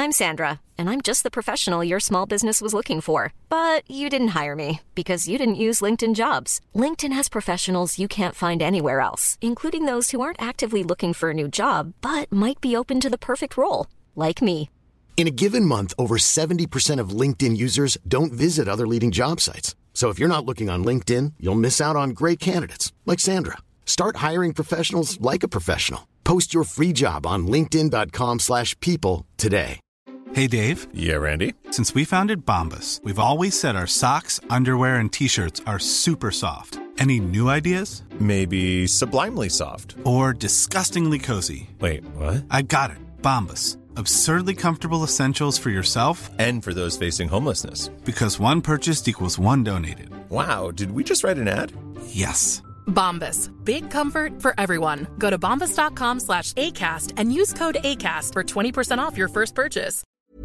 I'm Sandra, and I'm just the professional your small business was looking for. But you didn't hire me because you didn't use LinkedIn Jobs. LinkedIn has professionals you can't find anywhere else, including those who aren't actively looking for a new job, but might be open to the perfect role, like me. In a given month, over 70% of LinkedIn users don't visit other leading job sites. So if you're not looking on LinkedIn, you'll miss out on great candidates like Sandra. Start hiring professionals like a professional. Post your free job on linkedin.com/people today. Hey, Dave. Yeah, Randy. Since we founded Bombas, we've always said our socks, underwear, and T-shirts are super soft. Any new ideas? Maybe sublimely soft. Or disgustingly cozy. Wait, what? I got it. Bombas. Absurdly comfortable essentials for yourself and for those facing homelessness. Because one purchased equals one donated. Wow, did we just write an ad? Yes. Bombas. Big comfort for everyone. Go to bombas.com/ACAST and use code ACAST for 20% off your first purchase.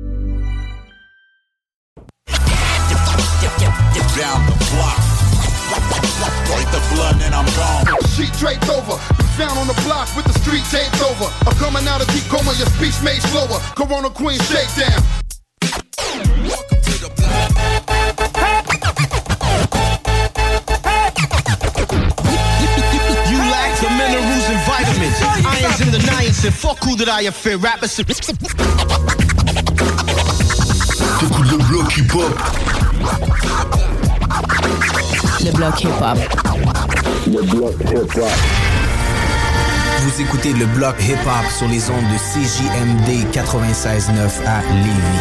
Down the block. Break the blood and I'm gone. Sheet draped over. Found on the block with the street taped over. I'm coming out of deep coma, your speech made slower. Corona Queen shakedown. Welcome to the block. You lack the minerals and vitamins. Irons in the niacin. Fuck who that I affair. Rappers. T'écoutes le bloc hip-hop. Le bloc hip-hop. Le bloc hip-hop. Vous écoutez le bloc hip-hop sur les ondes de CJMD 96.9 à Lévis.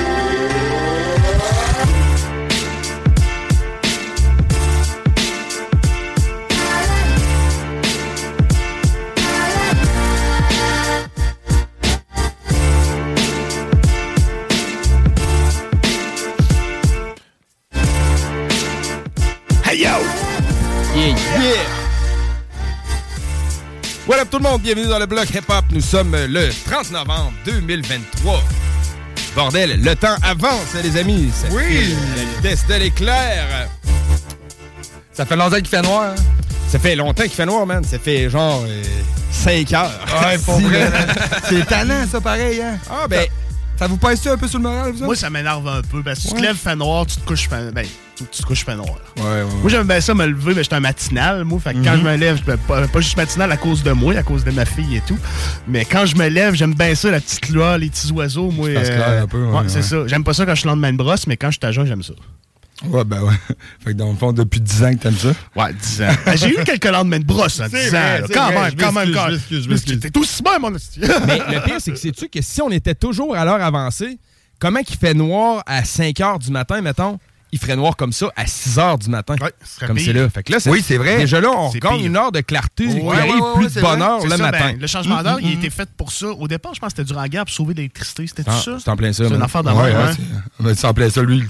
Voilà tout le monde, bienvenue dans le bloc hip-hop. Nous sommes le 30 novembre 2023. Bordel, le temps avance, les amis. Ça oui! La vitesse de l'éclair. Ça fait longtemps qu'il fait noir. Hein? Ça fait longtemps qu'il fait noir, man. Ça fait genre 5 heures. Ouais, pour vrai. C'est tannant, ça, pareil. Hein? Ah, ben... Ça vous pèse un peu sur le moral, vous? Moi, ça m'énerve un peu. Parce que tu te lèves, fait noir, tu te couches, tu te couches, fait noir. Ouais. Moi, j'aime bien ça me lever, mais j'étais un matinal, moi. Fait que quand je me lève, pas juste matinal à cause de moi, à cause de ma fille et tout. Mais quand je me lève, j'aime bien ça, la petite lueur, les petits oiseaux. Moi, un peu, ouais, c'est ça. J'aime pas ça quand je suis le lendemain de brosse, mais quand je suis à jeun, j'aime ça. Ouais, ben ouais. Fait que dans le fond, depuis 10 ans que t'aimes ça? Ouais, 10 ans. J'ai eu quelques lendemains de brosse en 10 ans. Quand même. T'es aussi bien, mon hostie. Mais le pire, c'est que sais-tu que si on était toujours à l'heure avancée, comment qu'il fait noir à 5 heures du matin, mettons? Il ferait noir comme ça à 6 heures du matin. Ouais, comme c'est là. Fait que là, oui, c'est vrai. Déjà là, on gagne une heure de clarté. Il arrive plus de bonne heure le matin. Le changement d'heure, il a été fait pour ça. Au départ, je pense que c'était durant la guerre pour sauver l'électricité. C'était tout ça? C'est en plein ça. C'est une affaire d'avant. C'est en plein ça, lui.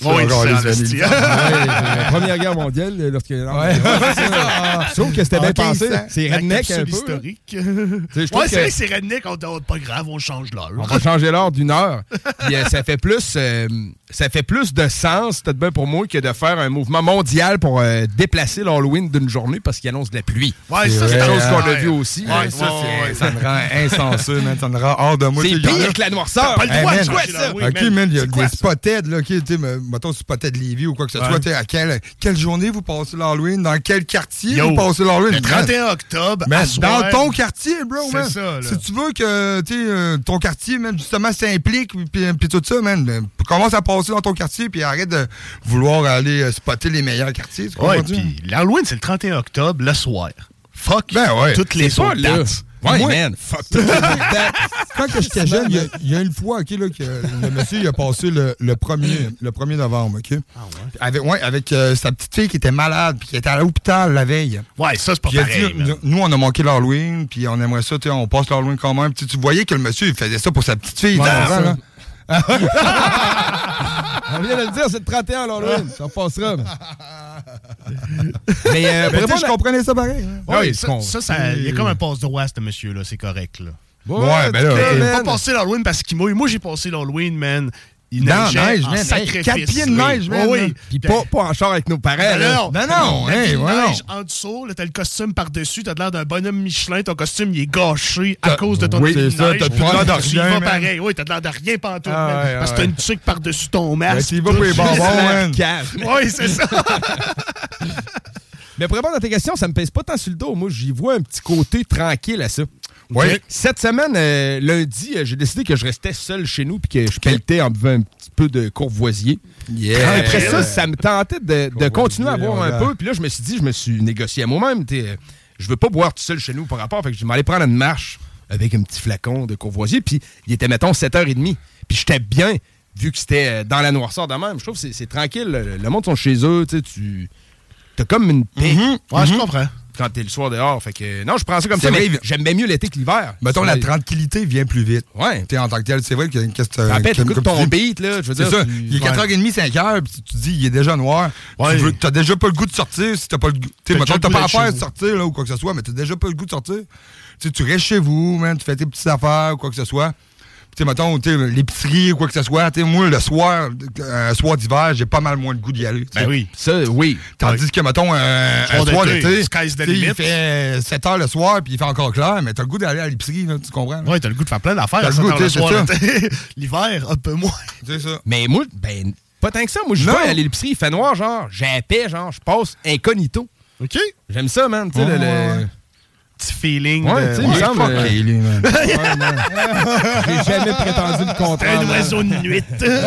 La Première Guerre mondiale, lorsque... Sauf que c'était bien pensé. C'est redneck un peu. Historique. Ouais, c'est vrai, c'est redneck. Pas grave, on change l'heure. On va changer l'heure d'une heure. Puis ça fait plus de sens, peut-être bien pour moi, que de faire un mouvement mondial pour déplacer l'Halloween d'une journée parce qu'il annonce de la pluie. Ouais, c'est quelque chose qu'on a vu aussi. Ça me rend insensé, man. Ça me rend hors de moi. C'est pire que la noirceur. Pas le droit de jouer ça. OK, man, il y a des spotted, là. Mettons, spotted Lévis ou quoi que ce soit. À quelle journée vous passez l'Halloween? Dans quel quartier vous passez l'Halloween? Le 31 octobre, dans ton quartier, bro, man. C'est ça, là. Si tu veux que ton quartier, man, justement, s'implique puis tout ça, man, commence à passer dans ton quartier puis arrête de vouloir aller spotter les meilleurs quartiers. Ouais, puis l'Halloween, c'est le 31 octobre, le soir. Fuck toutes les autres dates. Ouais, man. Fuck toutes les autres dates. Quand j'étais jeune, il y a une fois, OK, là, que le monsieur, il a passé le 1er novembre, OK? Ah ouais? Avec sa petite fille qui était malade puis qui était à l'hôpital la veille. Ouais, ça, c'est pas pareil. Nous, on a manqué l'Halloween puis on aimerait ça, on passe l'Halloween quand même. Tu voyais que le monsieur, il faisait ça pour sa petite fille. On vient de le dire, c'est le 31 l'Halloween. Ça passera. Mais je comprenais ça pareil. Oui, ça, il y a comme un passe-droit, ce monsieur-là. C'est correct, là. Ouais, ben là. Il n'a pas passé l'Halloween parce qu'il mouille. Moi, j'ai passé l'Halloween, man. il Dans neigeait neige, en man. sacrifice. 4 pieds de neige, man. Oui. Puis pas en char avec nos parents. Non, hey, voilà. neige en dessous, là, t'as le costume par-dessus, t'as l'air d'un bonhomme Michelin, ton costume, il est gâché à cause de ton oui, neige. c'est ça, t'as plus l'air de Tu y vas rien, man. pareil. Oui, t'as l'air de rien pantoute, Ah, man. ouais, Parce que ouais. t'as une tuque par-dessus ton masque. Tu y vas pour les bonbons, man. Oui, c'est ça. Mais pour répondre à tes questions, ça me pèse pas tant sur le dos. Moi, j'y vois un petit côté tranquille à ça. Oui. Cette semaine, lundi, j'ai décidé que je restais seul chez nous puis que je pelletais en buvant un petit peu de courvoisier. Yeah. Après ça me tentait de continuer à boire un ouais. peu. Puis là, je me suis négocié à moi-même. Je veux pas boire tout seul chez nous par rapport. Fait que je m'allais prendre une marche avec un petit flacon de courvoisier. Puis il était, mettons, 7h30. Puis j'étais bien, vu que c'était dans la noirceur de même. Je trouve que c'est tranquille. Le monde sont chez eux. T'as comme une paix. Ouais, je comprends. Quand t'es le soir dehors. Fait que non, je prends ça comme C'est ça, vrai, mais j'aime bien mieux l'été que l'hiver. Mettons, la tranquillité vient plus vite. Ouais. T'es en tant que tel. C'est vrai que Après, t'écoutes ton beat, là. Je veux c'est dire. ça. Il est 4h30, 5h, puis tu dis, il est déjà noir. Ouais. T'as déjà pas le goût de sortir si t'as pas le goût. T'as Mettons, déjà t'as le pas goût affaire d'être de chez sortir, là, ou quoi que ce soit, mais t'as déjà pas le goût de sortir. Tu restes chez vous, man, tu fais tes petites affaires, ou quoi que ce soit. Puis, mettons, l'épicerie ou quoi que ce soit. Moi, le soir, un soir d'hiver, j'ai pas mal moins le goût d'y aller. Ben oui. Ça, oui. Tandis que, mettons, un soir d'été, sky's the il limit. fait 7h le soir, puis il fait encore clair, mais t'as le goût d'aller à l'épicerie, là, tu comprends? Oui, t'as le goût de faire plein d'affaires T'as à le 7 goût, heures le c'est soir. ça. L'hiver, un peu moins. C'est ça. Mais moi, pas tant que ça. Moi, je vais à l'épicerie, il fait noir, genre, j'ai la paix, genre, je passe incognito. OK. J'aime ça, man. Tu sais, le Petit feeling. Ouais, tu sais, il me semble. Fucké, lui, man. Ouais, man. J'ai jamais prétendu le contraire. Un oiseau de nuit.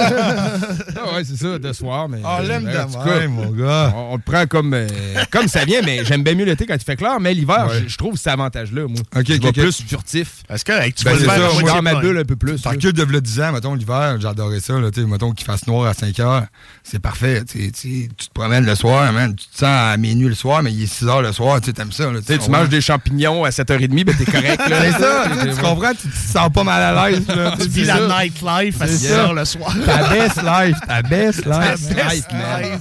Ah ouais, c'est ça, de soir. Mais, On l'aime en tout de cas, même, mon gars. On le prend comme ça vient, mais j'aime bien mieux l'été quand il fait clair. Mais l'hiver, Ouais. je trouve cet avantage-là, moi. Ok, je vais ok. plus furtif. Est-ce que tu Ben, vas le c'est faire ça, à moi, moitié Dans ma de bulle un peu plus. T'as là. recul de 10 ans, mettons, l'hiver, j'adorais ça, là, mettons qu'il fasse noir à 5h, c'est parfait. Tu te promènes le soir, man, tu te sens à minuit le soir, mais il est 6h le soir, t'aimes ça. Là, Tu manges des champignons à 7h30, ben t'es correct. Là. C'est ça, tu comprends, tu te sens pas mal à l'aise. là, Tu vis la nightlife à 6 heures le soir. Ta best life, ta best life. Best life.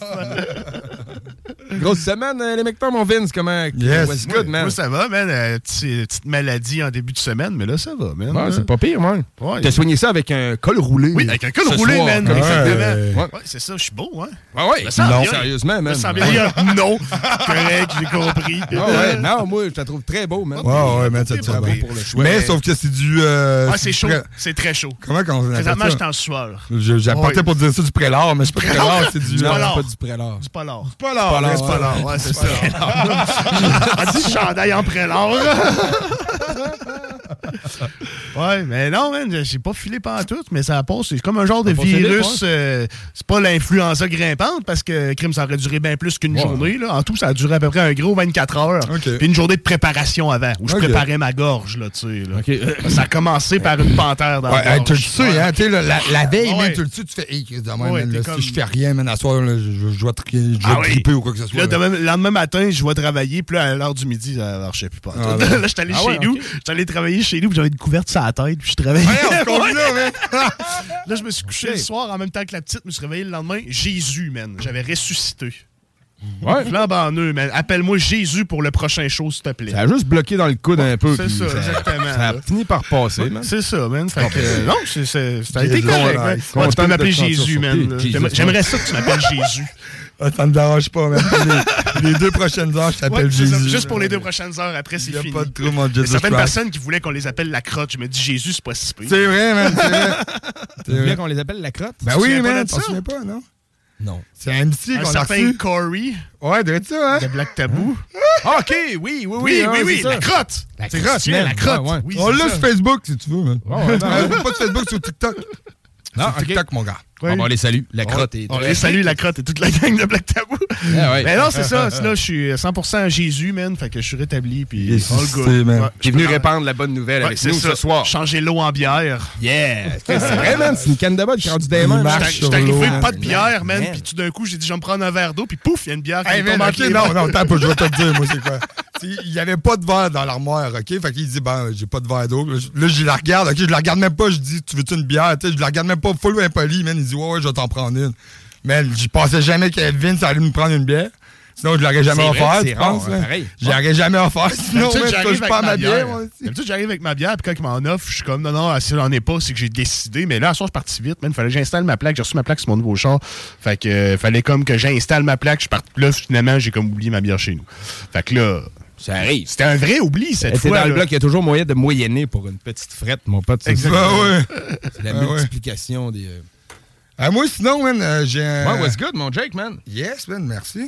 Grosse semaine, les mecs, mon Vince, comment? Yes. What's good, man? Moi, ça va, man. Petite maladie en début de semaine, mais là, ça va, man. Ouais, c'est pas pire, man. Ouais. T'as soigné ça avec un col roulé. Oui, avec un col ce roulé, soir, man. quand Exactement. Ouais. Ouais, c'est ça, je suis beau, hein. Ah ouais, Me sens non, bien. sérieusement, man. Je me sens bien. Non, correct, j'ai compris. Ah ouais, non, moi, je te trouve très beau, man. Ouais, man, ça te va bien. Pour le choix. Mais sauf que c'est du. Ah, c'est chaud. C'est très chaud. Comment on appelle Présentement, ça? je suis en sueur. J'apportais pour dire ça du prélard, mais c'est pas du prélard, c'est du. Non, polar. c'est pas du prélard. Du polar. C'est pas l'art. C'est pas l'art, ouais, c'est ça. Un petit chandail en prélard. Ouais, mais non, man, j'ai pas filé pantoute, mais ça passe. C'est comme un genre de virus. C'est pas l'influenza grimpante, parce que crime, ça aurait duré bien plus qu'une journée. Là. En tout, ça a duré à peu près un gros 24 heures. Okay. Puis une journée de préparation avant, où je préparais ma gorge, là, tu sais. Là. Ça a commencé par une panthère dans la gorge. Tu le sais, hein, tu sais, la veille, Ouais. man, tu le sais, tu fais, hey, demain, Ouais, man, là, comme- si je fais rien, man, à soir, là, je vais triper ou quoi que ce Puis soit. là, le lendemain matin, je vais travailler, puis là, à l'heure du midi, ça marchait plus pas. Ah, là, je suis allé chez nous, je suis allé travailler chez nous, puis j'avais une couverte sur la tête, puis je travaillais. Là, je me suis couché le soir en même temps que la petite, je me suis réveillé le lendemain. Jésus, man, j'avais ressuscité. Ouais. Flambant en eux, man. Appelle-moi Jésus pour le prochain show, s'il te plaît. Ça a juste bloqué dans le coude un peu. C'est puis ça, exactement. Ça a là. fini par passer, man. C'est ça, man. Fait que, non, ça a été Jésus, correct. ouais. man. Content Ouais, tu peux de m'appeler te sentir Jésus, man. surpris. là. J'aimerais ça que tu m'appelles Jésus. Ah, ça me dérange pas, man. Les 2 prochaines heures, je t'appelle Ouais, c'est ça. Jésus. Juste pour les 2 prochaines heures, après, c'est Il y a fini. pas de trou, mon Il y a Jesus certaines Christ. personnes qui voulaient qu'on les appelle la crotte. Je me dis, Jésus, c'est pas si pire. C'est vrai, man, c'est vrai. Tu voulais qu'on les appelle la crotte? Ben Tu te oui, souviens pas man, de tu ça? te souviens pas, non? Non. C'est un MC Un qu'on a certain reçu. Corey Ouais, doit être ça, hein? de Black Tabou. Ah, OK, oui, Oui, c'est ça. la crotte. La C'est crotte, ça, man. la crotte. Ouais, ouais. Oui, On c'est l'a ça. sur Facebook, si tu veux, man. Ouais, Pas de Facebook, sur TikTok. Non, Sur OK. TikTok, mon gars. Bon, on les salue. La crotte est... On les salue, la crotte et toute la gang de Black Tabou. Ah ouais. Mais non, c'est ça. Là, je suis 100% Jésus, man. Fait que je suis rétabli. Puis Il est all suscité, good. man. Ouais, Qui est venu répandre la bonne nouvelle avec c'est nous ça. ce soir. Changer l'eau en bière. Yeah! C'est vrai, man. C'est une canne de botte qui est rendue des mains. Il man. marche. J'étais arrivé, l'eau, pas de bière, man. Man. Puis tout d'un coup, j'ai dit, je vais me prendre un verre d'eau. Puis pouf, il y a une bière qui Hey, me tombe man, entre ok, les non, mains. non, attends un peu, je vais te le dire, moi, c'est quoi. Il n'y avait pas de verre dans l'armoire, OK? Fait qu'il dit, ben, j'ai pas de verre d'eau. Là, je la regarde, OK? Je la regarde même pas, je dis, tu veux-tu une bière? Tu sais, je la regarde même pas, full impoli, man. Il dit, ouais, je vais t'en prendre une. Mais je pensais jamais que Vince allait me prendre une bière. Sinon, je l'aurais jamais offert, c'est tu penses? rare, pareil. Je l'aurais jamais offert, sinon, D'habitude, je j'arrive touche avec pas à ma bière, bière. moi aussi. D'habitude, j'arrive avec ma bière, puis quand il m'en offre, je suis comme, non, si j'en ai pas, c'est que j'ai décidé. Mais là, à soir, je suis parti vite, il fallait que j'installe ma plaque. J'ai reçu ma plaque sur mon nouveau char. Fait que, fallait comme que j'installe ma plaque. Je parte là, finalement, j'ai comme oublié ma bière chez nous. Fait que là, ça arrive. C'était un vrai oubli cette fois. Dans le bloc, il y a toujours moyen de moyenner pour une petite frette, mon pote. Exactement. C'est la multiplication des... moi, sinon, man, j'ai un... Ouais, what's good, mon Jake, man? Yes, man, merci.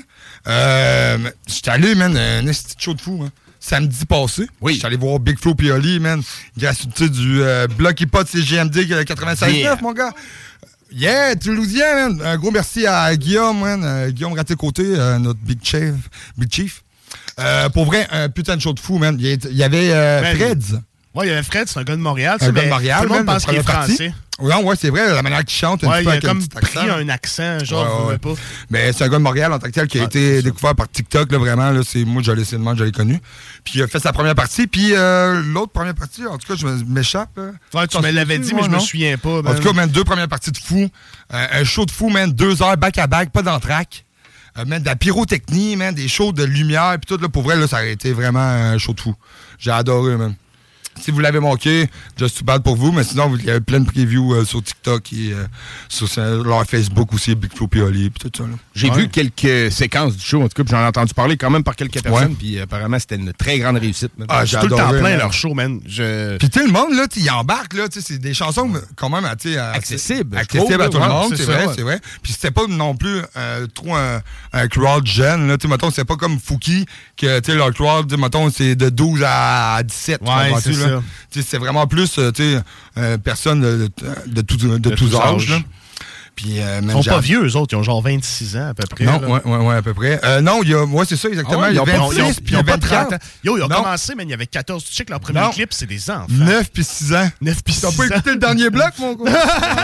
J'étais allé, man, un esti de show de fou, man. Samedi passé. Oui. J'étais allé voir Big Flo et Oli, man. Gratuité du bloc hip-hop CGMD 96.9, mon gars. Yeah, Toulousien, man. Un gros merci à Guillaume, man. Guillaume Raté-Côté, notre Big Chief. Pour vrai, un putain de show de fou, man. Il y avait Freds. Ouais, il y avait Fred, c'est un gars de Montréal. Un gars de Montréal, tout le monde man, pense qu'il est français. Non, ouais, c'est vrai, la manière qu'il chante, un petit peu il a avec comme un petit pris accent. un accent, genre, Ouais. pas. Mais c'est un gars de Montréal en tant que tel qui a été découvert par TikTok, là, vraiment. Là, moi, je l'ai connu. Puis il a fait sa première partie. Puis l'autre première partie, en tout cas, je m'échappe. Ouais, tu me l'avais dit, mais je me souviens pas. En tout cas, man, 2 premières parties de fou. Un show de fou, man, 2 heures back-à-back, pas d'entraque. Man, de la pyrotechnie, man, des shows de lumière. Puis tout, là, pour vrai, là, ça a été vraiment un show de fou. J'ai adoré, man. Si vous l'avez manqué, just too bad pour vous, mais sinon, il y a plein de previews sur TikTok et sur leur Facebook aussi, Big Flo et Oli, puis tout ça. J'ai vu quelques séquences du show, en tout cas, puis j'en ai entendu parler quand même par quelques personnes, puis apparemment, c'était une très grande réussite. J'ai tout le temps plein, man. leur show, man. Puis tout le monde, là, il embarque, là, c'est des chansons quand même accessibles. Accessibles à tout le monde, c'est vrai. Puis c'était pas non plus trop un crowd jeune, là, mettons, c'est pas comme Fouki, que, leur crowd, mettons, c'est de 12 à 17, c'est ça. C'est vraiment plus personnes de tous âges. Là. Puis, ils sont pas vieux, eux autres. Ils ont genre 26 ans à peu près. Non, ouais, à peu près. Non, c'est ça, exactement. Il y a 26 puis il y a 24 ans. Ils ont commencé, mais il y avait 14. Tu sais que leur premier clip, c'est des enfants. 9 puis 6 ans. 9 puis 6 ans. T'as pas écouté le dernier bloc, mon gars?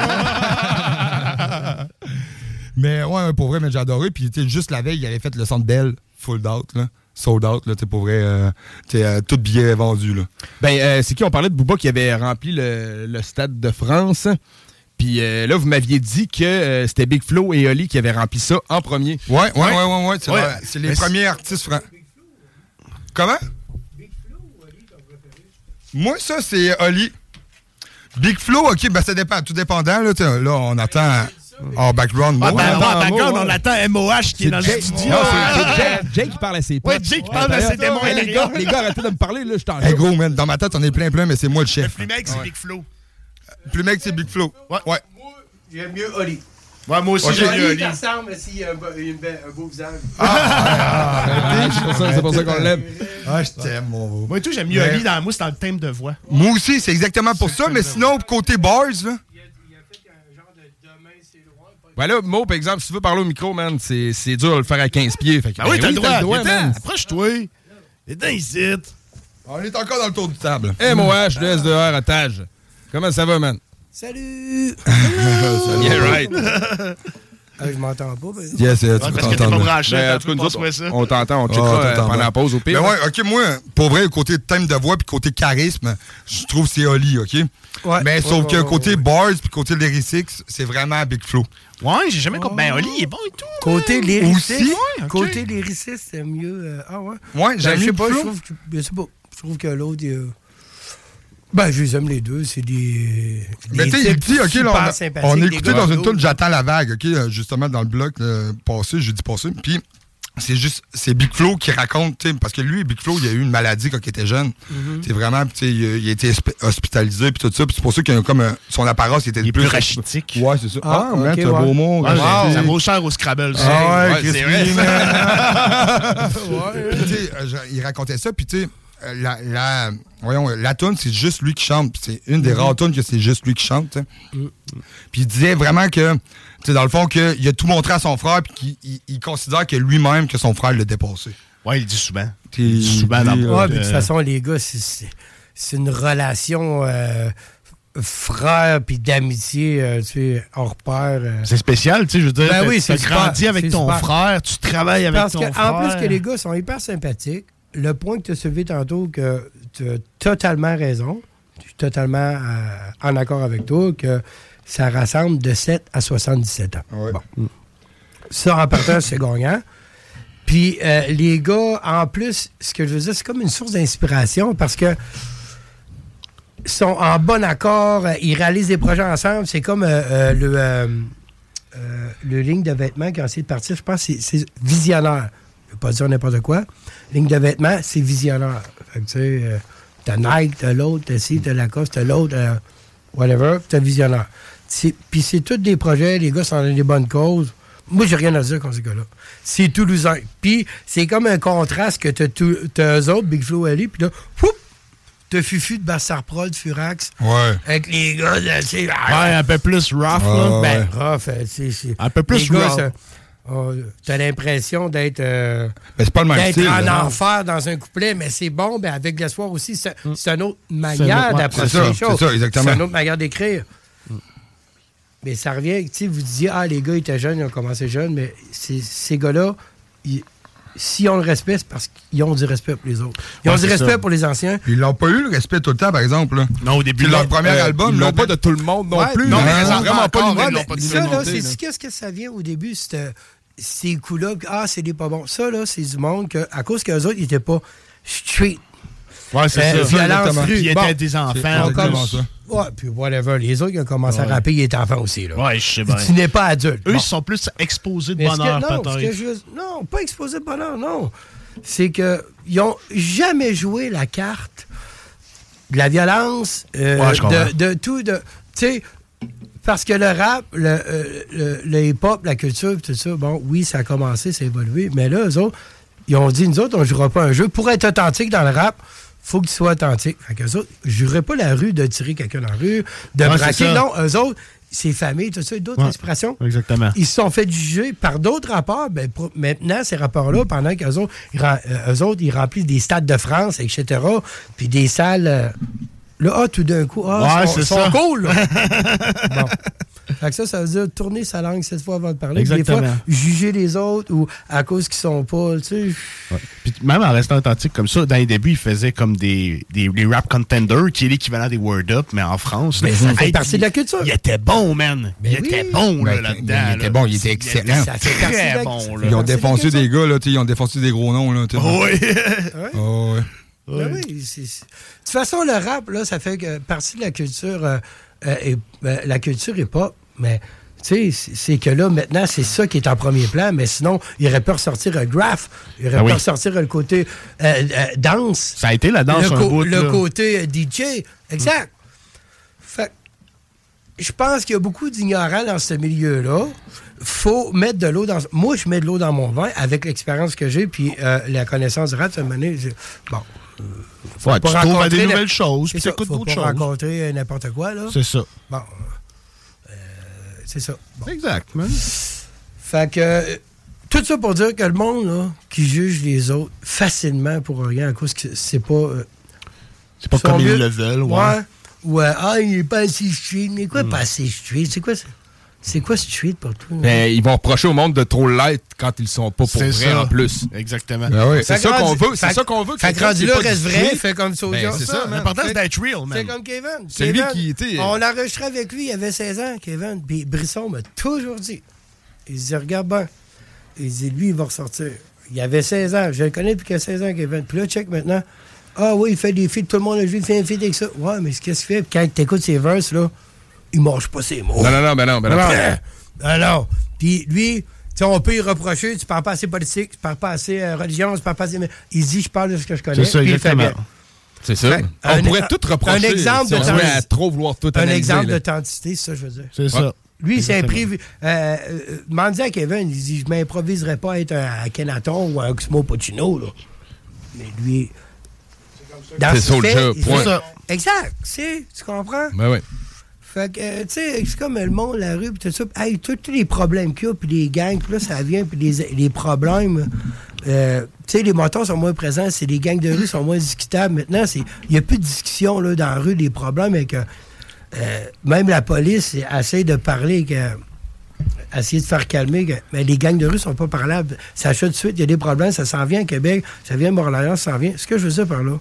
Mais ouais, pour vrai, j'ai adoré. Puis juste la veille, il avait fait le Centre Bell, full out, là. Sold out, là, pour vrai, tout billet vendu, là. C'est qui? On parlait de Booba qui avait rempli le Stade de France. Puis là, vous m'aviez dit que c'était Big Flo et Oli qui avaient rempli ça en premier. Ouais. C'est les premiers artistes français. Comment? Big Flo ou Oli, ton préféré? Moi, ça, c'est Oli. Big Flo, OK, ça dépend. Tout dépendant, là, on attend... En background, en background, on attend MOH qui est dans le studio. C'est Jake qui parle à ses potes. Ouais, Jake qui parle à ses démons. Les gars, arrêtez de me parler, là, je t'en Hey, gros, man, dans ma tête, on est plein, mais c'est moi le chef. Le plus mec, c'est Big Flo. Plus mec, c'est Big Flo. Ouais. Moi, j'aime mieux Oli. Ouais, moi aussi, j'aime mieux Oli. Il ressemble s'il a un beau visage. C'est pour ça qu'on l'aime. Ah, je t'aime, mon beau. Moi, tout, j'aime mieux Oli. Moi, c'est dans le thème de voix. Moi aussi, c'est exactement pour ça, mais sinon, côté bars, là. Ben là, Mo, par exemple, si tu veux parler au micro, man, c'est dur de le faire à 15 pieds. Fait que, oui, t'as le droit, man. Approche-toi. Viens ici. On est encore dans le tour du table. MOH, le SDR, otage. Comment ça va, man? Salut! Yeah, right. Je m'entends pas. Mais... Yes, tu peux parce que t'es pas branché. En tout cas, nous autres, on t'entend, on checkera pendant la pause au pire. Mais ouais, OK, moi, pour vrai, côté thème de voix puis côté charisme, je trouve que c'est Oli, OK? Ouais, mais sauf que côté bars puis côté lyrics, c'est vraiment Big Flo. Ouais, j'ai jamais compris. Ben, Oli, il est bon et tout. Côté lyriciste, aussi? Côté lyriciste, c'est mieux. Ah ouais? Ouais, j'aime je sais mieux pas, Flo. je trouve que l'autre, je les aime les deux, c'est des mais tu sais, il dit, OK, là, on a écouté dans une tune J'attends la vague, OK, justement, dans le bloc passé, jeudi passé, puis c'est Big Flo qui raconte, parce que lui, Big Flo, il a eu une maladie quand il était jeune. C'est vraiment, il a été hospitalisé, puis tout ça, puis c'est pour ça qu'il a comme son apparence était le plus rachitique. Ouais, c'est ça. Okay, c'est un beau mot. Ça vaut cher au Scrabble. C'est vrai. Ouais. Il racontait ça, puis tu sais, la tune, c'est juste lui qui chante. C'est une des rares tunes que c'est juste lui qui chante. Puis il disait vraiment que, dans le fond, qu'il a tout montré à son frère, puis qu'il considère que lui-même, que son frère l'a dépassé. Ouais, il dit souvent. Il dit souvent dans le de toute façon, les gars, c'est une relation frère puis d'amitié, hors pair. C'est spécial, tu sais, je veux dire. Ben oui, tu grandis avec ton frère, tu travailles avec ton frère. En plus que les gars sont hyper sympathiques. Le point que tu as soulevé tantôt, que tu as totalement raison, je suis totalement en accord avec toi, que ça rassemble de 7 à 77 ans. Ouais. Bon. Ça, en partant, c'est gagnant. Puis les gars, en plus, ce que je veux dire, c'est comme une source d'inspiration parce que sont en bon accord, ils réalisent des projets ensemble. C'est comme le ligne de vêtements qui a essayé de partir, je pense que c'est visionnaire. Je ne veux pas dire n'importe quoi. Ligne de vêtements, c'est visionnaire. Fait que tu sais, t'as Nike, t'as l'autre, t'as ci, t'as Lacoste, t'as l'autre, whatever, t'as visionnaire. Puis c'est tous des projets, les gars sont dans des bonnes causes. Moi, j'ai rien à dire contre ces gars-là. C'est toulousain. Puis c'est comme un contraste que t'as eux autres, Big Flo Ali, puis là, whoop, t'as Fufu de Bassarprol, de Furax. Ouais. Avec les gars, ouais, un peu plus rough, là. Ben, rough, c'est... Un peu plus rough. T'as l'impression d'être c'est pas le même d'être style, en là. enfer dans un couplet, mais c'est bon, ben avec l'espoir aussi, c'est une autre manière d'approcher les choses. C'est ça, exactement. C'est une autre manière d'écrire. Mais ça revient, tu sais, vous disiez, les gars étaient jeunes, ils ont commencé jeunes, mais ces gars-là, s'ils ont le respect, c'est parce qu'ils ont du respect pour les autres. Ils ont du respect pour les anciens. Ils n'ont pas eu le respect tout le temps, par exemple. Là. Non, au début. Puis leur premier album. Ils l'ont pas de tout le monde non plus. Non, mais ils ont vraiment pas ça, là, c'est qu'est-ce que ça vient au début, ces coups-là, c'est des pas bons. Ça, là, c'est du monde que, à cause qu'eux autres, ils n'étaient pas street. Ouais, c'est ça. Violence rue. Puis ils étaient des enfants. Ouais, puis whatever. Les autres qui ont commencé à rapper, ils étaient enfants aussi. Là. Ouais, je sais bien. Tu n'es pas adulte. Eux, ils sont plus exposés de bonheur, peut-être. Non, pas exposés de bonheur, non. C'est qu'ils n'ont jamais joué la carte de la violence, de tout. Tu sais, parce que le rap, le hip-hop, la culture, tout ça, bon, oui, ça a commencé, ça a évolué, mais là, eux autres, ils ont dit, nous autres, on ne jouera pas un jeu. Pour être authentique dans le rap, faut qu'il soit authentique. Fait qu'eux autres, je jouerais pas la rue de tirer quelqu'un dans la rue, de braquer. Non, eux autres, c'est famille, tout ça, d'autres inspirations. Exactement. Ils se sont fait juger par d'autres rapports. Ben, maintenant, ces rapports-là, pendant qu'eux autres, ils remplissent des stades de France, etc., puis des salles... Là, tout d'un coup, ils sont cool. Là. Bon. Fait que ça veut dire tourner sa langue cette fois avant de parler. Exactement. Des fois, juger les autres ou à cause qu'ils sont pas, tu sais. Ouais. Puis même en restant authentique comme ça, dans les débuts, ils faisaient comme des rap contenders, qui est l'équivalent des Word Up, mais en France. Mais ça fait partie de la culture. Il était bon, man. Il était bon, là-dedans. Il était bon, il était excellent. Ça fait très bon, là. Ils ont défoncé des gars, là, ils ont défoncé des gros noms, là. Oui. Oui. De toute façon, le rap, là, ça fait partie de la culture, la culture hip-hop, mais tu sais, c'est que là, maintenant, c'est ça qui est en premier plan, mais sinon, il aurait pu ressortir un graph, il aurait pu ressortir le côté danse. Ça a été la danse le côté DJ, exact. Fait je pense qu'il y a beaucoup d'ignorants dans ce milieu-là. Faut mettre de l'eau dans... Moi, je mets de l'eau dans mon vin avec l'expérience que j'ai puis la connaissance du rap, ça m'a donné... Bon... Faut tu trouves des nouvelles choses, puis t'écoutes d'autres choses. Faut pas rencontrer n'importe quoi, là. C'est ça. Bon. C'est ça. Bon. Exact, man. Fait que... tout ça pour dire que le monde, là, qui juge les autres facilement pour rien, à cause que c'est pas... c'est pas comme ils le veulent, ouais. Il est pas assez street. Mais quoi, pas assez street? C'est quoi ça? C'est quoi street pour toi? Mais ils vont reprocher au monde de trop l'être quand ils sont pas pour vrai en plus. Exactement. C'est ça qu'on veut. C'est ça qu'on veut. Fait que rendu là, reste vrai, fait comme Soulja. C'est ça. L'important, c'est d'être real, man. C'est comme Kevin. C'est lui qui était... On l'a enregistré avec lui, il avait 16 ans, Kevin. Puis Brisson m'a toujours dit. Il dit, regarde bien. Il dit, lui, il va ressortir. Il avait 16 ans. Je le connais depuis qu'il a 16 ans, Kevin. Puis là, check maintenant. Ah oui, il fait des feats. Tout le monde a joué, il fait un feat avec ça. Ouais, mais qu'est-ce qu'il fait? Quand tu écoutes ses verses, là, il mange pas ses mots. Non. Alors, puis lui, on peut y reprocher, tu parles pas assez politique, tu parles pas assez religion, tu parles pas assez... Il dit, je parle de ce que je connais. C'est ça, exactement. C'est ça. On pourrait tout reprocher. Un exemple si on à trop vouloir tout analyser. Un exemple d'authenticité, c'est ça que je veux dire. C'est ça. Lui, c'est imprévu. Demandez à Kevin, il dit, je m'improviserais pas à être un Akhenaton ou un Oxmo Puccino, là. Mais lui... C'est Soulja, point. Exact, tu comprends? Ben oui. Fait que, tu sais, c'est comme le monde, la rue, puis tout ça. Hey, tous les problèmes qu'il y a, puis les gangs, puis là, ça vient, puis les problèmes. Tu sais, les motos sont moins présents, c'est les gangs de rue sont moins discutables. Maintenant, il n'y a plus de discussion là, dans la rue, des problèmes, et que même la police essaie de parler, essayer de faire calmer, mais les gangs de rue sont pas parlables. Ça achète de suite, il y a des problèmes, ça s'en vient à Québec, ça vient à Montréal, ça s'en vient. Ce que je veux dire par là,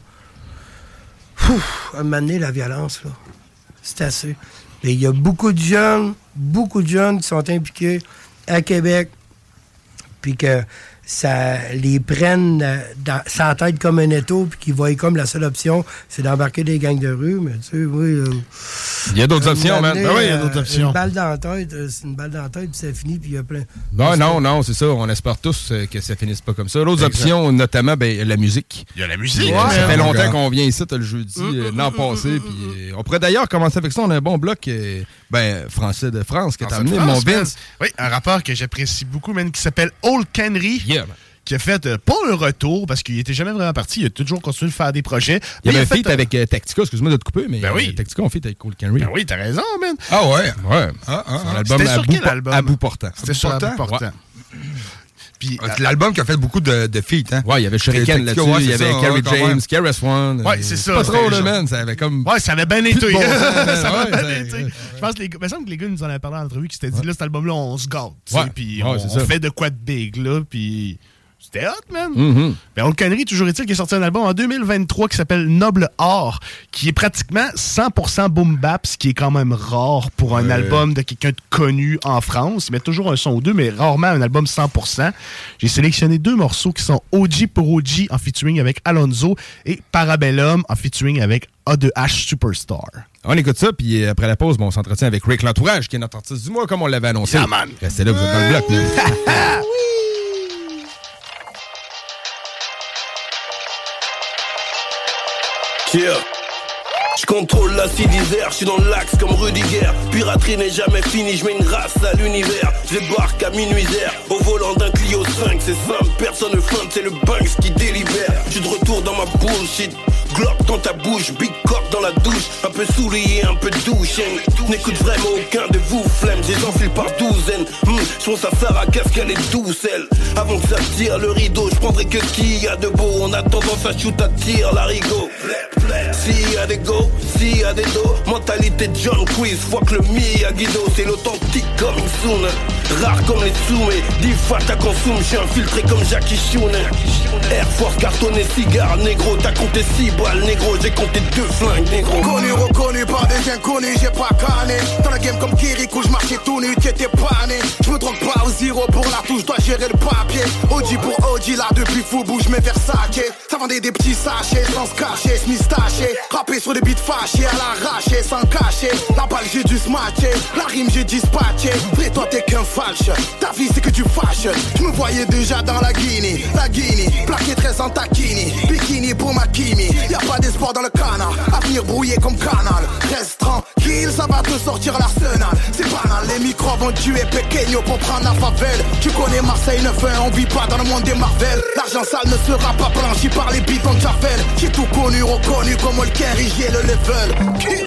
à un moment donné, la violence, là, c'est assez. Mais il y a beaucoup de jeunes qui sont impliqués à Québec, puis que ça les prenne sans tête comme un étau, puis qu'ils voient comme la seule option, c'est d'embarquer des gangs de rue. Mais tu sais, oui. Il y a d'autres options, man. Ben oui, il y a d'autres options. Une balle dans la tête, c'est une balle dans la tête, puis ça finit, puis il y a plein. Non, c'est ça. On espère tous que ça finisse pas comme ça. L'autre option, notamment, la musique. Il y a la musique. Ouais, ça fait longtemps qu'on vient ici, le jeudi, l'an passé. Puis on pourrait d'ailleurs commencer avec ça. On a un bon bloc français de France qui est amené, mon Vince. Oui, un rappeur que j'apprécie beaucoup, man, qui s'appelle Old Henry. Yeah, man. Qui a fait pas un retour, parce qu'il était jamais vraiment parti, il a toujours continué de faire des projets. Il y avait un feat avec Tactica, excuse-moi de te couper, mais oui. Tactica, on feat avec Old Henry. Ben oui, t'as raison, man. Ah ouais? Ouais. C'était sur quel album? À bout portant. C'était sur À bout portant. Ouais. Puis, c'est l'album qui a fait beaucoup de feats, hein? Ouais, il y avait Shuriken là-dessus, il y avait Kerry James, KRS-One. Ouais, c'est ça. Pas trop, le man, ça avait comme... Ouais, ça avait bien été. Bon, ça avait bien été. Je pense que il me semble que les gars nous en avaient parlé en entrevue, qui s'étaient dit, là, cet album-là, on se gâte. Puis on fait de quoi de big, là, puis... C'était hot, man. Mm-hmm. Ben, Old Henry, toujours est-il, qui a sorti un album en 2023 qui s'appelle Noble Art, qui est pratiquement 100% boom bap, ce qui est quand même rare pour un album de quelqu'un de connu en France. Il met toujours un son ou deux, mais rarement un album 100%. J'ai sélectionné 2 morceaux qui sont OG pour OG en featuring avec Alonzo et Parabellum en featuring avec A2H Superstar. On écoute ça, puis après la pause, on s'entretient avec Rick L'Entourage, qui est notre artiste du mois, comme on l'avait annoncé. Yeah, man. Restez là, vous êtes dans le bloc, man. Yeah. Je contrôle la d'Isère, je suis dans l'axe comme Rudiger. Piraterie n'est jamais finie, je mets une race à l'univers. Je débarque à minuit-zère, au volant d'un Clio 5. C'est simple, personne ne feinte, c'est le Banks qui délibère. Je suis de retour dans ma bullshit, Glock dans ta bouche, Big Cock dans la douche. Un peu soulié, un peu douche. N'écoute vraiment aucun de vous, flemme, j'ai enfile par douzaine. Je pense à Sarah, qu'est-ce qu'elle est douce, elle. Avant que ça tire le rideau, je prendrai que ce qu'il y a de beau. On a tendance à shoot à tir, l'arigot. S'il y a des go, s'il y a des dos, mentalité John Quiz, fuck le Miyagi-Do, c'est l'authentique coming soon. Rare comme les soumets, 10 fois ta consomme, j'suis infiltré comme Jackie Chun. Air Force, cartonné, cigare, négro, t'as compté 6 balles, négro, j'ai compté 2 flingues, négro. Connu, reconnu par des inconnus, j'ai pas canné. Dans la game comme Kirikou, j'marchais tout nu, t'étais pas né. J'me drogue pas au zéro pour la touche, dois gérer le papier. OG pour OG, là depuis Foubou, j'mets Versace. Ça vendait des petits sachets, sans se cacher, Smith taché. Rappé sur des beats fâchés, à l'arraché, sans cacher. La balle j'ai dû smatcher, la rime j'ai dispatché. Vrai toi t'es qu'un falche, ta vie c'est que tu fâches. Je me voyais déjà dans la Guinée, plaqué 13 en taquini, bikini pour ma Kimi. Y'a pas d'espoir dans le canard, avenir brouillé comme canal. Reste tranquille, ça va te sortir l'arsenal. C'est banal, les micros vont tuer Pequeño pour prendre la favelle. Tu connais Marseille 9-1, on vit pas dans le monde des Marvel. L'argent sale ne sera pas blanchi par les bidons de Javel. J'ai tout connu, reconnu comme le Henry, j'ai le level.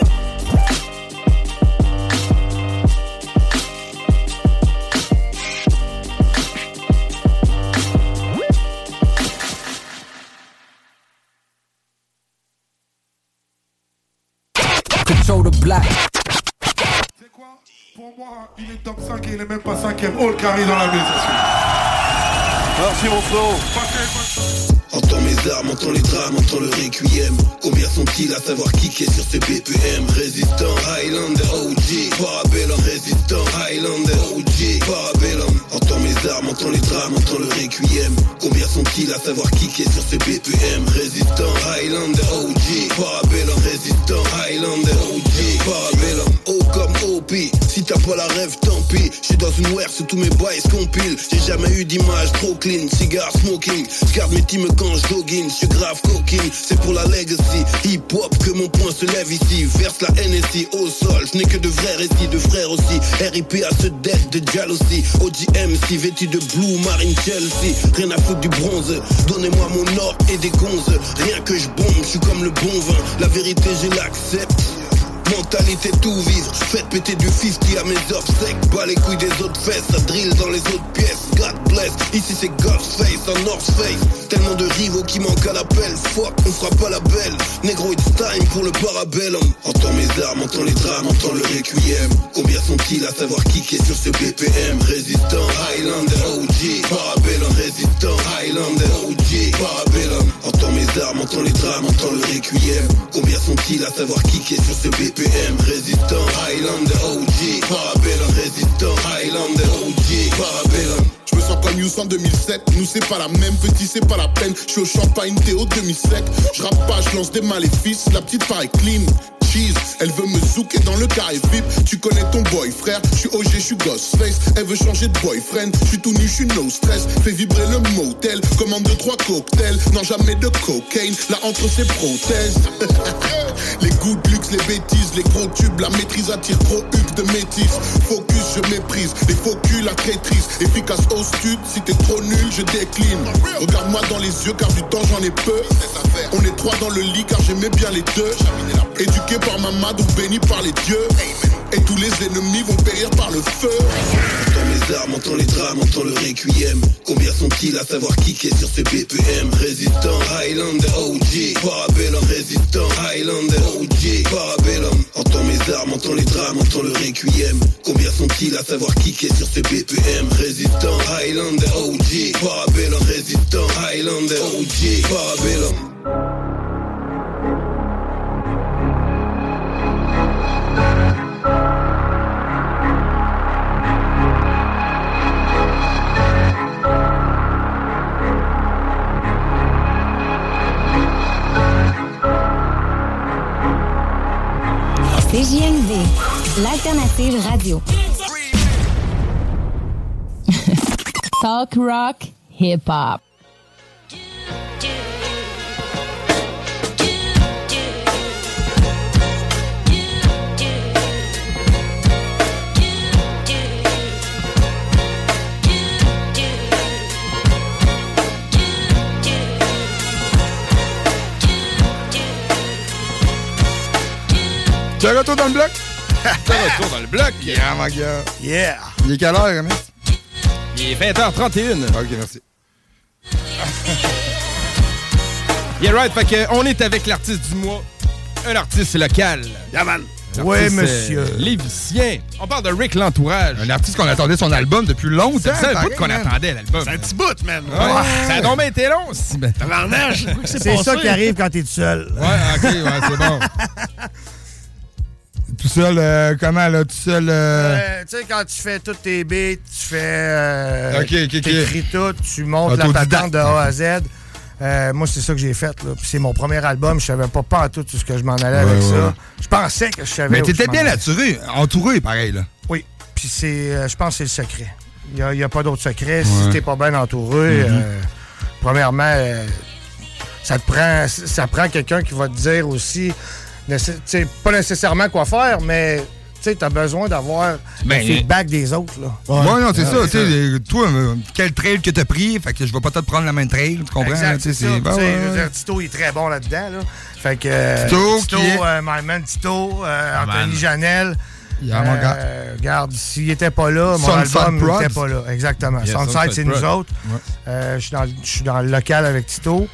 Control the black. C'est quoi? Pour moi, il est top 5 et il est même pas 5ème. Old Henry dans la maison. Merci mon flow. Entends mes armes, entends les drames, entends le requiem. Combien sont-ils à savoir kicker sur ce BPM? Résistant, Highlander, OG, Parabellum. Résistant, Highlander, OG, Parabellum. Entends mes armes, entends les drames, entends le requiem. Combien sont-ils à savoir kicker sur ce BPM? Résistant, Highlander, OG, Parabellum. Résistant, Highlander, OG, Parabellum. O comme OP, si t'as pas la rêve, tant pis. J'suis dans une ware, sous tous mes bails compile. J'ai jamais eu d'image trop clean, cigare smoking. J'garde mes teams quand j'doggine, j'suis grave coquine. C'est pour la legacy, hip-hop que mon point se lève ici. Verse la NSI au sol, j'n'ai que de vrais récits, de frères aussi. RIP à ce deck de jalousie. OGMC vêtu de blue marine Chelsea. Rien à foutre du bronze, donnez-moi mon or et des gonzes. Rien que j'bombe, j'suis comme le bon vin. La vérité je l'accepte. Mentalité tout vivre, faites péter du 50 à mes obsèques. Bas les couilles des autres fesses, ça drill dans les autres pièces. God bless, ici c'est God's face, en North Face. Tellement de rivaux qui manquent à l'appel. Fuck, on fera pas la belle. Négro it's time pour le Parabellum. Entends mes armes, entends les drames, entends le requiem. Combien sont-ils à savoir kicker sur ce BPM? Résistant, Highlander, OG, Parabellum. Résistant, Highlander, OG, Parabellum. Entends mes armes, entends les drames, entends le requiem. Combien sont-ils à savoir kicker sur ce BPM? Résistant, Highlander, OG, Parabellum. Résistant, Highlander, OG, Parabellum. Je me sens pas mieux News en 2007. Nous c'est pas la même, petit c'est pas la peine. Je suis au champagne, Théo demi-sec. Je rappe pas, je lance des maléfices. La petite paraît clean. Elle veut me zouker dans le carré VIP. Tu connais ton boy frère, je suis OG, je suis Ghostface. Elle veut changer de boyfriend, je suis tout nu, je suis no stress. Fais vibrer le motel, commande 2-3 cocktails. Non jamais de cocaine, là entre ses prothèses. Les goûts de luxe, les bêtises, les gros tubes, la maîtrise attire gros huc de métis. Focus, je méprise, les faux culs, la traîtrise. Efficace au stud, si t'es trop nul, je décline. Regarde-moi dans les yeux car du temps j'en ai peu. On est 3 dans le lit car j'aimais bien les deux. Éduqué par ma madou, béni par les dieux. Et tous les ennemis vont périr par le feu. Entends mes armes, entends les drames, entends le requiem. Combien sont-ils à savoir qui est sur ces BPM? Résistant, Highlander, OG. Parabellum, résistant, Highlander, OG. Parabellum. Entends mes armes, entends les drames, entends le requiem. Combien sont-ils à savoir qui est sur ces BPM? Résistant, Highlander, OG. Parabellum, résistant, Highlander, OG. Parabellum. CJMD, l'alternative radio. Talk rock, hip hop. Tu es retour dans le bloc? Tu es retour dans le bloc? Yeah, my gars. Yeah. Il est quelle heure, Rémi? Il est 20h31. OK, merci. Yeah, right. Fait que on est avec l'artiste du mois. Un artiste local. Yeah, man. Oui, monsieur. Lévicien. On parle de Rick L'Entourage. Un artiste qu'on attendait son album depuis longtemps. C'est un bout qu'on attendait, l'album. C'est un petit bout, man. Ouais. Ça a donc bien été long. Tabarnage. C'est ça qui arrive quand t'es tout seul. Ouais, OK, ouais, c'est bon. Tout seul, comment, là? Tout seul... Tu sais, quand tu fais tous tes beats, tu fais... t'écris tout, tu montes la patente de A à Z. Moi, c'est ça que j'ai fait, là. Puis c'est mon premier album. Je savais pas en tout ce que je m'en allais avec ça. Je pensais que je savais. Mais t'étais bien entouré, pareil, là. Oui. Puis je pense que c'est le secret. Il n'y a pas d'autre secret. Si t'es pas bien entouré, premièrement, ça prend quelqu'un qui va te dire aussi... pas nécessairement quoi faire, mais tu as besoin d'avoir le feedback des autres. Là. Ouais, non, c'est ça. Toi, quel trail que t'as pris? Fait que je vais pas te prendre la même trail, tu comprends? Exact, c'est ça. Tito, il est très bon là-dedans. Là. Fait que Tito, my man Tito, Anthony Janel. Regarde, s'il était pas là, mon album n'était pas là. Exactement. Yeah, Sunside, c'est nous autres. Ouais. Je suis dans le local avec Tito.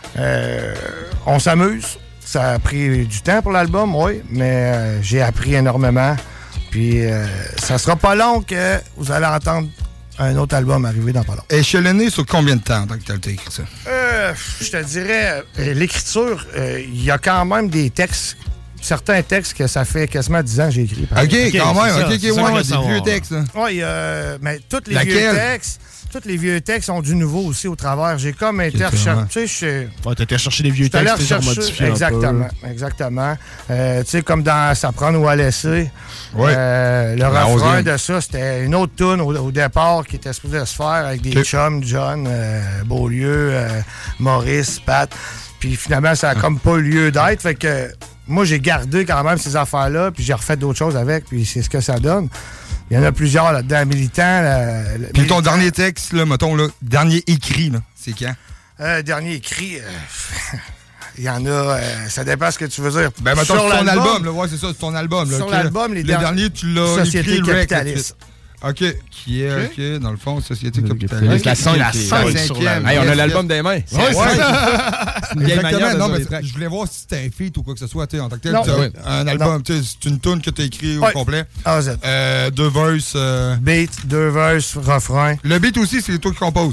On s'amuse. Ça a pris du temps pour l'album, oui, mais j'ai appris énormément. Puis ça sera pas long que vous allez entendre un autre album arriver dans pas long. Échelonné sur combien de temps que tu as écrit ça? Je te dirais, l'écriture, il y a quand même des textes, certains textes que ça fait quasiment 10 ans que j'ai écrit. OK, quand même. OK, des vieux textes. Oui, mais tous les vieux textes... Tous les vieux textes ont du nouveau aussi au travers. J'ai comme été rechercher. Tu étais chercher des vieux textes, tu les as modifiés. Exactement. Tu sais, comme dans Ça prendre ou à laisser. Le refrain de ça, c'était une autre tune au départ qui était supposée se faire avec des chums, John, Beaulieu, Maurice, Pat. Puis finalement, ça a comme pas eu lieu d'être. Fait que moi, j'ai gardé quand même ces affaires-là, puis j'ai refait d'autres choses avec, puis c'est ce que ça donne. Il y en a plusieurs là-dedans, militants. Puis ton dernier texte, là, mettons, là, dernier écrit, là, c'est quand? Dernier écrit, il y en a, ça dépend ce que tu veux dire. Ben, mettons, sur ton album, là, ouais, c'est ça, c'est ton album. Là, sur l'album, les derniers, tu l'as Société capitaliste. OK. Qui est, OK, dans le fond, Société capitaliste. La 5e. Hey, on a l'album des mains. Ouais, exactement. Non, mais je voulais voir si c'était un feat ou quoi que ce soit, en tant que tel. Un album, c'est une tune que tu as écrit au complet. A à Z. 2 verses. Beat, 2 verses, refrain. Le beat aussi, c'est toi qui composes. Beat.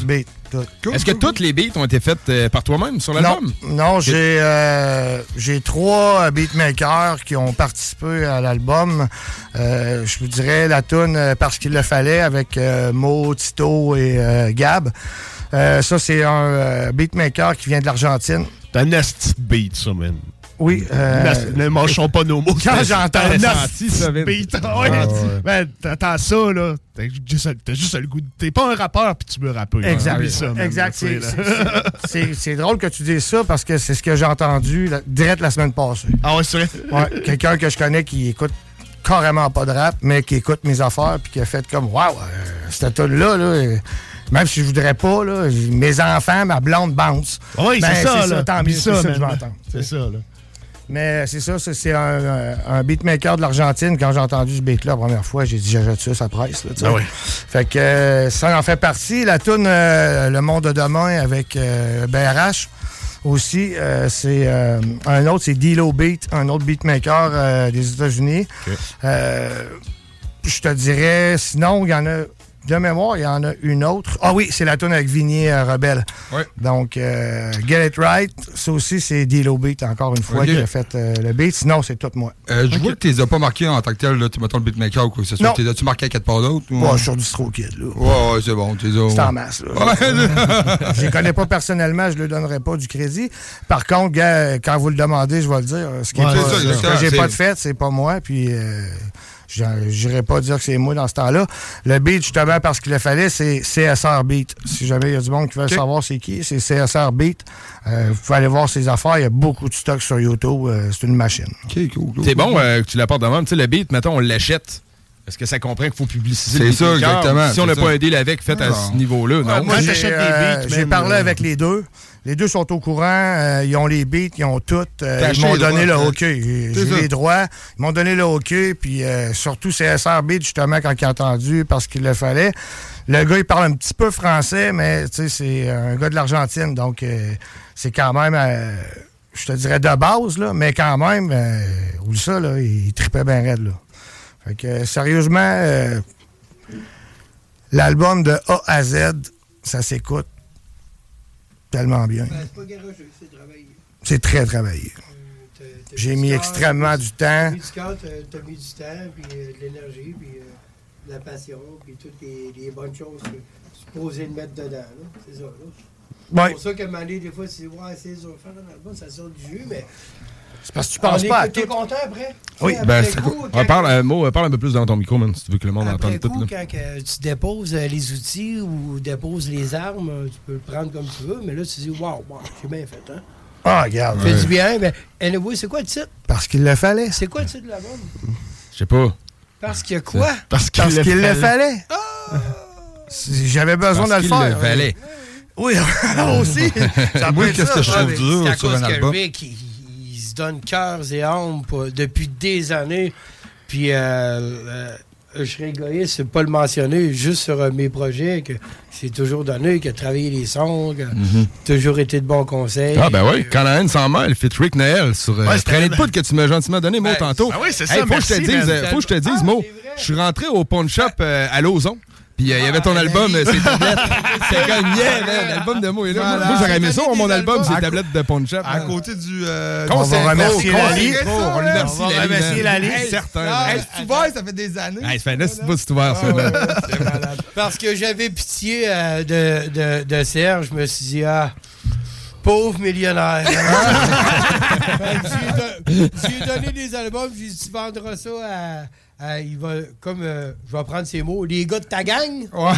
Est-ce que toutes les beats ont été faites par toi-même sur l'album? Non, j'ai 3 beatmakers qui ont participé à l'album. Je vous dirais la toune Parce qu'il le fallait avec Mo, Tito et Gab. Ça, c'est un beatmaker qui vient de l'Argentine. T'as un nasty beat, ça, man. Oui. Ne mâchons pas nos mots. Quand j'entends un nasty beat, ben, t'entends ça, là. T'as juste le goût de... T'es pas un rappeur, puis tu veux rapper. Exact. Ça, exact. C'est drôle que tu dises ça, parce que c'est ce que j'ai entendu direct la semaine passée. Ah ouais, c'est vrai? Ouais, quelqu'un que je connais qui écoute carrément pas de rap, mais qui écoute mes affaires, puis qui a fait comme, waouh, cette tune-là, même si je voudrais pas, là, mes enfants, ma blonde bounce. Oui, c'est ça, là. Tant mieux, c'est ça que je vais entendre. C'est ça, là. Mais c'est ça, c'est un beatmaker de l'Argentine. Quand j'ai entendu ce beat-là la première fois, j'ai dit, j'achète ça presse. Là, oui. Fait que ça en fait partie. La toune Le Monde de demain avec BRH aussi, c'est un autre, c'est D-Lo Beat, un autre beatmaker des États-Unis. Okay. Je te dirais, sinon, il y en a... De mémoire, il y en a une autre. Ah oui, c'est la toune avec Vigny Rebelle. Ouais. Donc, Get It Right, ça aussi, c'est D-Lo Beat, encore une fois, qui a fait le beat. Sinon, c'est tout moi. Je vois que tu les as pas marqués en tant que tel, là, mettons le beatmaker ou quoi que ce soit. As-tu marqué à quelque part d'autre? Ouais, je suis sur DistroKid, là. Ouais, c'est bon. C'est en masse, là. Je les connais pas personnellement, je ne leur donnerai pas du crédit. Par contre, gars, quand vous le demandez, je vais le dire. Ce que j'ai pas de fait, c'est pas moi, puis... j'irais pas dire que c'est moi dans ce temps-là. Le beat, justement, parce qu'il le fallait, c'est CSR Beat. Si jamais il y a du monde qui veut savoir c'est qui, c'est CSR Beat. Vous pouvez aller voir ses affaires. Il y a beaucoup de stock sur YouTube. C'est une machine. Okay, cool. C'est bon que tu l'apportes de même. Tu sais, le beat, mettons, on l'achète. Est-ce que ça comprend qu'il faut publiciser le beat? C'est ça, exactement. Si on n'a pas un deal avec, fait à ce niveau-là, non? Moi, j'ai parlé avec les deux. Les deux sont au courant, ils ont les beats, ils ont tout. Ils m'ont donné le OK. J'ai les droits. Ils m'ont donné le OK, puis surtout CSR Beat, justement, quand il a entendu, parce qu'il le fallait. Le gars, il parle un petit peu français, mais c'est un gars de l'Argentine, donc c'est quand même, je te dirais de base, là, mais quand même, oublie ça, là, il tripait bien raide, là. Fait que, sérieusement, l'album de A à Z, ça s'écoute tellement bien. C'est pas garageux, c'est travaillé. C'est très travaillé. J'ai mis extrêmement du temps. T'as mis du cœur, t'as mis du temps, puis de l'énergie, puis de la passion, puis toutes les bonnes choses que tu es supposé le mettre dedans. C'est ça. Là. C'est pour ça qu'à un moment donné, des fois, tu dis, ouais, c'est dur faire un album, ça sort du jus, mais... C'est parce que tu penses pas à tout. T'es content après? Oui, parle un peu plus dans ton micro, man, si tu veux que le monde entende tout. Quand tu déposes les outils ou déposes les armes, tu peux le prendre comme tu veux, mais là, tu dis, wow, j'ai bien fait, hein? Ah, regarde. Fais du bien, mais anyway, c'est quoi le titre? Parce qu'il le fallait. C'est quoi le titre de l'album? Je sais pas. Parce qu'il y a quoi? Parce qu'il le fallait. J'avais besoin de le faire. Parce qu'il le fallait. Oui, aussi. Oui, qu'est-ce que je trouve dur sur un album? Il se donne cœurs et âmes depuis des années. Puis, je serais égoïste de ne pas le mentionner juste sur mes projets, que c'est toujours donné, qu'il a travaillé les sons, qu'il a toujours été de bons conseils. Ah, ben oui, quand la haine s'en mêle, fit Rick Nael sur Traînée de poudre que tu m'as gentiment donné, Mo, tantôt. Ah oui, c'est ça, faut que je te dise, Mo, je suis rentré au pawn shop à Lauson. Puis il y avait ton album, ses tablettes. C'était comme l'album de Mo est là. Voilà. Moi, j'aurais aimé ça, mon album, ses tablettes de pawn shop. À côté du. On va remercier Lali. On remercie Lali. Certain. C'est ouvert, ça fait des années. Ça fait 9 mois que c'est ouvert, ça. C'est malade. Parce que j'avais pitié de Serge, je me suis dit, pauvre millionnaire. J'ai donné des albums, j'ai dit, tu vendras ça à. Il va, comme je vais prendre ses mots, les gars de ta gang. Ouais.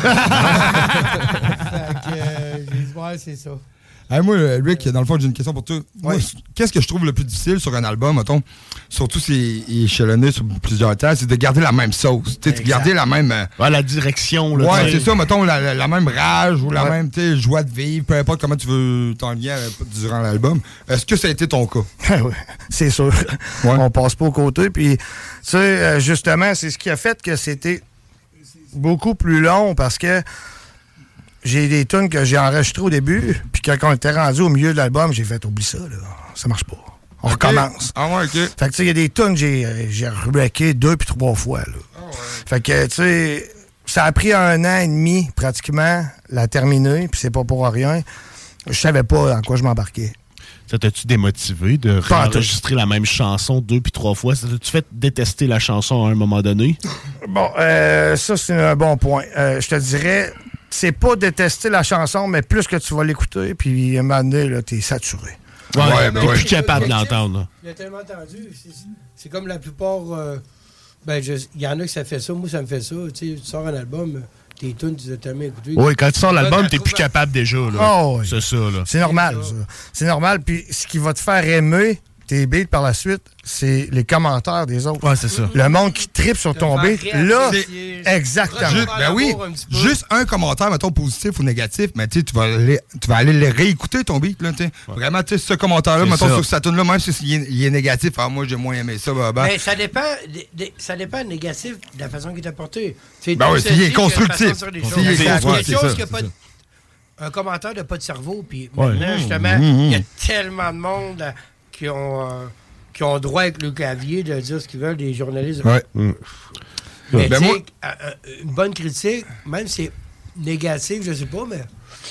J'ai dit, ouais, c'est ça. Moi, Rick, dans le fond, j'ai une question pour toi. Moi, qu'est-ce que je trouve le plus difficile sur un album, mettons, surtout si il est échelonné sur plusieurs temps, c'est de garder la même sauce. De garder la même. La direction. Là, c'est ça, mettons, la même rage ou la même joie de vivre, peu importe comment tu veux t'en lier durant l'album. Est-ce que ça a été ton cas? Oui, c'est sûr. On passe pas aux côtés. Puis, tu sais, justement, c'est ce qui a fait que c'était beaucoup plus long parce que j'ai des tunes que j'ai enregistrées au début, puis quand on était rendu au milieu de l'album, j'ai fait « Oublie ça, là, ça marche pas. On recommence. » Ah ouais, OK. Fait que, tu sais, il y a des tunes que j'ai wrecké 2 puis 3 fois, là. Fait que, tu sais, ça a pris 1 an et demi, pratiquement, la terminer, puis c'est pas pour rien. Je savais pas en quoi je m'embarquais. Ça t'a-tu démotivé de réenregistrer la même chanson 2 puis 3 fois? Ça t'a-tu fait détester la chanson à un moment donné? Bon, ça, c'est un bon point. Je te dirais, c'est pas détester la chanson, mais plus que tu vas l'écouter, puis à un moment donné, là, t'es saturé. Ouais, t'es plus capable de l'entendre. Je l'ai tellement entendu. C'est comme la plupart... il y en a qui ça fait ça. Moi, ça me fait ça. Tu sors un album... Tes tunes, tu les as tellement écoutées. Oui, quand tu sors l'album, t'es plus capable déjà. Là. Oh, oui. C'est ça. Là. C'est normal, ça. C'est normal. Puis ce qui va te faire aimer tes beats par la suite, c'est les commentaires des autres. Ouais, c'est ça. Le monde qui tripe sur ton beat, là, exactement. Ben oui, juste un commentaire, mettons, positif ou négatif, mais tu vas aller le réécouter, ton beat. Là, vraiment, ce commentaire-là, mettons, sur cette tune-là, même s'il est négatif, moi, j'ai moins aimé ça. Mais ça dépend négatif de la façon qu'il t'a porté. Ben oui, s'il est constructif. Un commentaire de pas de cerveau, puis maintenant, justement, il y a tellement de monde qui ont droit avec le clavier de dire ce qu'ils veulent, des journalistes. Ouais. Mais une bonne critique, même si c'est négatif, je sais pas, mais...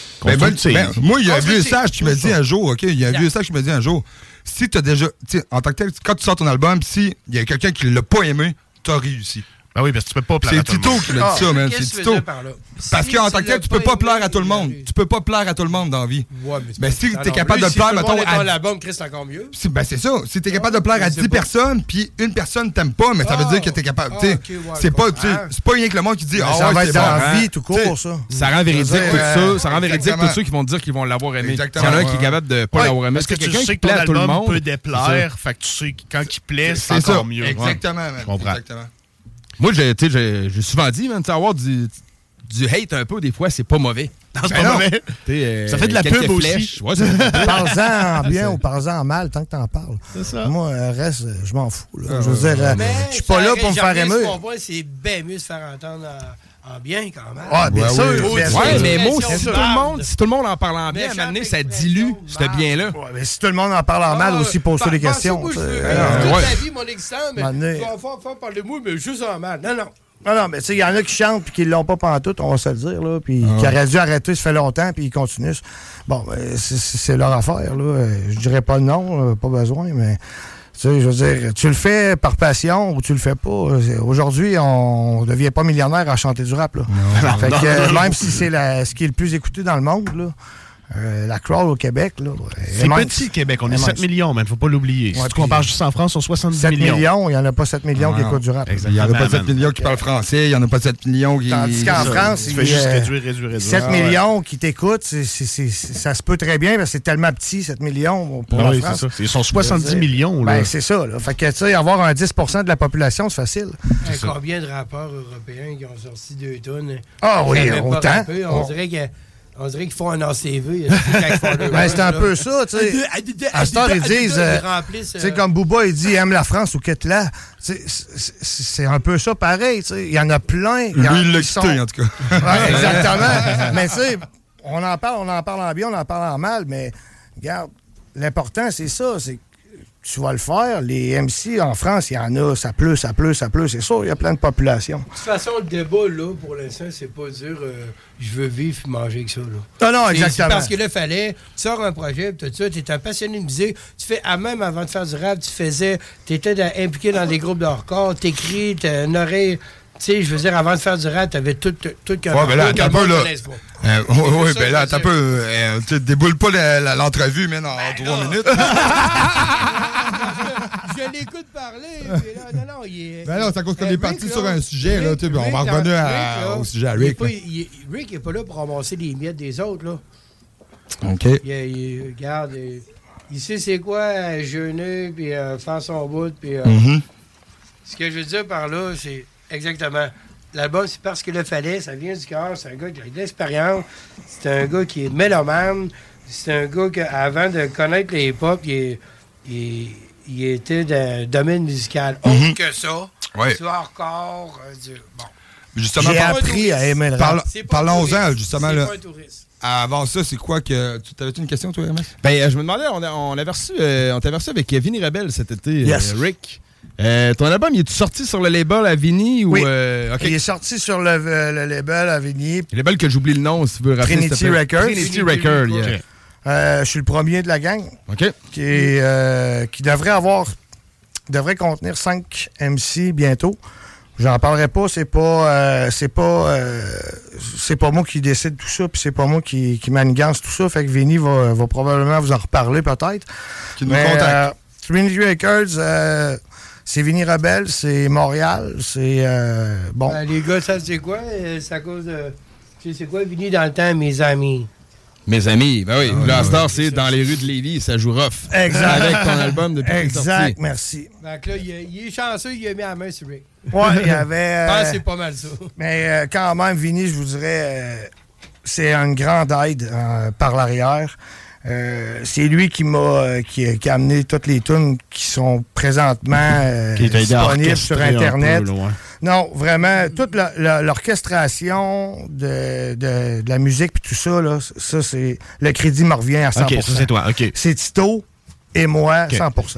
Moi, il y a un vieux sage qui me dit un jour, OK? Il y a un vieux sage qui me dit un jour, si tu as déjà... En tant que tel, quand tu sors ton album, s'il y a quelqu'un qui l'a pas aimé, tu as réussi. Ben oui, parce que tu peux pas plaire à tout le monde. C'est Tito qui m'a dit ça, man. C'est Tito. Parce qu'en tant que tel, tu peux pas plaire à tout le monde. Tu peux pas plaire à tout le monde dans la vie. Mais si t'es capable de plaire, mettons... Si l'album, Chris, c'est encore mieux. Ben c'est ça. Si t'es capable de plaire à 10 personnes, puis une personne t'aime pas, mais ça veut dire que t'es capable... C'est pas rien que le monde qui dit... Ça va être dans la vie, tout court, ça. Ça rend véridique tout ça. Ça rend véridique tous ceux qui vont dire qu'ils vont l'avoir aimé. S'il y en a un qui est capable de pas l'avoir aimé, parce que tu sais que ton album peut déplaire, fait que tu sais que quand il plaît, c'est encore mieux. Exactement, je comprends. Moi, j'ai souvent dit, avoir du hate un peu, des fois, c'est pas mauvais. Non, c'est pas mauvais. Ça fait de la pub aussi. Ouais, parle-en en bien ou parle-en en mal, tant que t'en parles. C'est ça. Moi, reste, je m'en fous. Là. Je veux dire, je suis pas là pour me faire aimer. C'est bien mieux de se faire entendre en bien, quand même. Ah, bien sûr. Ouais, mais moi, si tout le monde en parle en bien, à un moment donné, ça dilue ce bien-là. Ouais, mais si tout le monde en parle en mal aussi, pose-toi des questions. Toute la vie, mon existant, mais tu vas faire parler de moi, mais juste en mal. Non, mais tu sais, il y en a qui chantent puis qui l'ont pas pantoute, on va se le dire, là, puis qui auraient dû arrêter, ça fait longtemps, puis ils continuent. Bon, c'est leur affaire, là. Je dirais pas le nom, pas besoin, mais... Tu sais, je veux dire, tu le fais par passion ou tu le fais pas. Aujourd'hui, on ne devient pas millionnaire à chanter du rap. Là. Fait que, même si c'est ce qui est le plus écouté dans le monde, là, la crowd au Québec. C'est petit, le Québec. On est 7 millions, mais il ne faut pas l'oublier. Si tu compares juste en France, on est 70 7 millions. Il n'y en a pas 7 millions qui écoutent du rap. Il n'y en a pas 7 millions qui parlent français. Il n'y en a pas 7 millions qui... Tandis qu'en France, il fait juste réduire. 7 millions qui t'écoutent, ça se peut très bien parce que c'est tellement petit, 7 millions pour la France. C'est ça. Ils sont 70 millions. Ben, c'est ça. Là. Fait que, tu sais, avoir un 10% de la population, c'est facile. Combien de rappeurs européens qui ont sorti 2 tonnes? Ah oui, autant. On dirait qu'ils font un ACV. Ben, c'est un peu ça, tu sais. À ce temps, ils disent, tu sais, comme Booba, il dit, aime la France ou quitte-la. C'est un peu ça pareil, tu sais. Il y en a plein. Lui, il l'a quitté, en tout cas. Ouais, exactement. Mais tu sais, on en parle en bien, on en parle en mal, mais regarde, l'important, c'est ça, c'est tu vas le faire. Les MC en France, il y en a, ça pleut. C'est sûr, il y a plein de populations. De toute façon, le débat, là, pour l'instant, c'est pas dire je veux vivre et manger avec ça. Là. Non, exactement. Parce que là, fallait, tu sors un projet, tout ça, tu es un passionné de musique, tu fais, même avant de faire du rap, tu étais impliqué dans des groupes de hardcore, t'écris, t'as une oreille. Tu sais, je veux dire, avant de faire du rap, t'avais tout qu'un... Ouais, ben là, attends un peu, là. Oui, ben là, attends un peu. Tu déboule pas l'entrevue, mais en 3 minutes. Je l'écoute parler, mais là, non, il est... Ben non, c'est à cause qu'on est parti sur un sujet, là, on va revenir au sujet à Rick. Rick n'est pas là pour ramasser les miettes des autres, là. OK. Regarde, il sait c'est quoi, jeûner, puis faire son bout, puis... Ce que je veux dire par là, c'est... Exactement. L'album, c'est parce qu'il le fallait, ça vient du cœur, c'est un gars qui a de l'expérience, c'est un gars qui est mélomane, c'est un gars qui, avant de connaître les hip-hop, il était dans le domaine musical. Autre que ça, tu as encore bon. Justement, j'ai appris à aimer le rap. Parlons-en, justement. Là. Avant ça, c'est quoi que... Tu avais une question, toi, MS? Ben, je me demandais, on t'avait reçu avec Vinny Rebelle cet été, Rick. Ton album, il est sorti sur le label Avigny ou Oui. OK. Il est sorti sur le label Avigny. Le label que j'oublie le nom, si tu veux rappeler. Trinity Records. Trinity Records, yeah. Okay. Je suis le premier de la gang. OK. Qui devrait contenir 5 MC bientôt. J'en parlerai pas, c'est pas moi qui décide tout ça, puis c'est pas moi qui manigance tout ça. Fait que Vinny va probablement vous en reparler peut-être. Qui nous contacte. Trinity Records, c'est Vinny Rebelle, c'est Montréal, c'est bon. Les gars, ça c'est quoi? C'est à cause de. C'est quoi Vinny dans le temps, mes amis? Mes amis, ben oui. La Star, c'est dans les rues de Lévis, ça joue rough. Exact. Avec ton album depuis qu'il est sorti. Exact, merci. Donc là, il est chanceux, il a mis la main sur Rick. Ouais, il y avait. Je pense que c'est pas mal ça. Mais quand même, Vinny, je vous dirais, c'est une grande aide par l'arrière. C'est lui qui a amené toutes les tunes qui sont présentement disponibles sur Internet. Non, vraiment, toute l'orchestration de la musique puis tout ça, là, ça c'est le crédit me revient à 100%. OK, ça c'est toi, OK. C'est Tito et moi, 100%.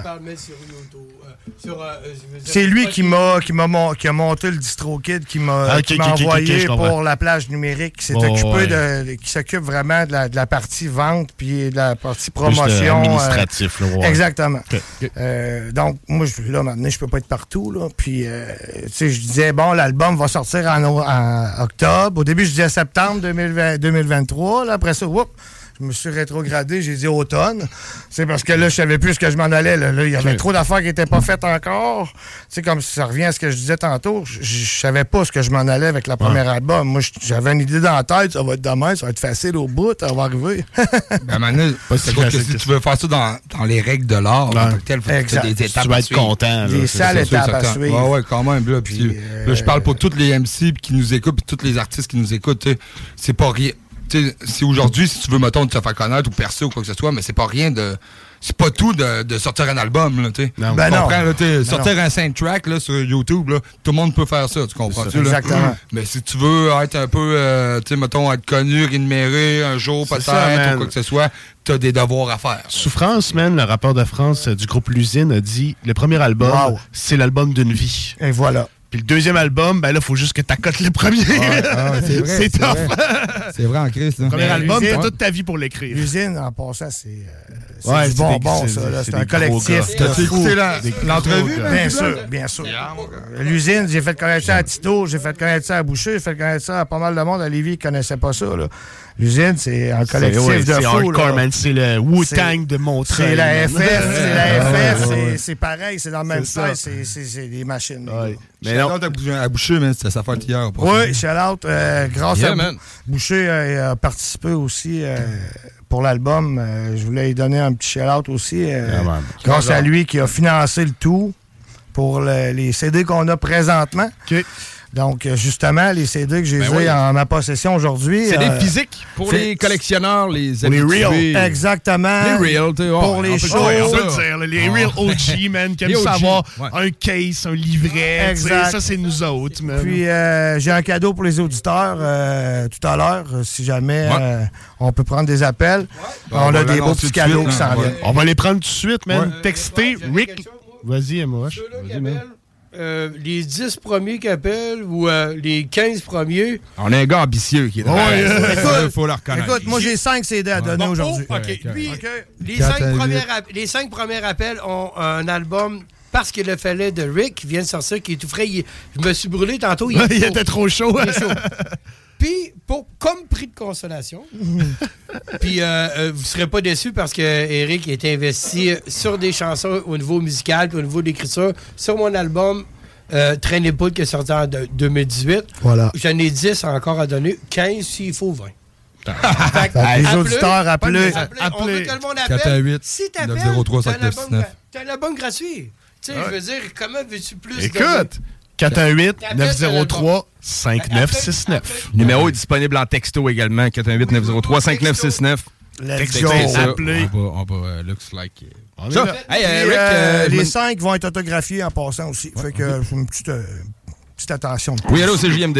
C'est lui qui a monté le DistroKid, qui m'a envoyé pour la plage numérique, qui s'est occupé qui s'occupe vraiment de la partie vente puis de la partie promotion. Administratif, là, ouais. Exactement. Donc, moi, là, maintenant, je peux pas être partout, là. Puis, tu sais, je disais, bon, l'album va sortir en octobre. Au début, je disais septembre 2023. Là, après ça, je me suis rétrogradé, j'ai dit automne. C'est parce que là, je savais plus ce que je m'en allais. Là, il y avait trop d'affaires qui n'étaient pas faites encore. Tu sais, comme ça revient à ce que je disais tantôt, je savais pas ce que je m'en allais avec la première album. Moi, j'avais une idée dans la tête, ça va être demain, ça va être facile au bout, ça va arriver. Ben maintenant, c'est que si tu veux faire ça dans les règles de l'art, il faut que tu aies des étapes. Tu vas être content. Des sales étapes à suivre. Oui, quand même. Là, là, je parle pour tous les MC qui nous écoutent, puis tous les artistes qui nous écoutent. C'est pas rien. C'est aujourd'hui, si tu veux, mettons, te faire connaître ou percer ou quoi que ce soit, mais c'est pas rien de. C'est pas tout de sortir un album, là, tu sais. Tu comprends, là, sortir un soundtrack là, sur YouTube, là, tout le monde peut faire ça, tu comprends-tu? Exactement. Mais si tu veux être un peu, tu sais, mettons, être connu, rémunéré un jour peut-être, ou quoi que ce soit, t'as des devoirs à faire. Souffrance, man, le rappeur de France du groupe L'Usine a dit, le premier album, c'est l'album d'une vie. Et voilà. Puis le deuxième album, ben là, il faut juste que t'accotes le premier. C'est tough. C'est vrai en Christ. Le premier album, t'as toute ta vie pour l'écrire. L'Usine, en passant, c'est du bonbon, ça. C'est un collectif. T'as-tu écouté l'entrevue? Bien sûr. L'Usine, j'ai fait connaître ça à Tito, j'ai fait connaître ça à Boucher, j'ai fait connaître ça à pas mal de monde. À Lévis, ils connaissaient pas ça, là. L'Usine, c'est un collectif de fous. C'est hardcore, man. C'est le Wu-Tang de Montreuil. C'est la FF, c'est pareil, c'est dans le même style, c'est des machines. Mais non, à Boucher, mais c'était sa fête hier. Oui, shout-out. Grâce à Boucher a participé aussi pour l'album. Je voulais lui donner un petit shout-out aussi. Grâce à lui qui a financé le tout pour les CD qu'on a présentement. Donc, justement, les CD que j'ai en ma possession aujourd'hui... C'est des physiques pour les collectionneurs, les habitués. Real. Exactement. Les real, tu sais. Pour les shows. On peut dire, les real OG, man, qui aiment savoir un case, un livret. Exact. Ça, c'est nous autres, man. Puis, j'ai un cadeau pour les auditeurs tout à l'heure, si jamais on peut prendre des appels. On a des beaux petits cadeaux qui s'en viennent. On va les prendre tout de suite, man. Textez Rick. Vas-y, moi. Les 10 premiers qui appellent ou les 15 premiers. On a un gars ambitieux qui est là. Il faut le reconnaître. Écoute, moi j'ai 5 CD à donner aujourd'hui. Lui, les 5 premiers appels ont un album parce qu'il le fallait de Rick qui vient de sortir, qui est tout frais. Je me suis brûlé tantôt. Il était trop chaud. Puis, comme prix de consolation, puis vous ne serez pas déçus parce que Eric est investi sur des chansons au niveau musical puis au niveau d'écriture. Sur mon album, Train et Poudre qui est sorti en 2018, voilà. J'en ai 10 encore à donner, 15 s'il faut 20. Les auditeurs, appelez. On veut que le monde appelle. 418 si t'appelles, 903 599. T'as un album gratuit. Tu sais, je veux dire, comment veux-tu plus... Écoute, 418-903-5969. Le numéro est disponible en texto également, 418-903-5969. Let's go. Appelez. On va looks like... Ça. Hey, les 5 vont être autographiés en passant aussi. Fait que c'est une petite attention. Oui, allô, c'est JMD.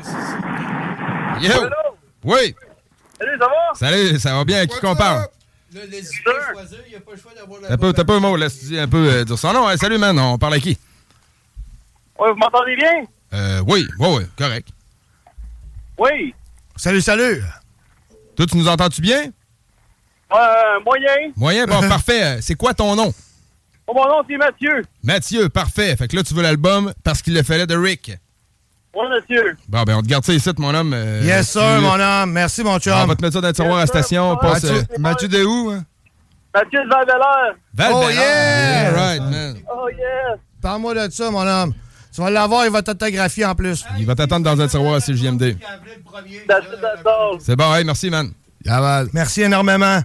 Yo! Oui! Salut, ça va? Salut, ça va bien? À qui qu'on parle? choisir, il n'y a pas le choix d'avoir la T'as pas un mot, laisse un peu dire son nom. Hey, salut, man, on parle à qui? Ouais, vous m'entendez bien? Oui, correct. Oui. Salut. Toi, tu nous entends-tu bien? Moyen. Moyen, bon, parfait. C'est quoi ton nom? Oh, mon nom, c'est Mathieu. Mathieu, parfait. Fait que là, tu veux l'album parce qu'il le fallait de Rick. Oui, monsieur. Bon, ben, on te garde ça ici, mon homme. Yes, sir, mon homme. Merci, mon chum. On va te mettre ça dans le tiroir à la station. Mathieu de où, hein? Mathieu de Val-Bélair. Oh, yeah! All right, man. Oh, yeah. Parle-moi de ça, mon homme. Tu vas l'avoir, il va t'autographier en plus. Il va t'attendre dans un tiroir à CJMD. C'est bon, hey, merci, man. Merci énormément.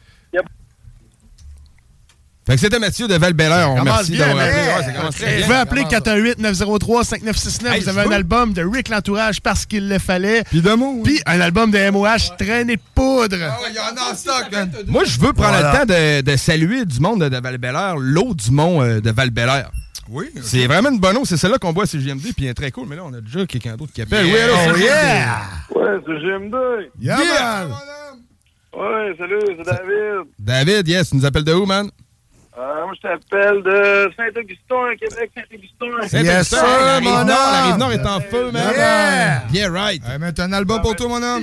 Fait que c'était Mathieu de Val-Bélair. On remercie d'avoir appelé. Ouais, ça commence très bien. Vous pouvez appeler 418-903-5969. Vous avez un album de Rick L'Entourage parce qu'il le fallait. Puis de mots. Puis un album de MOH, Traînée de poudre. Il y en a en stock, man. Moi, je veux prendre le temps de saluer du monde de Val-Bélair, l'eau du mont de Val-Bélair. Oui. C'est vraiment une bonne eau. C'est celle-là qu'on boit à CJMD. Puis elle est très cool. Mais là, on a déjà quelqu'un d'autre qui appelle. Oui, allô, Ouais, c'est GMD. Yeah! Ouais, salut, c'est David. David, yes, tu nous appelles de où, man? Moi, je t'appelle de Saint-Augustin, Québec, Saint-Augustin. Yes, sir, mon homme! La Rive-Nord est en feu, man! Yeah, right! Hey, mais t'as un album pour toi, mon homme?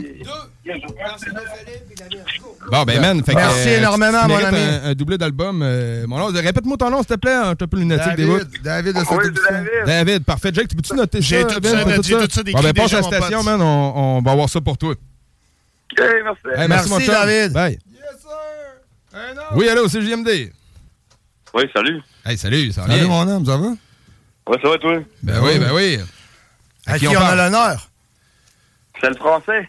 Bon, ben, man, fait que... Merci énormément, mon ami. Un doublé d'album. Mon nom, répète-moi ton nom, s'il te plaît. Un peu lunatique des bouts. David de Saint-Augustin. David, parfait. Jake, tu peux-tu noter ça? J'ai tout ça Bon, ben, passe à la station, man. On va avoir ça pour toi. OK, merci. Hey, merci, David. Bye. Yes, sir. Oui, allô, c'est JMD. Oui, salut. Hey, salut, ça va Salut, bien? mon homme, ça va? Ouais, ça va, toi? Ben oui. À qui on a l'honneur? C'est le français.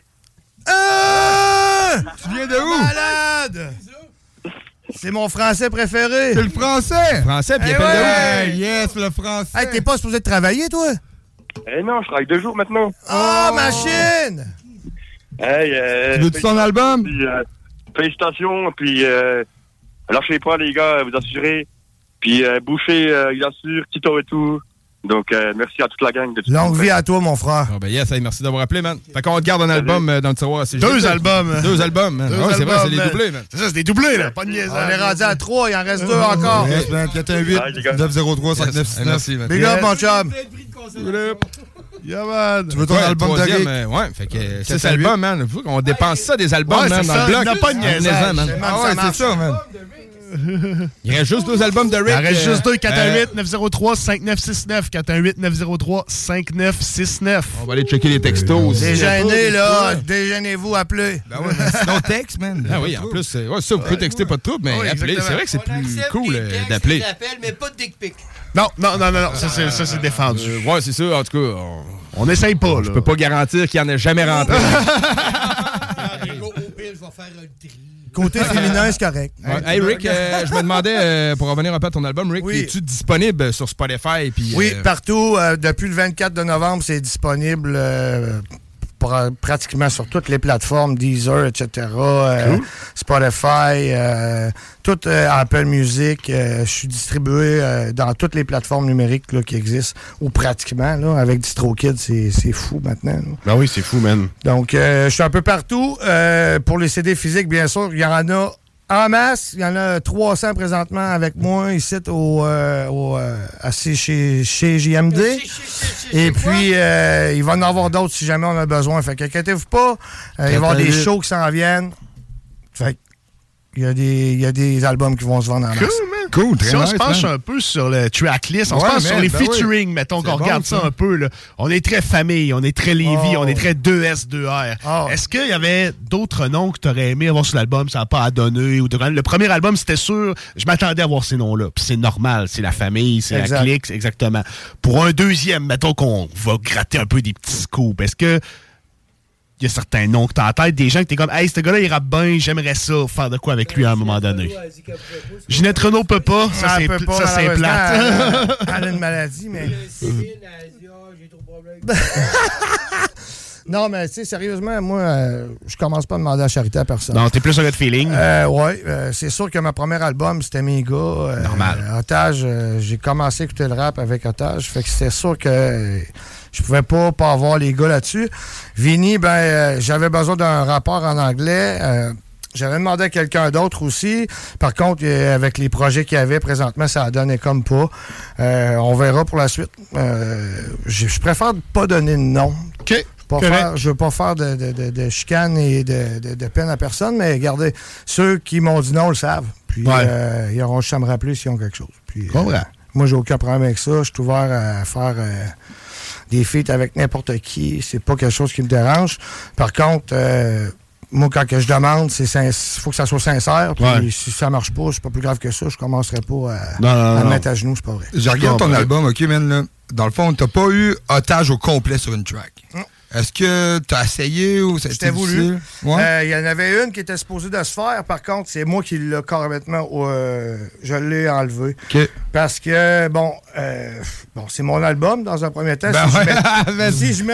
Tu viens de où? Malade! C'est mon français préféré. C'est le français? Français, puis il Eh appelle de ouais. où? Yes, le français. Hey, t'es pas supposé de travailler, toi? Eh non, je travaille 2 jours maintenant. Oh, machine! Hey, Tu veux-tu ton album? Puis, félicitations, puis lâchez pas, les gars, vous assurez. Puis Boucher, il assure, Tito et tout. Donc, merci à toute la gang. Longue vie à toi, mon frère. Oh, ben yes, hey, merci d'avoir appelé, man. Fait qu'on te garde un album dans le tiroir. C'est 2 albums. 2 albums, man. Ouais, c'est vrai, c'est les doublés, man. C'est ça, c'est des doublés, là. Pas de niaisage. On est rendu à 3, il en reste 2 encore. Yes, man. 418-903-5969. Merci, man. Big up, mon chum. Yeah, man. Tu veux ton album de Rick? Ouais, fait que 6 albums, man. On dépense ça des albums, Ouais, man, c'est dans ça. le bloc. Il n'a pas de niaisage. Ah ouais, c'est ça, man. Il reste juste 2 albums de Rick. Il en reste juste 2, 418-903-5969. 418-903-5969. On va aller checker les textos aussi. Déjeunez, là. Déjeunez-vous, appelez. Ben ouais, mais sinon, texte, man. Ah oui, en plus, ça, vous pouvez texter pas de trouble, mais Oui, appeler. C'est vrai que c'est plus cool d'appeler. mais pas de dick pic. Non. Ça, c'est défendu. Ouais, c'est ça. En tout cas, On n'essaye pas, là. je peux pas garantir qu'il en ait jamais rentré. Au pire, je vais faire un tri. Côté féminin, c'est correct. Ouais. Hey, Rick, je me demandais, pour revenir un peu à ton album, Rick, Oui. es-tu disponible sur Spotify? Puis, Oui, partout. Depuis le 24 de novembre, c'est disponible pratiquement sur toutes les plateformes, Deezer, etc., Spotify, tout Apple Music. Je suis distribué dans toutes les plateformes numériques là, qui existent, ou pratiquement. Là, avec DistroKid, c'est fou maintenant. Là. Ben oui, c'est fou, man. Donc, je suis un peu partout. Pour les CD physiques, bien sûr, il y en a en masse. Il y en a 300 présentement avec moi ici chez JMD. Et puis, il va en avoir d'autres si jamais on a besoin. Fait qu'inquiétez-vous pas. Il va y avoir des shows qui s'en viennent. Fait il y a des albums qui vont se vendre en masse. Cool, man. Cool, très Si on nice, se penche man. un peu sur le tracklist, on se Ouais, penche man, sur les ben featuring, oui. mettons C'est qu'on regarde bon, ça ça. un peu. Là. On est très famille, on est très Lévis, Oh. on est très 2S2R. Oh. Est-ce qu'il y avait d'autres noms que tu aurais aimé avoir sur l'album, ça n'a pas à donner? Ou le premier album, c'était sûr, je m'attendais à voir ces noms-là. Puis c'est normal, c'est la famille, c'est Exact. la clique, exactement. Pour un deuxième, mettons qu'on va gratter un peu des petits scoops, est-ce que il y a certains noms que tu as en tête, des gens que tu es comme, hey, ce gars-là, il rappe bien, j'aimerais ça, faire de quoi avec lui à un moment donné. Ginette Renault peut pas, ça c'est plate. Elle a une maladie, mais... Non, mais tu sais, sérieusement, moi, je commence pas à demander à charité à personne. Non, t'es plus un gars de feeling. Ouais, c'est sûr que ma premier album, c'était mes gars. Normal. Otage, j'ai commencé à écouter le rap avec Otage, fait que c'était sûr que je pouvais pas avoir les gars là-dessus. Vinny, j'avais besoin d'un rapport en anglais. J'avais demandé à quelqu'un d'autre aussi. Par contre, avec les projets qu'il y avait présentement, ça donnait comme pas. On verra pour la suite. Je préfère pas donner de nom. OK. Je veux pas faire de chicane et de peine à personne, mais regardez, ceux qui m'ont dit non le savent. Puis ils auront juste à me rappeler s'ils ont quelque chose. Puis, moi, j'ai aucun problème avec ça. Je suis ouvert à faire des feats avec n'importe qui. C'est pas quelque chose qui me dérange. Par contre, moi, quand que je demande, il faut que ça soit sincère. Puis si ça marche pas, c'est pas plus grave que ça. Je commencerai pas à me mettre à genoux, c'est pas vrai. Je regarde ton album, OK, man, là. Dans le fond, t'as pas eu otage au complet sur une track. Non. Est-ce que tu as essayé ou ça a été voulu? Il Ouais? y en avait une qui était supposée de se faire. Par contre, c'est moi qui l'ai carrément... je l'ai enlevé. Okay. Parce que, c'est mon album dans un premier temps. Si je mets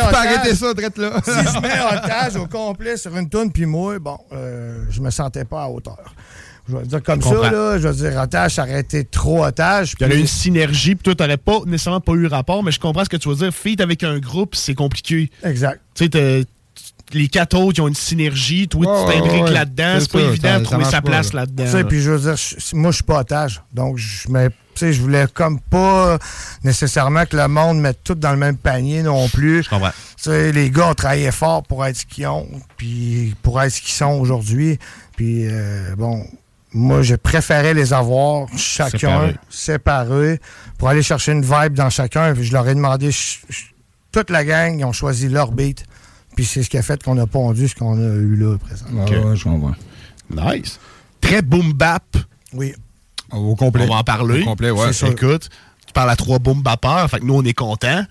otage au complet sur une toune, puis moi, je me sentais pas à hauteur. Je vais dire comme ça, là, je vais dire otage, ça aurait été trop otage. Il y a une synergie, puis toi, t'aurais pas nécessairement pas eu rapport, mais je comprends ce que tu veux dire. Feat avec un groupe, c'est compliqué. Exact. Tu sais, les 4 autres, ils ont une synergie. Toi, tu t'imbriques là-dedans. C'est pas évident de trouver sa place là-dedans. Puis je veux dire, moi, je suis pas otage. Donc, je voulais comme pas nécessairement que le monde mette tout dans le même panier non plus. Je comprends. Les gars ont travaillé fort pour être ce qu'ils ont, puis pour être ce qu'ils sont aujourd'hui. Puis, moi, je préférais les avoir chacun séparés pour aller chercher une vibe dans chacun. Puis je leur ai demandé, toute la gang, ils ont choisi leur beat. Puis c'est ce qui a fait qu'on a pondu ce qu'on a eu là, présentement. Ouais, je comprends. Nice. Très boom bap. Oui. Au complet. On va en parler. Au complet, ouais. Écoute, tu parles à 3 boom bappeurs, fait que nous, on est contents.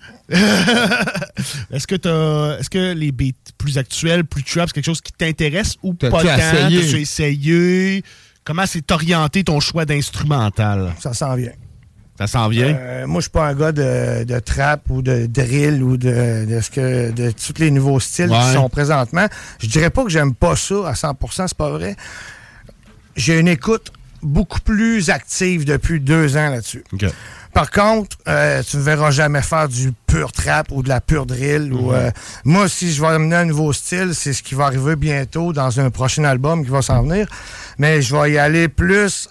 Est-ce que les beats plus actuels, plus trap, c'est quelque chose qui t'intéresse ou pas tant? T'as essayé? Comment s'est orienté ton choix d'instrumental? Ça s'en vient. Ça s'en vient? Moi, je suis pas un gars de trap ou de drill ou de tous les nouveaux styles qui sont présentement. Je dirais pas que j'aime pas ça à 100%, c'est pas vrai. J'ai une écoute beaucoup plus active depuis 2 ans là-dessus. Okay. Par contre, tu ne verras jamais faire du pur trap ou de la pure drill. Moi, si je vais amener un nouveau style, c'est ce qui va arriver bientôt dans un prochain album qui va s'en venir. Mais je vais y aller plus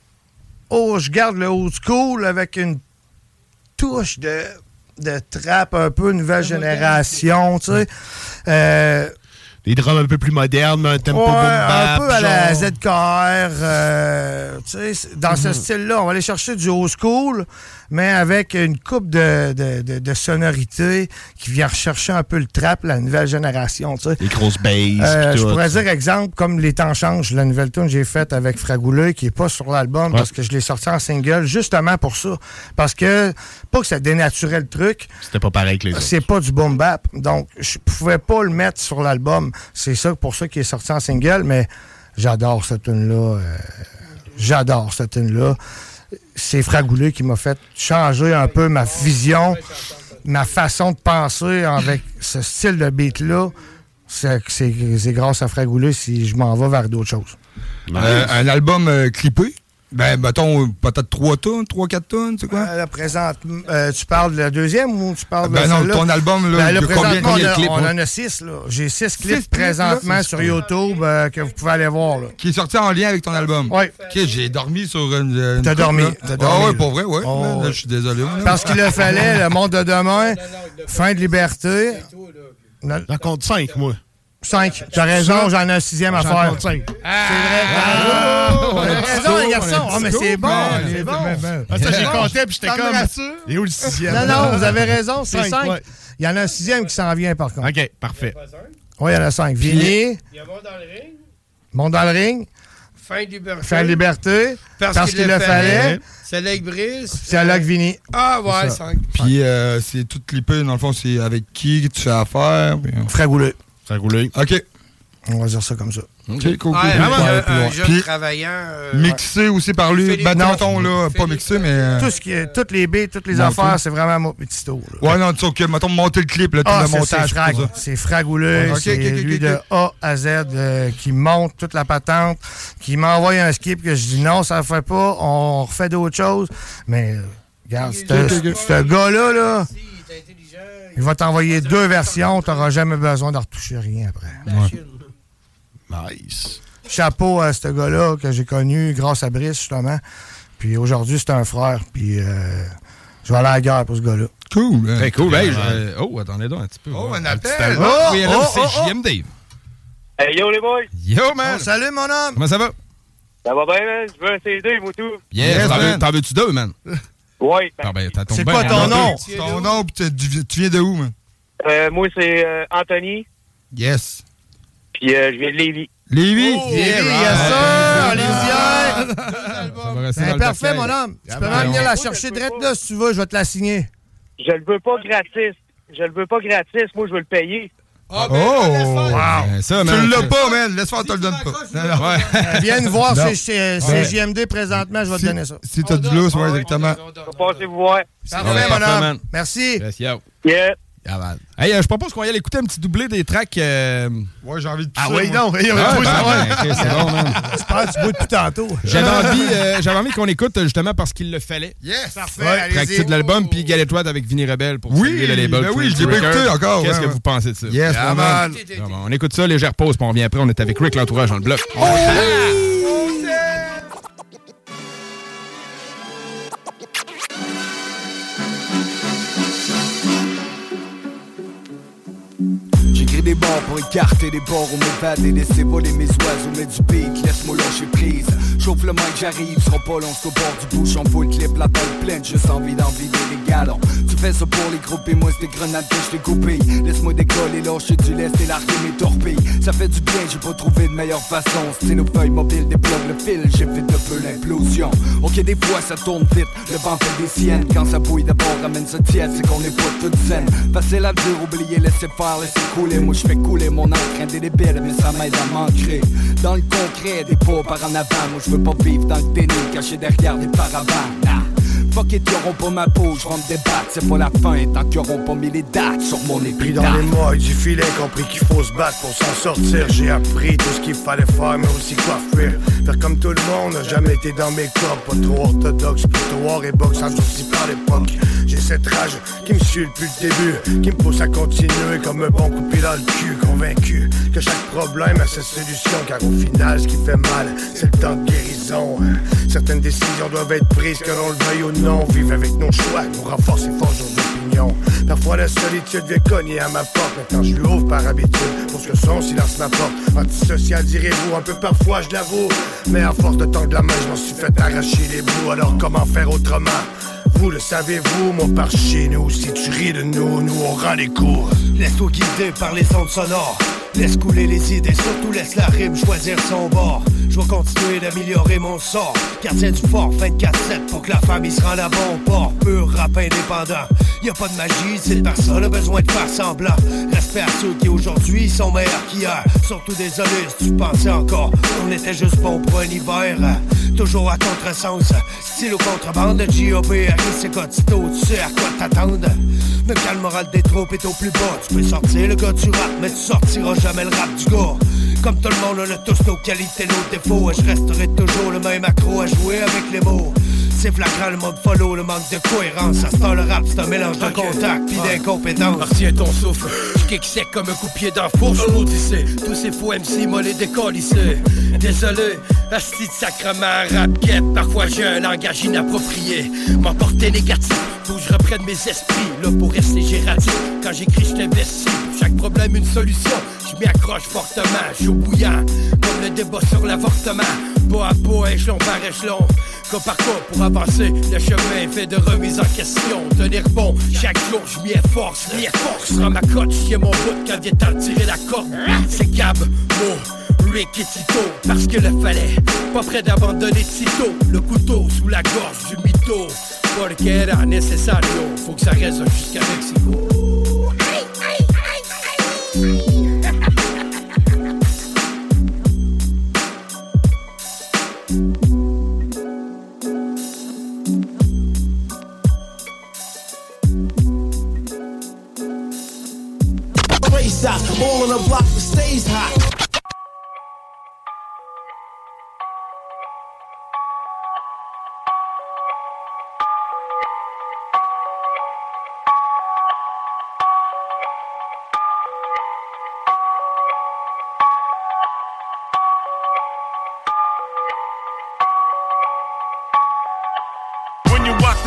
je garde le old school avec une touche de trap un peu nouvelle génération, tu sais. Des drums un peu plus modernes, un tempo boom bap. Un peu à la ZKR. Tu sais, dans ce style-là, on va aller chercher du old school, mais avec une coupe de sonorités qui vient rechercher un peu le trap, la nouvelle génération. Tu sais. Les grosses basses. Je pourrais dire, exemple, comme Les Temps changent, la nouvelle tune que j'ai faite avec Fragouleux, qui n'est pas sur l'album, parce que je l'ai sorti en single, justement pour ça. Parce que, pas que ça dénaturait le truc. C'était pas pareil que les autres. C'est pas du boom bap. Donc, je pouvais pas le mettre sur l'album. C'est ça pour ça qu'il est sorti en single, mais j'adore cette tune-là. C'est Fragouleux qui m'a fait changer un peu ma vision, ma façon de penser avec ce style de beat-là. C'est grâce à Fragouleux si je m'en vais vers d'autres choses. Un album clippé? Mettons, peut-être 3-4 tonnes, c'est quoi? Tu parles de la deuxième ou tu parles de non, ton album, là, là combien de clips? On en a 6, là. J'ai 6 clips présentement sur YouTube que vous pouvez aller voir, là. Qui est sorti en lien avec ton album? Oui. OK, j'ai dormi sur une T'as dormi. Ah oui, pour vrai, oui. Là, je suis désolé. Parce qu'il le fallait, le monde de demain, fin de liberté. J'en compte 5, moi. 5. T'as raison, j'en ai un 6e à faire. 5. C'est vrai. T'as raison, les garçons. Mais c'est bon. C'est bon. Ça, j'ai compté, puis j'étais comme. Et où le 6e? Non, vous avez raison, c'est 5. Il y en a un 6e qui s'en vient, par contre. OK, parfait. Oui, il y en a 5. Vini. Il y a Monde dans le ring. Monde dans le ring. Fin de liberté. Parce qu'il le fallait. C'est Lake Brise. C'est Lake Vini. Ah ouais, 5. Puis c'est tout clippé, dans le fond, c'est avec qui tu fais affaire? Fragouleux. OK. On va dire ça comme ça. OK, cool. Vraiment un jeune travaillant. Mixé aussi par lui. Non, là, pas mixé, mais... Toutes les beats, toutes les affaires, c'est vraiment mon petit tour. Ouais, non, tu sais, mettons, monter le clip, là, tout le montage. C'est Fragouleux, c'est lui de A à Z qui monte toute la patente, qui m'envoie un skip que je dis non, ça ne fait pas, on refait d'autres choses. Mais, regarde, ce gars-là, là... Il va t'envoyer 2 versions, tu n'auras jamais besoin de retoucher rien après. Nice. chapeau à ce gars-là que j'ai connu grâce à Brice, justement. Puis aujourd'hui, c'est un frère. Puis je vais aller à la guerre pour ce gars-là. Cool. Très cool. Hey, attendez donc un petit peu. Oh, un appel. Oui, là, c'est JMD. Hey, yo, les boys. Yo, man. Oh, salut, mon homme. Comment ça va? Ça va bien, man? Je veux un CD, moi, tout. Yes, t'en veux-tu deux, man? Ouais. Ah, ben, c'est quoi ton nom? Ton nom, puis tu viens de où, man? Moi, c'est Anthony. Yes. Puis je viens de Lévis. Lévis? Oh, yes, sir! Lévisière! Parfait, mon homme. Tu peux même venir la chercher direct là, si tu veux. Je vais te la signer. Je le veux pas gratis. Moi, je veux le payer. Oh! Wow! Ça, tu l'as pas, man. Laisse faire, on te le donne pas. Viens nous voir, c'est JMD présentement, je vais te donner ça. Si t'as du lousse, ouais, exactement. Passez vous voir. Parfait, mon homme. Merci. Yes, yo. Yeah. Hey, je propose qu'on y aille écouter un petit doublé des tracks. Ouais, j'ai envie de Ah oui, non. C'est bon, man. J'espère que tu bois depuis tantôt. J'avais envie qu'on écoute justement parce qu'il le fallait. Yes, parfait. Track titre de l'album, puis Galétoile avec Vinny Rebelle pour saluer le label. Ben oui, je l'ai pas écouté encore. Qu'est-ce que vous pensez de ça? Yes, man. On écoute ça, légère pause, puis on revient après. On est avec Rick l'entourage dans le bloc. J'écris des bords pour écarter des bords, on m'évade et laisser voler mes oiseaux, mais du beat, laisse-moi lâcher prise. Chauffe le mic, j'arrive, sera pas long, c'est au bord du bouchon, full clip, la tête pleine, juste envie d'en vider les galons. Tu fais ça pour les groupes et moi c'est des grenades que je t'ai coupées. Laisse-moi décoller, lâcher du lest et larguer mes torpilles. Ça fait du bien, j'ai pas trouvé de meilleure façon. Stylo feuille mobile, déplogue le fil, j'évite un peu l'implosion. Ok, des fois ça tourne vite, le vent fait des siennes. Quand ça bouille d'abord, ramène ça tiède, c'est qu'on est pas toute saine. Facile à dire, oublier, laisser faire, laisser couler. Moi je fais couler mon encre indélébile, mais ça m'aide à m'ancrer dans le concret, des pas par en avant. Moi je veux pas vivre dans le déni, caché derrière des paravents. Fuck it, y'auront pas ma peau, je vais me débattre, c'est pas la fin, tant qu'ils auront pas mis les dates sur mon épitaphe. Pris dans les mois du filet, compris qu'il faut se battre pour s'en sortir. J'ai appris tout ce qu'il fallait faire, mais aussi quoi fuir. Faire comme tout le monde, jamais été dans mes corps. Pas trop orthodoxe, plutôt war et boxe, endurci par l'époque. J'ai cette rage qui me suit depuis le début, qui me pousse à continuer comme un bon coupé dans le cul. Convaincu que chaque problème a sa solution, car au final ce qui fait mal, c'est le temps de guérison. Certaines décisions doivent être prises, que l'on le veuille ou non. Vivre avec nos choix, nous renforce et forge nos opinions. Parfois la solitude vient cogner à ma porte, maintenant je lui ouvre par habitude, pour que son silence m'apporte. Antisocial direz-vous, un peu parfois je l'avoue, mais à force de tendre la main, je m'en suis fait arracher les bouts. Alors comment faire autrement? Vous le savez-vous, moi par chez nous. Si tu ris de nous, nous on rend les cours. Laisse-toi guider par les ondes sonores. Laisse couler les idées, surtout laisse la rime choisir son bord. Je vais continuer d'améliorer mon sort. Gardien du fort, 24/7 pour que la famille se rende à bon port. Pur rap indépendant, y'a pas de magie, c'est personne a besoin de faire semblant. Respect à ceux qui aujourd'hui sont meilleurs qu'hier. Surtout désolé si tu pensais encore on était juste bon pour un hiver. Toujours à contresens, style au contrebande de G.O.B. c'est Cotito, tu sais à quoi t'attendre. Mais quand le moral des troupes est au plus bas, tu peux sortir le gars du rap, mais tu sortiras jamais le rap du gars. Comme tout le monde, on a tous nos qualités, nos défauts. Et je resterai toujours le même accro à jouer avec les mots. C'est flagrant le mode follow, le manque de cohérence. À ce temps, le rap, c'est un mélange de contact pis d'incompétence. Retiens ton souffle, je kick sec comme un coup de pied dans la fourche. Maudissez, tous ces faux MC, moi les décollissés. Désolé, asti de sacrement, rap guette. Parfois j'ai un langage inapproprié. M'emporter négatif, faut que je reprenne mes esprits. Là pour rester gératif, quand j'écris je t'investis. Pour chaque problème une solution, je m'y accroche fortement. Chaud bouillant, comme le débat sur l'avortement. Pas à pas, échelon par échelon. Cas par cas pour avancer, le chemin est fait de remise en question. Tenir bon, chaque jour je m'y efforce, je rends ma cote, je tiens mon bout quand vient temps de tirer la corde. C'est Gab, Mo, Rick et Tito, parce que le fallait, pas prêt d'abandonner Tito. Le couteau sous la gorge du mytho, porque era necesario, faut que ça reste jusqu'à Mexico. All on the block that stays hot.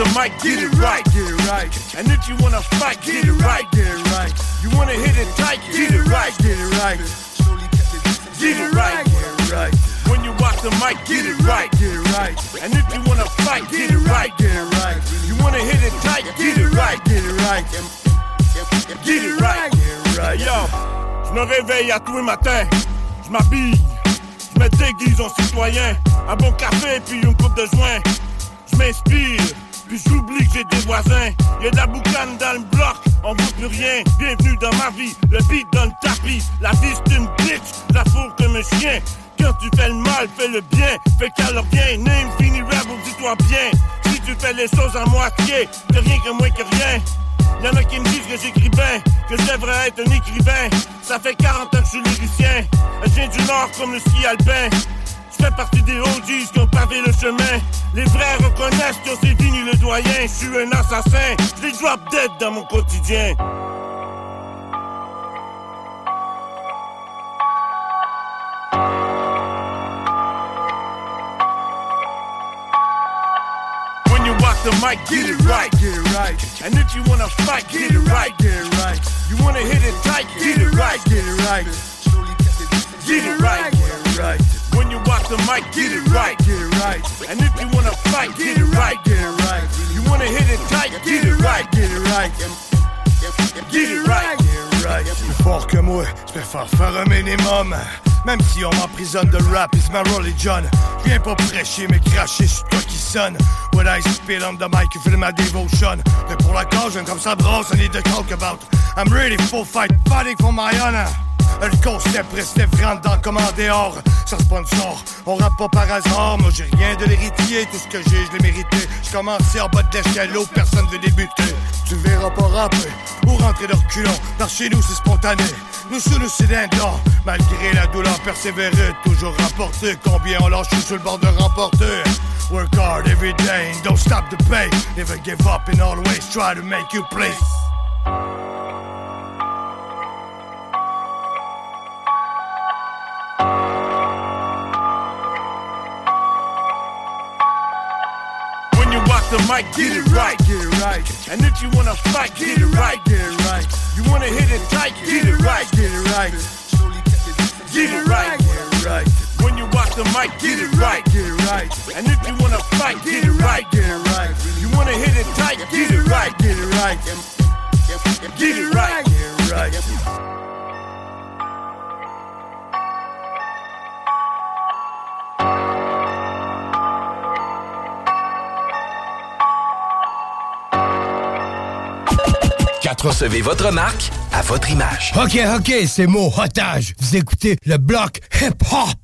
the mic, get it right, get it right. And if you wanna fight, get it right, get it right. You wanna hit it tight, get it right, get it right. Get it right, get it right. When you rock the mic, get it right, get it right. And if you wanna fight, get it right, get it right. You wanna hit it tight, get it right, get it right. Get it right, get it right. Yo, je me réveille à tous les matins, je m'habille, je me déguise en citoyen. Un bon café puis une coupe de joint. Je m'inspire, puis j'oublie que j'ai des voisins. Y'a de la boucane dans le bloc, on vaut plus rien. Bienvenue dans ma vie, le beat dans le tapis. La vie c'est une bitch, la fourre comme un chien. Quand tu fais le mal, fais le bien. Fais qu'alors bien, name, fini rap ou dis-toi bien. Si tu fais les choses à moitié, t'es rien que moins que rien. Y'en a qui me disent que j'écris bien, que je devrais être un écrivain. Ça fait 40 ans que je suis lyricien. Je viens du Nord comme le ski alpin. Je fais partie des OGs qui ont pavé le chemin. Les vrais reconnaissent que c'est fini le doyen. Je suis un assassin, je les drop dead dans mon quotidien. When you rock the mic, get it right, get it right. And if you wanna fight, get it right, get it right. You wanna hit it tight, get it right, get it right. Get it right, get it right. When you rock the mic, get it right, get it right. And if you wanna fight, get it right, get it right. You wanna hit it tight, get it right, get it right. Get it right, get it right. Plus fort que moi, je préfère faire un minimum. Même si on m'emprisonne de rap, it's my religion. Je viens pas prêcher, mais cracher sur toi qui sonne. When I spit on the mic, you feel my devotion. Mais pour la cause, j'aime comme ça brosse, I need to talk about. I'm ready for fight, fighting for my honor. Le concept restait vraiment dans le commandéor. Ça sponsor, on rappe pas par hasard. Moi j'ai rien de l'héritier, tout ce que j'ai, je l'ai mérité. J'ai commencé en bas de l'échelle, personne veut débuter. Tu verras pas rapper ou rentrer de reculons. Par chez nous c'est spontané, nous sous nous c'est d'or. Malgré la douleur persévérer, toujours rapporter. Combien on lâche sur le bord de remporter. Work hard every day and don't stop the pay. Never give up and always try to make you play. The mic, get it right, get it right. And if you wanna fight, get it right, get it right. You wanna hit it tight, get it right, get it right. Get it right, get it right. When you rock the mic, get it right, get it right. And if you wanna fight, get it right, get it right. You wanna hit it tight, get it right, get it right. Get it right, get it right. Recevez votre marque à votre image. OK, c'est mon otage. Vous écoutez le bloc hip-hop.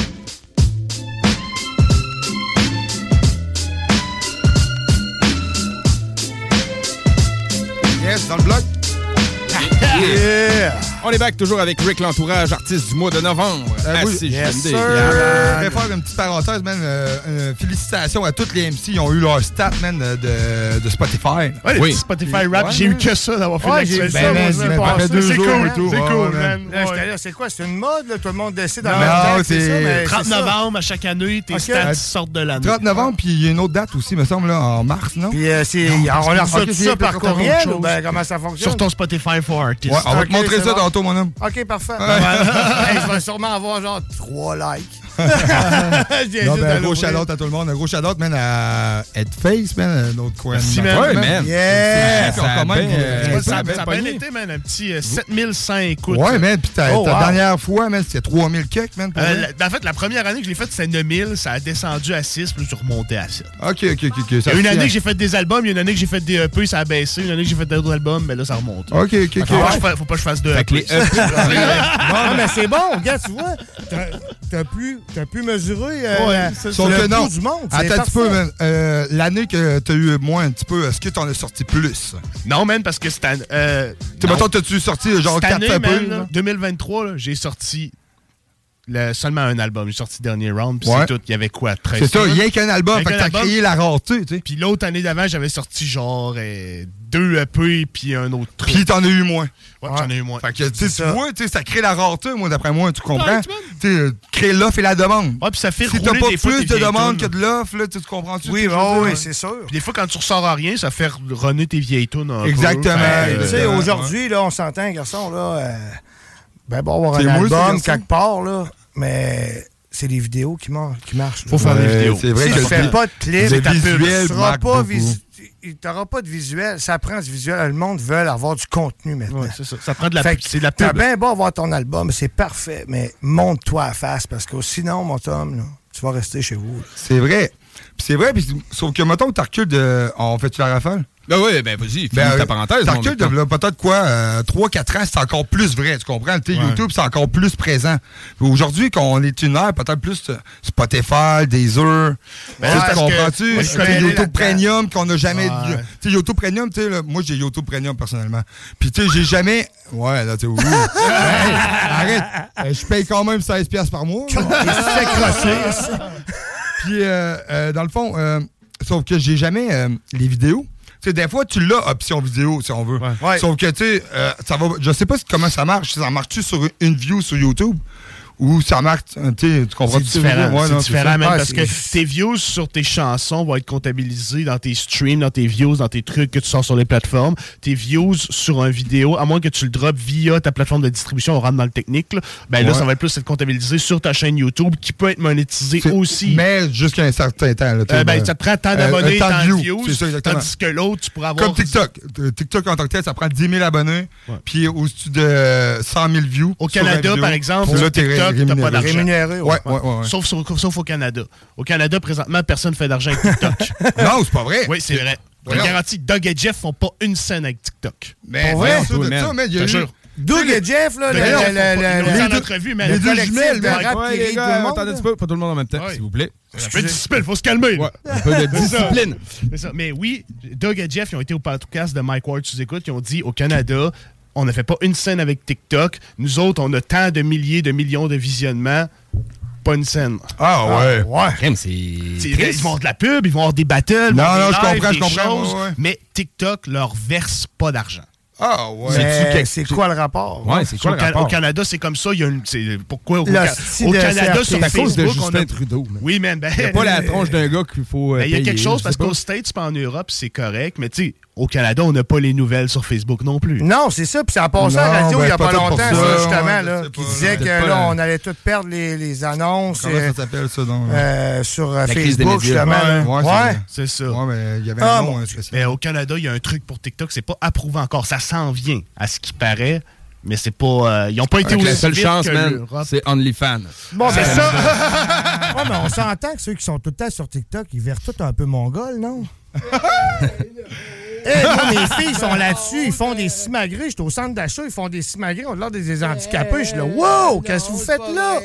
Yes, dans le bloc. Yeah! On est back toujours avec Rick l'entourage, artiste du mois de novembre. Oui, yes, sir. Je vais faire une petite parenthèse, man. Félicitations à toutes les MC. Ils ont eu leur stat, man, de Spotify. Ouais, les Spotify Rap, j'ai eu que ça d'avoir fait l'actualité. C'est cool, c'est cool, man. C'est quoi? C'est une mode, là? Tout le monde décide dans le c'est 30 novembre à chaque année, tes stats sortent de l'année. 30 novembre, puis il y a une autre date aussi, me semble, là, en mars, non? Puis on a reçu tout ça par courriel ou comment ça fonctionne? Sur ton Spotify for Artists. Ouais, on va te montrer ça tantôt, mon homme. OK, parfait. Je vais sûrement avoir genre 3 likes. Un gros shout-out à tout le monde. Un gros shout-out, man, à Headface, man, notre coin. Merci, man. Ouais, man. Yeah! Ça a bien été, man. Un petit 7100 écoutes. Ouais, man. Puis ta dernière fois, man, c'était 3000 quelques, man. En fait, la première année que je l'ai faite, c'était 9000. Ça a descendu à 6, puis je suis remonté à 7. OK. Il y a une année que j'ai fait des albums, il y a une année que j'ai fait des EP, ça a baissé. Une année que j'ai fait d'autres albums, mais là, ça remonte. OK. Faut pas que je fasse 2 EP. Non, mais c'est bon, regarde, tu vois. T'as pu mesurer le coût du monde. Attends un petit peu, man. L'année que t'as eu moins un petit peu, est-ce que t'en as sorti plus? Non, man, parce que c'était... Mettons, t'as-tu sorti genre 4 EP? 2023, j'ai sorti seulement un album. J'ai sorti Dernier Round, puis c'est tout. Il y avait quoi? 13 C'est ça, il y a qu'un album. Fait que t'as créé la rareté, tu sais. Puis l'autre année d'avant, j'avais sorti genre 2 EP, puis un autre truc. Puis t'en as eu moins. Ouais, j'en ai eu moins. Fait que, tu vois, ça crée la rareté, moi, d'après moi, tu comprends? créer l'offre et la demande. Ouais, puis ça fait si t'as pas plus de demandes que de l'offre, là, tu comprends-tu? Oui, c'est sûr. Puis des fois, quand tu ressors à rien, ça fait runner tes vieilles tunes un Exactement. Tu sais, aujourd'hui, là, on s'entend, garçon, là, bon, avoir un album quelque part, là, mais c'est les vidéos qui marchent. Faut faire des vidéos. C'est vrai si tu fais pas de clip, visuel, tu n'auras pas de visuel. Ça prend du visuel. Le monde veut avoir du contenu maintenant. Ouais, c'est ça. Ça prend de la pub. C'est de la pub. T'as bien beau avoir ton album, c'est parfait, mais monte-toi à face parce que sinon, mon Tom, là, tu vas rester chez vous. C'est vrai. Sauf que, mettons, tu recules de. On fait-tu la rafale? Ben oui, vas-y, finis ta parenthèse. Tu recules de peut-être quoi, 3-4 ans, c'est encore plus vrai, tu comprends? YouTube, c'est encore plus présent. Aujourd'hui, quand on est une ère, peut-être plus Spotify, Deezer. Tu comprends-tu? YouTube Premium qu'on n'a jamais. Tu sais, YouTube Premium, tu sais, moi, j'ai YouTube Premium personnellement. Puis, tu sais, j'ai jamais. Ouais, là, tu sais, arrête. Je paye quand même 16$ par mois. C'est croché. Puis, dans le fond, sauf que j'ai jamais les vidéos. Tu sais, des fois, tu l'as option vidéo, si on veut. Ouais. Sauf que, tu sais, ça va. Je sais pas comment ça marche. Ça marche-tu sur une view sur YouTube? Ou ça marche, tu comprends? C'est différent, c'est différent même parce que tes views sur tes chansons vont être comptabilisés dans tes streams, dans tes views, dans tes trucs que tu sors sur les plateformes. Tes views sur une vidéo, à moins que tu le drops via ta plateforme de distribution, on rentre dans le technique, là, ça va être plus être comptabilisé sur ta chaîne YouTube qui peut être monétisé aussi. Mais jusqu'à un certain temps. Là, ça te prend tant d'abonnés, tant de views, ça, tandis que l'autre, tu pourras avoir... Comme TikTok. TikTok en tant que tel, ça prend 10 000 abonnés, puis au-dessus de 100 000 views. Au Canada, par exemple, là, TikTok, t'as pas d'argent. Rémunéré, ouais. Sauf au Canada. Au Canada, présentement, personne ne fait d'argent avec TikTok. Non, c'est pas vrai. Oui, c'est vrai. Je garantis, Doug et Jeff font pas une scène avec TikTok. Mais pour vrai? il y a eu... Doug et Jeff, là, les deux jumelles, les gars, attendez un petit peu, pas tout le monde en même temps, s'il vous plaît. Un peu de discipline, faut se calmer. Un peu de discipline. C'est ça. Mais oui, Doug et Jeff, ils ont été au podcast de Mike Ward, tu écoutes, ils ont dit, au Canada, on ne fait pas une scène avec TikTok. Nous autres, on a tant de milliers, de millions de visionnements. Pas une scène. Ah ouais. Ils vont avoir de la pub, ils vont avoir des battles. Non, je comprends. Mais TikTok leur verse pas d'argent. Ah ouais. C'est quoi le rapport? Ouais, c'est quoi le rapport? Au Canada, c'est comme ça. Pourquoi au Canada, sur Facebook, on a... Trudeau. Oui, man. Il n'y a pas la tronche d'un gars qu'il faut il y a quelque chose, parce qu'aux States et en Europe, c'est correct. Mais tu sais, au Canada, on n'a pas les nouvelles sur Facebook non plus. Non, c'est ça. Puis ça a passé à la radio il n'y a pas longtemps, ça, justement, là, qui disait que là, on allait tout perdre les annonces. Comment ça s'appelle, ça, donc? Sur Facebook, justement. Ouais, c'est ça. Ouais, mais il y avait un nom spécial. Mais au Canada, il y a un truc pour TikTok, c'est pas approuvé encore. Ça s'en vient, à ce qui paraît. Mais c'est pas. Ils n'ont pas été aussi la seule vite chance, que man, l'Europe. c'est OnlyFans. Bon, c'est ça. Ouais, mais on s'entend que ceux qui sont tout le temps sur TikTok, ils verrent tout un peu mongols, non? Moi, mes filles sont là-dessus, ils font des simagrées. J'étais au centre d'achat, ils font des simagrées, on a l'air des handicapés. Je suis là, wow, qu'est-ce que vous faites là?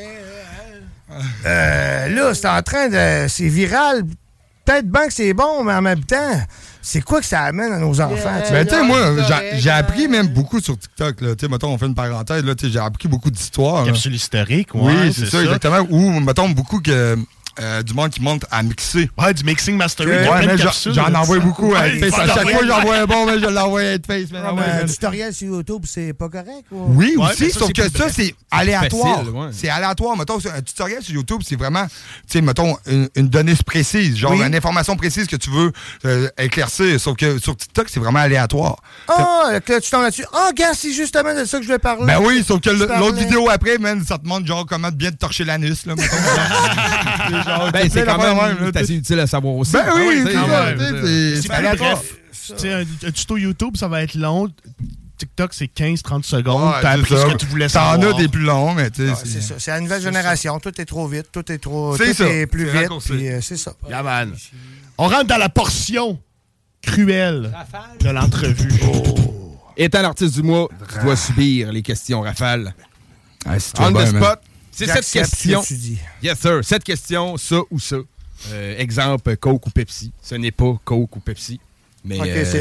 Là, c'est en train de. C'est viral. Peut-être bien que c'est bon, mais en même temps, c'est quoi que ça amène à nos enfants? Ben, tu sais, moi, j'ai appris même beaucoup sur TikTok. Tu sais, mettons, on fait une parenthèse, là, j'ai appris beaucoup d'histoires. Capsule historique, oui, c'est ça, exactement. Ou, mettons, beaucoup que. Du monde qui monte à mixer. Ouais, du mixing mastering. J'en envoie beaucoup à Headface. À chaque fois que j'envoie un bon, mais je l'envoie à Headface. Un tutoriel sur YouTube, c'est pas correct? Oui, aussi, sauf que ça, c'est aléatoire. C'est aléatoire. Mettons, un tutoriel sur YouTube, c'est vraiment, tu sais, mettons, une donnée précise, genre une information précise que tu veux éclaircir. Sauf que sur TikTok, c'est vraiment aléatoire. Ah, tu tombes là-dessus. Ah, gars, c'est justement de ça que je vais parler. Ben oui, sauf que l'autre vidéo après, man, ça te montre genre comment bien te torcher l'anus, là, mettons. C'est quand même assez utile à savoir aussi. Ben oui, c'est bref. Un tuto YouTube, ça va être long. TikTok, c'est 15-30 secondes. T'as appris ce que tu voulais savoir. T'en as des plus longs, mais tu sais. C'est ça. C'est la nouvelle génération. Tout est trop vite. Tout est plus vite. C'est ça. Yaman. On rentre dans la portion cruelle de l'entrevue. Étant l'artiste du mois, tu dois subir les questions rafales. On the spot. C'est cette question. Yes, sir. Cette question, ça ou ça. Exemple, Coke ou Pepsi. Ce n'est pas Coke ou Pepsi. Mais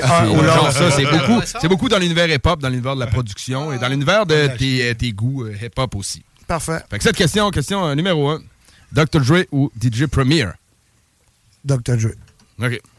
c'est beaucoup dans l'univers hip-hop, dans l'univers de la production et dans l'univers de tes goûts hip-hop aussi. Parfait. Fait que cette question numéro 1. Dr. Dre ou DJ Premier? Dr. Dre. OK.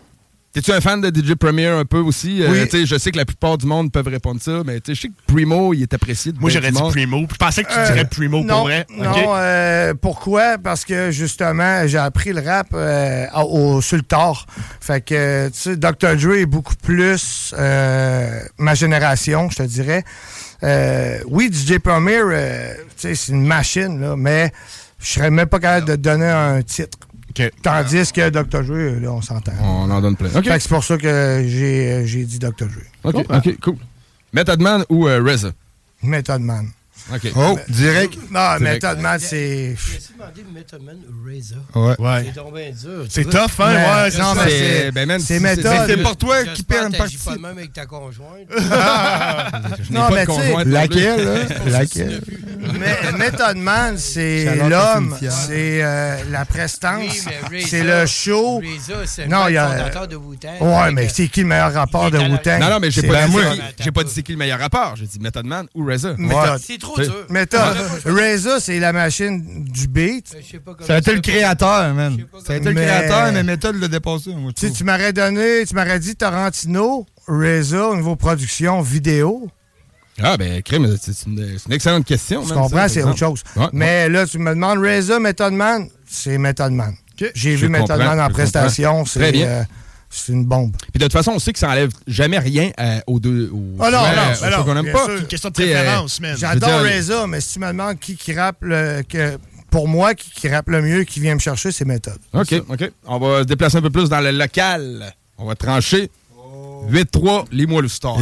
T'es-tu un fan de DJ Premier un peu aussi? Oui. Je sais que la plupart du monde peuvent répondre ça, mais je sais que Primo, il est apprécié. Moi, j'aurais dit Primo. Je pensais que tu dirais Primo pour vrai. Non, pourquoi? Parce que, justement, j'ai appris le rap sur le tard. Fait que, tu sais, Dr. Dre est beaucoup plus ma génération, je te dirais. Oui, DJ Premier, tu sais, c'est une machine, là, mais je serais même pas capable de donner un titre. Okay. Tandis que Dr. Dre, là, on s'entend. On en donne plein. Okay. Fait que c'est pour ça que j'ai dit Dr. Dre. OK, cool. Method Man ou RZA? Method Man. OK. Oh, direct. Non, Method Man, c'est... J'ai essayé de demander Method Man ou RZA. Ouais. C'est tombé dur. C'est tough, hein? Ouais, non, mais c'est méthode. C'est pour toi qui perds une partie. Pas de même avec ta conjointe. Non, mais tu sais... Laquelle, là? Laquelle? Method Man, c'est l'homme, c'est la prestance, c'est le show. RZA, c'est le fondateur de Wu-Tang. Ouais, mais c'est qui le meilleur rapport de Wu-Tang? Non, mais j'ai pas dit c'est qui le meilleur rapport. J'ai dit Method Man ou RZA. C'est trop dur. Méthode. RZA, c'est la machine du beat. Ça a été le créateur, man. Ça a été le créateur, mais Méthode l'a dépassé. Tu m'aurais dit Tarantino, RZA au niveau production vidéo. Ah, ben, crème, c'est une excellente question. Tu comprends, c'est autre chose. Ouais, mais là, tu me demandes RZA, Method Man, c'est Method Man. J'ai vu Method Man en prestation, c'est une bombe. Puis de toute façon, on sait que ça enlève jamais rien aux deux. Ah non, ceux qu'on n'aime pas. C'est une question de préférence, man. J'adore RZA, mais si tu me demandes qui rappe pour moi, qui rappe le mieux, qui vient me chercher, c'est Method. OK. On va se déplacer un peu plus dans le local. On va trancher. 8-3, lis-moi le star.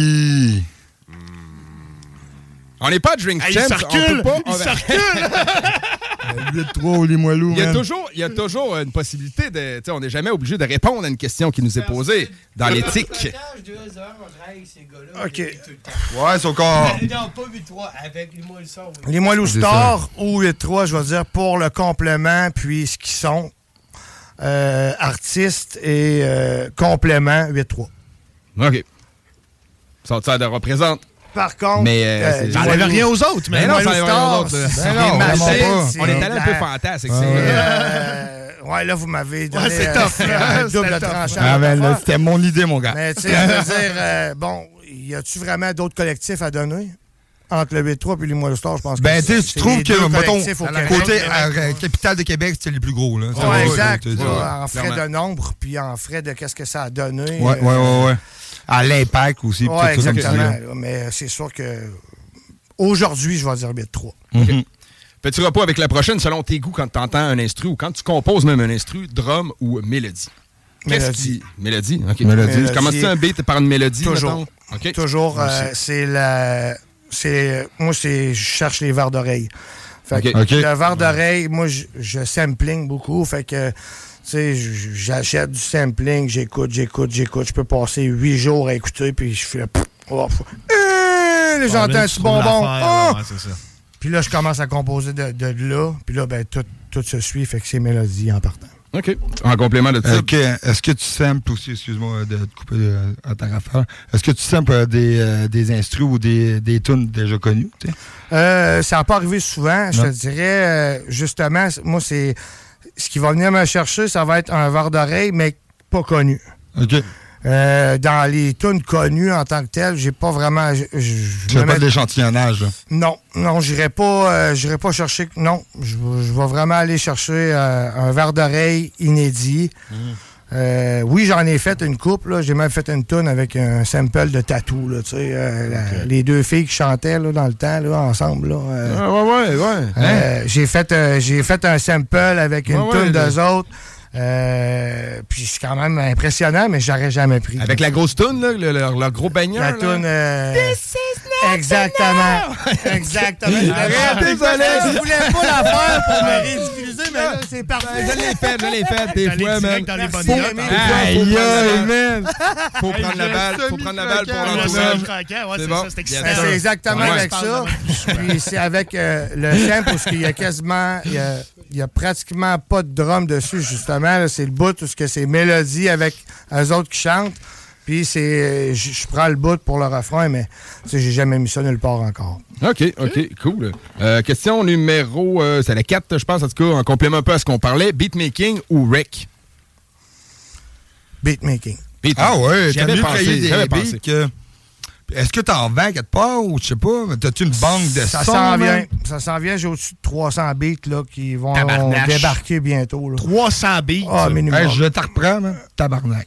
On n'est pas à Drink Champs. Il circule! 8-3, lis-moi loup. Il y a toujours une possibilité de. On n'est jamais obligé de répondre à une question qui nous est posée dans l'éthique. OK. Ouais, c'est encore. Non, pas 8-3, avec Lis-moi le star. Lis-moi le star ou 8-3, je vais dire, pour le complément, puis ce qu'ils sont. Artistes et complément, 8-3. OK. Ça de représente. Par contre, ça n'enlève rien aux autres, mais non, ça n'enlève rien aux autres. On est allé un peu fantasque. Ouais, là, vous m'avez donné un double tranchant. Ah, ben, c'était mon idée, mon gars. Mais tu sais, je veux dire, bon, y a-tu vraiment d'autres collectifs à donner? Entre le 8-3 et Lis-moi le star, je pense que tu trouves que, mettons, côté capitale de Québec, c'était les plus gros, là. Oui, exact. En frais de nombre, puis en frais de qu'est-ce que ça a donné. Ouais. À l'impact aussi. Oui, exactement. Mais c'est sûr que aujourd'hui, je vais dire 8-3. Okay. Petit repos avec la prochaine, selon tes goûts, quand tu entends un instru ou quand tu composes même un instru, drum ou mélodie? Mélodie? OK. Mélodie. Tu commences-tu un beat par une mélodie? Toujours. Okay. Toujours. Moi, je cherche les verres d'oreille. Le verre d'oreille, moi, je sampling beaucoup. Fait que, tu sais, j'achète du sampling, j'écoute. Je peux passer 8 jours à écouter, puis je fais... j'entends un petit bonbon. Puis là, je commence à composer de là. Puis là, ben, tout se suit, fait que c'est mélodie en partant. OK. En complément de ça. Est-ce que tu samples aussi, excuse-moi de te couper à ta rafale, est-ce que tu samples des instrus ou des tunes déjà connues? Ça n'a pas arrivé souvent. Je te dirais, justement, moi, c'est ce qui va venir me chercher, ça va être un verre d'oreille, mais pas connu. OK. Dans les tunes connues en tant que telles, j'ai pas vraiment... Tu fais pas de l'échantillonnage, là? Non, j'irai pas chercher... Non, je vais vraiment aller chercher un verre d'oreille inédit. Oui, j'en ai fait une couple, là. J'ai même fait une tune avec un sample de Tattoo, là, tu sais, les deux filles qui chantaient là, dans le temps, là, ensemble. Là, ouais. J'ai fait un sample avec une tune d'eux autres. Puis c'est quand même impressionnant, mais j'aurais jamais pris. Avec la grosse toune, là, leur gros baigneur. La toune. Exactement. Exactement. Désolé. Je voulais pas la faire pour me ridiculiser, mais là, c'est parfait. Je l'ai fait des fois, man. Dans les bonnes notes. Aïe, man. Faut prendre la balle pour l'entourage. C'est exactement avec ça. Puis c'est avec le sample, parce qu'il y a quasiment... Il n'y a pratiquement pas de drum dessus, justement. Là, c'est le bout, tout ce que c'est mélodie avec eux autres qui chantent. Puis c'est, je prends le bout pour le refrain, mais j'ai jamais mis ça nulle part encore. OK, cool. Question numéro... c'est la 4, je pense, en tout cas, en complément un peu à ce qu'on parlait. Beatmaking ou rec? beatmaking. Ah ouais, J'avais pensé, des beats que... Est-ce que t'en vends quelque part ou je sais pas, t'as-tu une banque de ça sons? Ça s'en vient, j'ai au-dessus de 300 beats là, qui vont Tabarnache. débarquer bientôt. Là. 300 beats? Ah, minimum. Hey, je te reprends, man. Tabarnak.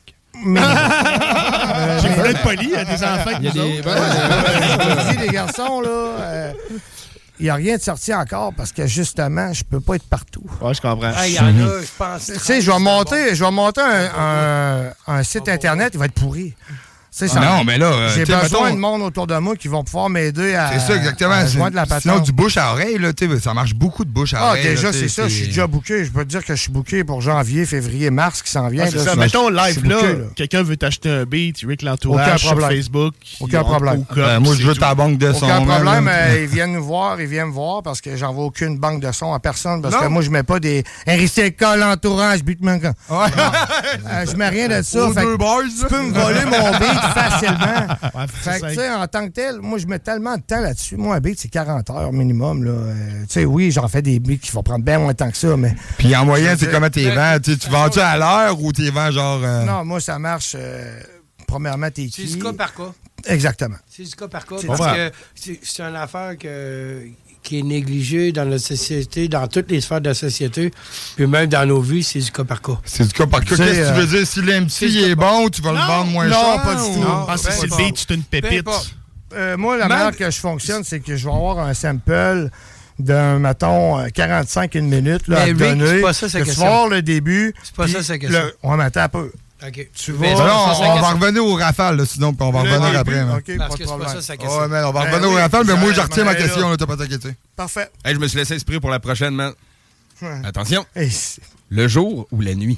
J'ai voulu être poli à des enfants. Il y a des... Je dis, les garçons, là... il n'y a rien de sorti encore parce que, justement, je peux pas être partout. Ouais, je comprends. Il y en a, je pense. Tu sais, je vais monter un site Internet, il va être pourri. Non, mais là... j'ai besoin de monde autour de moi qui vont pouvoir m'aider à... C'est ça, exactement. À joindre la patente. Sinon, du bouche à oreille, là, ça marche beaucoup de bouche à oreille. Déjà, là, c'est ça. Je suis déjà booké. Je peux te dire que je suis booké pour janvier, février, mars qui s'en vient. C'est ça. Mettons live, là, quelqu'un veut t'acheter un beat, Rick l'entourage sur Facebook. Aucun problème. Moi, je veux ta banque de son. Aucun problème. Ils viennent nous voir, ils viennent me voir parce que j'envoie aucune banque de son à personne. Parce que moi, je mets pas des RICK, l'entourage, beatmaker. Je mets rien de ça. Tu peux me voler mon beat facilement. Fait que, tu sais, en tant que tel, moi, je mets tellement de temps là-dessus. Moi, un beat, c'est 40 heures minimum. Tu sais, oui, j'en fais des beats qui vont prendre bien moins de temps que ça, mais... Puis en moyenne, c'est comment t'es vends? Tu vends-tu à l'heure ou t'es vends genre... Non, moi, ça marche... premièrement, t'es qui? C'est du cas par cas. Exactement. C'est du cas par cas parce que c'est une affaire qui est négligée dans notre société, dans toutes les sphères de la société, puis même dans nos vies, c'est du cas par cas. C'est du cas par cas. Qu'est-ce que tu veux dire? Si l'MC est bon, tu vas le vendre moins cher? Non, pas du tout. Je pense que c'est le beat, c'est une pépite. Moi, la manière que je fonctionne, c'est que je vais avoir un sample d'un, mettons, 45 une minute là, à te donner. C'est pas ça, sa question. Tu vas voir le début. C'est pas ça, sa question. On m'attend un peu. OK. Tu vois, on va revenir au rafale, là, sinon, puis on va revenir après. OK, parce pas que de c'est problème. pas ça, sa question. Ouais, mais on va revenir au rafale, mais moi, je retiens ma question, là, t'as pas t'inquiéter. Parfait. Hey, je me suis laissé inspirer pour la prochaine, man. Ouais. Attention. Hey, le jour ou la nuit?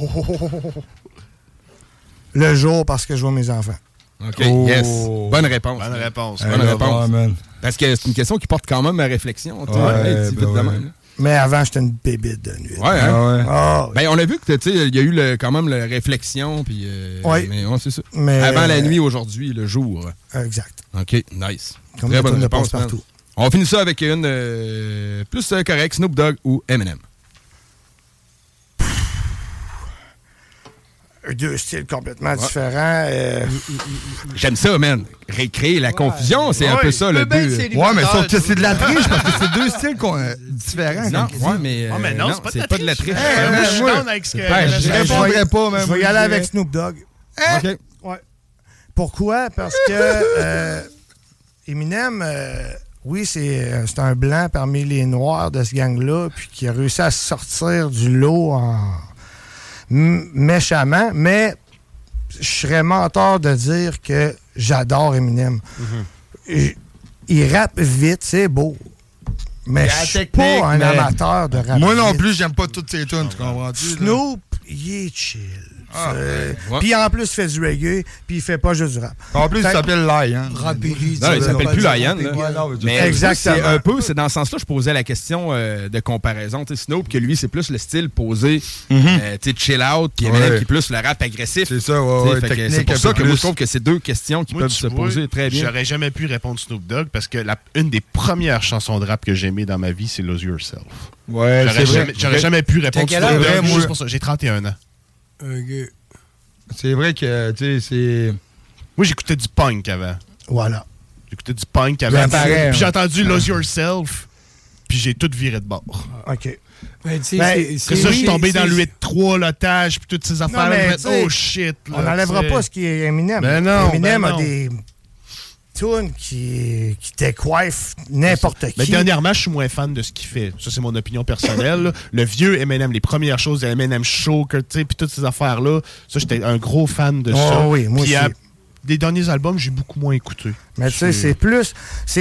Le jour, parce que je vois mes enfants. OK, yes. Bonne réponse. Bonne réponse. Bonne réponse. Parce que c'est une question qui porte quand même à réflexion. Mais avant, j'étais une bébite de nuit. Ouais, hein? Oh, ben, on a vu que, tu sais, il y a eu quand même la réflexion, puis... oui. Mais c'est ça. Mais, avant la nuit, aujourd'hui, le jour. Exact. OK, nice. Comme très bonne réponse réponse, partout. On finit ça avec une plus correcte, Snoop Dogg ou Eminem? Deux styles complètement différents. J'aime ça, man. Récréer la confusion, c'est un peu ça le but. Ouais, mais sauf que c'est de la triche parce que c'est deux styles différents. Non, mais non, c'est pas de la triche. Moi, je suis down avec ce que... Je répondrais pas, même. Je vais y aller avec Snoop Dogg. OK. Ouais. Pourquoi? Parce que Eminem, oui, c'est un blanc parmi les noirs de ce gang-là, puis qui a réussi à sortir du lot méchamment, mais je serais menteur de dire que j'adore Eminem. Il rappe vite, c'est beau. Mais je suis pas un amateur de rap. Moi non vite. plus, j'aime pas toutes ces tunes, tu comprends-tu? Snoop, il est chill. Puis en plus, il fait du reggae, puis il fait pas juste du rap. En plus, il s'appelle Lion. Non, il s'appelle plus Lion. Mais exactement. C'est dans ce sens-là, je posais la question de comparaison. Tu sais, Snoop, que lui, c'est plus le style posé, chill out, puis Eminem qui est plus le rap agressif. C'est ça, c'est pour ça que moi, je trouve que c'est deux questions qui peuvent se poser très bien. J'aurais jamais pu répondre Snoop Dogg parce que une des premières chansons de rap que j'ai aimées dans ma vie, c'est Lose Yourself. Ouais, c'est vrai. J'aurais jamais pu répondre Snoop Dogg. Juste pour ça. J'ai 31 ans. C'est vrai que, tu sais, c'est... Moi, j'écoutais du punk avant. Voilà. J'écoutais du punk avant. Puis j'ai entendu Lose Yourself, puis j'ai tout viré de bord. OK. C'est ça, je suis tombé dans le 8-3, l'otage, puis toutes ces affaires-là. Oh shit. On n'enlèvera pas ce qui est Eminem. Eminem a des tunes qui décoiffent n'importe qui. Mais dernièrement, je suis moins fan de ce qu'il fait. Ça, c'est mon opinion personnelle. Le vieux Eminem, les premières choses de Eminem Show, puis toutes ces affaires-là, ça, j'étais un gros fan de ça. Oui, moi aussi. Des derniers albums, j'ai beaucoup moins écouté. Mais tu sais, c'est plus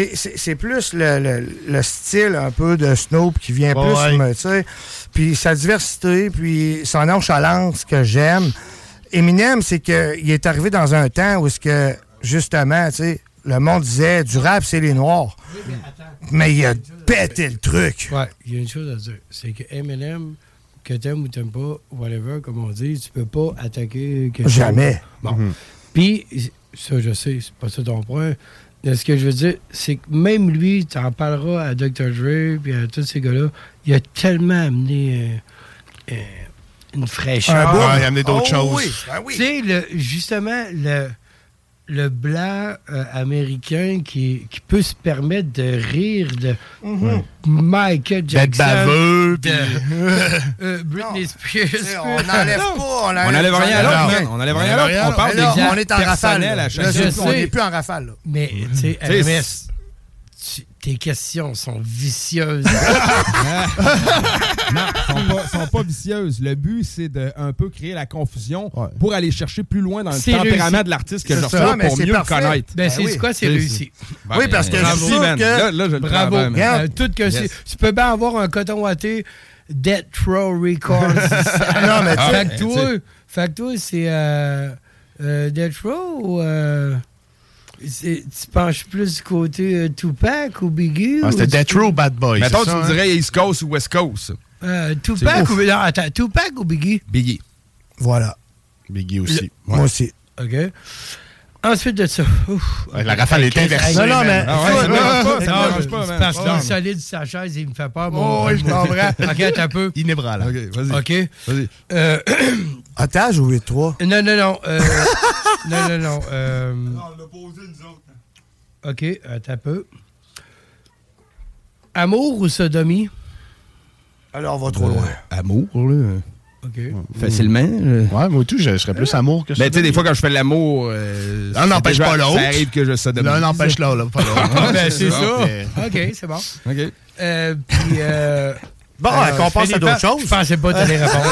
le style un peu de Snoop qui vient plus, tu sais, puis sa diversité, puis son nonchalance que j'aime. Eminem, c'est qu'il est arrivé dans un temps où justement, tu sais, le monde disait du rap, c'est les Noirs. Mais il a pété le truc. Ouais, il y a une chose à dire. C'est que Eminem, que t'aimes ou t'aimes pas, whatever, comme on dit, tu peux pas attaquer quelqu'un. Jamais. Bon. Puis, ça, je sais, c'est pas ça ton point. Mais ce que je veux dire, c'est que même lui, t'en parleras à Dr. Dre puis à tous ces gars-là, il a tellement amené une fraîcheur. Il a amené d'autres choses. Oui. Ben oui. Tu sais, justement, le blanc américain qui peut se permettre de rire de Michael Jackson. D'être baveux. Britney Spears. On n'enlève pas. On n'enlève rien à l'autre. On n'enlève rien à l'autre. On parle on est en rafale. À chaque on n'est plus en rafale. Là. Mais, tu sais, RMS, tes questions sont vicieuses. Non, sont pas vicieuses. Le but, c'est de un peu créer la confusion pour aller chercher plus loin dans le tempérament de l'artiste que je reçois pour mieux le connaître. Ben, c'est quoi, c'est réussi. Oui, parce que je suis que... Là, je le bravo. Tout que tu peux bien avoir un coton ouaté Death Row Records. Non, mais fait que toi, c'est Death Row ou... tu penches plus du côté Tupac ou Biggie? C'était Death Row Bad Boy. Mettons, tu me dirais East Coast ou West Coast. Tupac ou... Non, attends, Tupac ou Biggie? Biggie. Voilà. Biggie aussi. Moi aussi. OK. Ensuite de ça... la rafale est inversée. Non, mais... Ça me dérange pas, man. Parce qu'il est solide sur sa chaise, il me fait peur. Oui, je comprends. OK, attends un peu. Inébranlable. OK, vas-y. OK. Vas-y. Otage ou 8-3? Non. Non. Non, on l'a posé, nous autres. OK, attends un peu. Amour ou sodomie? Alors, on va trop loin. Amour, là. OK. Facilement. Ouais, moi tout, je serais plus amour que ça. Mais tu sais, des fois, quand je fais l'amour... l'un n'empêche pas l'autre. Ça arrive que je sodomise. L'un n'empêche l'autre, pas l'autre. Ben, c'est ça. OK, c'est bon. OK. Puis... Bon, qu'on passe à d'autres choses. Je pensais pas t'allais répondre.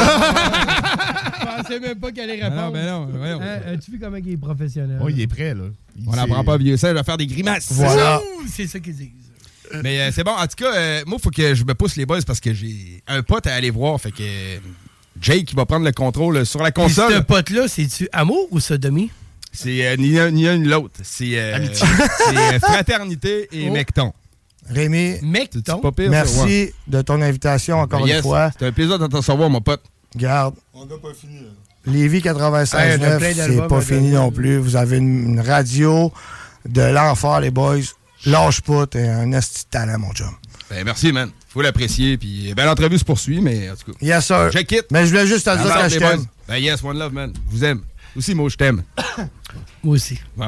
Je pensais même pas qu'elle allait répondre. Non. As-tu vu comment il est professionnel? Oui, il est prêt, là. On n'apprend pas vieux singe à faire des grimaces. Voilà. C'est ça qu'ils disent. Mais c'est bon. En tout cas, moi, il faut que je me pousse les boys parce que j'ai un pote à aller voir. Fait que Jake qui va prendre le contrôle sur la console. Et ce pote-là, c'est-tu amour ou sodomie? C'est ni l'un ni l'autre. C'est amitié. C'est fraternité et mecton. Rémi, pas pire, merci de ton invitation encore une fois. C'est un plaisir de te recevoir, mon pote. Garde. On n'a pas fini. Lévis 96.9, c'est pas fini non plus. Vous avez une radio de l'enfer, les boys. Lâche pas, t'es un esti de talent, mon chum. Ben, merci, man. Faut l'apprécier. Puis, ben, l'entrevue se poursuit, mais en tout cas. Yes, sir. Je quitte. Mais je voulais juste te dire que je t'aime. Ben, yes, one love, man. Je vous aime. Aussi, moi, je t'aime. Moi aussi. Bon.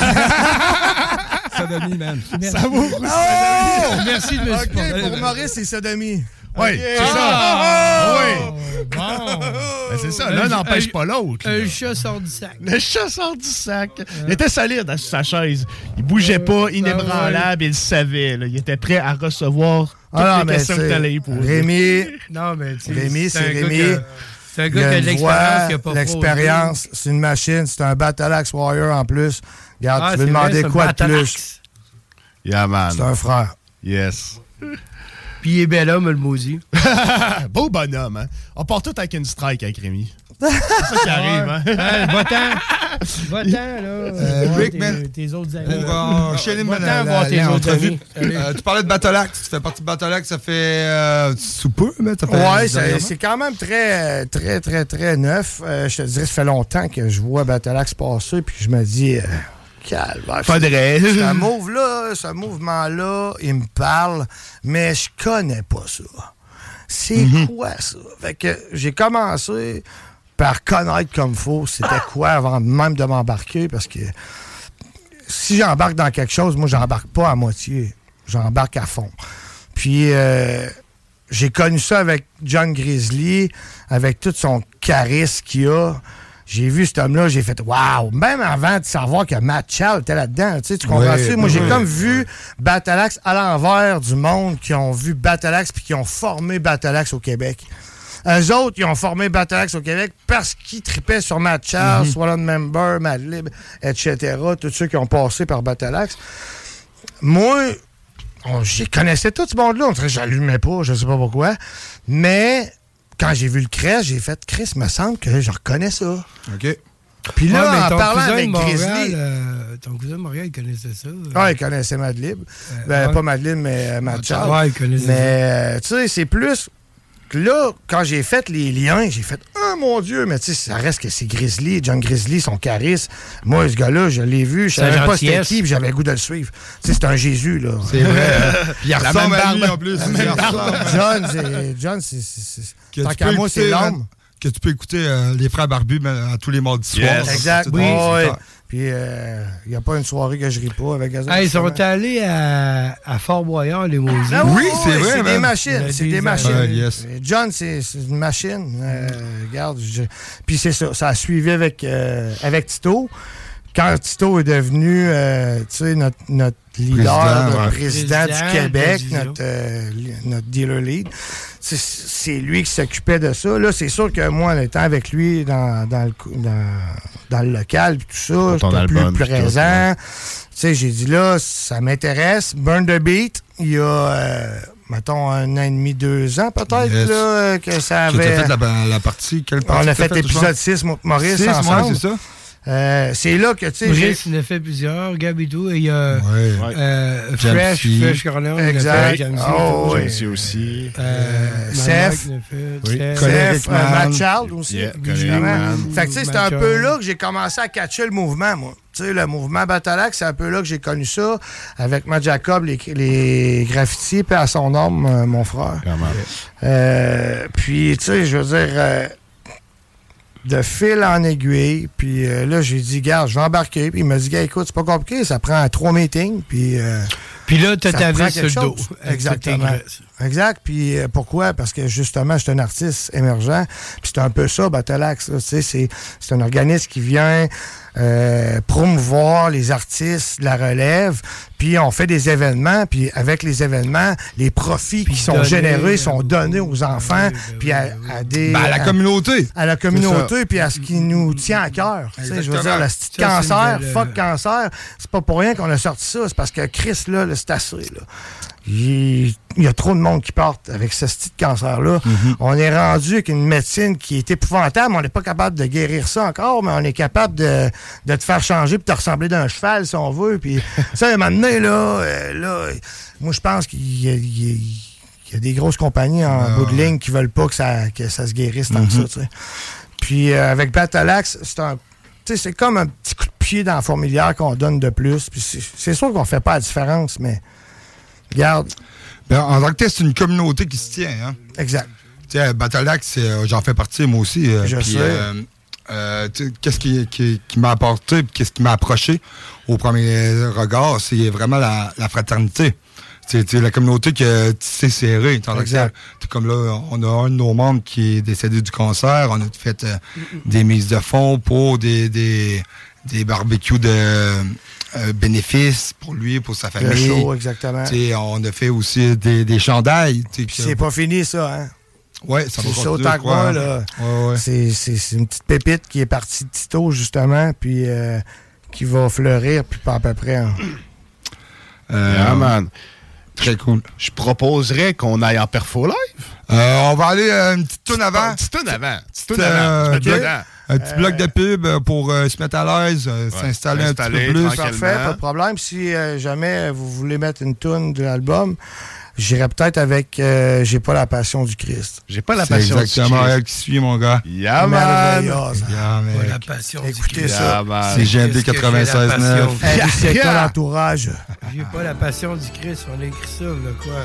Sodomie, man. Samour. Oh! Merci de me supporter. OK, pour Maurice, c'est sodomie. Oui, c'est ça. Oui. Bon. Ben, c'est ça. L'un n'empêche pas l'autre. Un chat sort du sac. Le chat sort du sac. Il était solide sur sa chaise. Il bougeait pas, inébranlable. Il le savait. Là. Il était prêt à recevoir toutes les questions que t'allais y poser. Rémi, non, mais Rémi, c'est Rémi. C'est un gars qui a de l'expérience. L'expérience, c'est une machine. C'est un Battle Axe Warrior en plus. Regarde, tu veux demander quoi de plus? Yeah, man. C'est un frère. Yes. Puis il est bel homme, le maudit. Beau bonhomme, hein? On part tout avec une strike avec Rémi. C'est ça qui arrive, hein? Va-t'en, là. Rick, tes autres amis. Pour enchaîner l'entrevue. Tu parlais de Battle Axe. Tu fais partie de Battle Axe, ça fait sous peu, mais ça fait... Ouais, c'est quand même très, très, très, très neuf. Je te dirais, ça fait longtemps que je vois Battle Axe passer, puis je me dis... Faudrait. Ce mouvement-là, il me parle, mais je connais pas ça. C'est quoi ça? Fait que j'ai commencé par connaître comme faut c'était quoi avant même de m'embarquer, parce que si j'embarque dans quelque chose, moi, j'embarque pas à moitié. J'embarque à fond. Puis j'ai connu ça avec John Grizzly, avec tout son charisme qu'il a. J'ai vu cet homme-là, j'ai fait « Wow! » Même avant de savoir que Matt Chal était là-dedans. Tu comprends ça? Moi, j'ai comme vu Battle Axe à l'envers du monde qui ont vu Battle Axe puis qui ont formé Battle Axe au Québec. Eux autres, ils ont formé Battle Axe au Québec parce qu'ils tripaient sur Matt Chal, Swollen Member, Madlib, etc. Tous ceux qui ont passé par Battle Axe. Moi, j'y connaissais tout ce monde-là. On dirait que j'allumais pas, je sais pas pourquoi. Mais... quand j'ai vu le Chris, j'ai fait « Chris, me semble que je reconnais ça. » OK. Puis là, en parlant avec Grizzly... ton cousin de Montréal, il connaissait ça. Ah, il connaissait Madlib. Pas Madlib, mais Matchal. Ouais, il connaissait ça. Mais, tu sais, c'est plus... Là, quand j'ai fait les liens, j'ai fait « Oh mon Dieu! » Mais tu sais, ça reste que c'est Grizzly, John Grizzly, son charisme. Moi, ce gars-là, je l'ai vu, je savais pas c'était qui, puis j'avais le goût de le suivre. Tu sais, c'est un Jésus, là. C'est vrai. Il ressemble à lui, en plus. John, c'est... Tant qu'à moi, c'est l'homme. que tu peux écouter les Frères Barbus à tous les mardis soirs. Exact. Oui. Puis, il n'y a pas une soirée que je ris pas avec eux. Ils sont allés à Fort-Boyard, les Mosiers. Ah, oui, c'est vrai. C'est des machines. C'est des machines. Yes. John, c'est une machine. Regarde. Puis c'est ça. Ça a suivi avec Tito. Quand Tito est devenu notre leader, président du Québec, notre dealer lead, c'est lui qui s'occupait de ça. Là, c'est sûr que moi, en étant avec lui dans le local, puis tout ça, j'étais plus présent. J'ai dit là, ça m'intéresse. Burn the Beat, il y a, mettons, 1 an et demi, 2 ans peut-être, là, que ça avait... Tu as fait la partie, quelle partie? On a fait l'épisode 6, Maurice, ensemble. C'est ça. C'est là que, tu sais... Maurice, il en a fait plusieurs. Gabidou, il y a Fresh Corner, exact. Jamesy aussi. Seth, Matt Child aussi. Fait que, tu sais, c'est un peu là que j'ai commencé à catcher le mouvement, moi. Tu sais, le mouvement Battleaxe, c'est un peu là que j'ai connu ça, avec Matt Jacob, les graffitis, puis à son homme, mon frère. Puis, tu sais, je veux dire... de fil en aiguille, puis là, j'ai dit, garde, je vais embarquer, puis il m'a dit, gars, écoute, c'est pas compliqué, ça prend 3 meetings, puis là, tu as ta vie sur le dos. Exactement. Exact, puis pourquoi? Parce que, justement, je suis un artiste émergent, puis c'est un peu ça, Battleaxe, tu sais, c'est un organisme qui vient promouvoir les artistes de la relève, puis on fait des événements, puis avec les événements, les profits qui sont générés sont donnés aux enfants, puis à la communauté. À la communauté, puis à ce qui nous tient à cœur. Je veux dire, le petit cancer, fuck cancer, c'est pas pour rien qu'on a sorti ça, c'est parce que Chris, là, c'est assez, là. Il y a trop de monde qui porte avec ce petit cancer-là. On est rendu avec une médecine qui est épouvantable. On n'est pas capable de guérir ça encore, mais on est capable de te faire changer et de te ressembler d'un cheval, si on veut. Puis ça, à un moment donné, là, moi, je pense qu'il y a des grosses compagnies en bout de ligne qui veulent pas que ça se guérisse tant que ça. T'sais. Puis avec Battleaxe, c'est comme un petit coup de pied dans la fourmilière qu'on donne de plus. Puis c'est sûr qu'on fait pas la différence, mais... Regarde. En tant que tel, c'est une communauté qui se tient. Hein? Exact. Tu sais, Battleaxe, j'en fais partie, moi aussi. Je sais. Qu'est-ce qui m'a apporté et qu'est-ce qui m'a approché au premier regard, c'est vraiment la fraternité. C'est la communauté qui s'est serrée. Exact. Comme là, on a un de nos membres qui est décédé du cancer. On a fait des mises de fonds pour des barbecues de... bénéfices pour lui, pour sa famille. Le show, exactement. On a fait aussi des chandails. C'est pas fini, ça, hein? Oui, ça va continuer. C'est autant que moi, là. Ouais. C'est une petite pépite qui est partie de Tito, justement, puis qui va fleurir, puis pas à peu près. Hein. Man. Très cool. Je proposerais qu'on aille en perfo live. On va aller une petite tourne avant. Petite tourne avant. Un petit bloc de pub pour se mettre à l'aise, s'installer un petit peu plus. Parfait, pas de problème. Si jamais vous voulez mettre une tourne de l'album, j'irais peut-être avec J'ai pas la passion du Christ. J'ai pas la passion du Christ. C'est exactement elle qui suit, mon gars. Yeah, man. La passion du Christ. Écoutez ça. C'est GMD 96.9. C'est quoi l'entourage? J'ai pas la passion du Christ. On a écrit ça, là, quoi.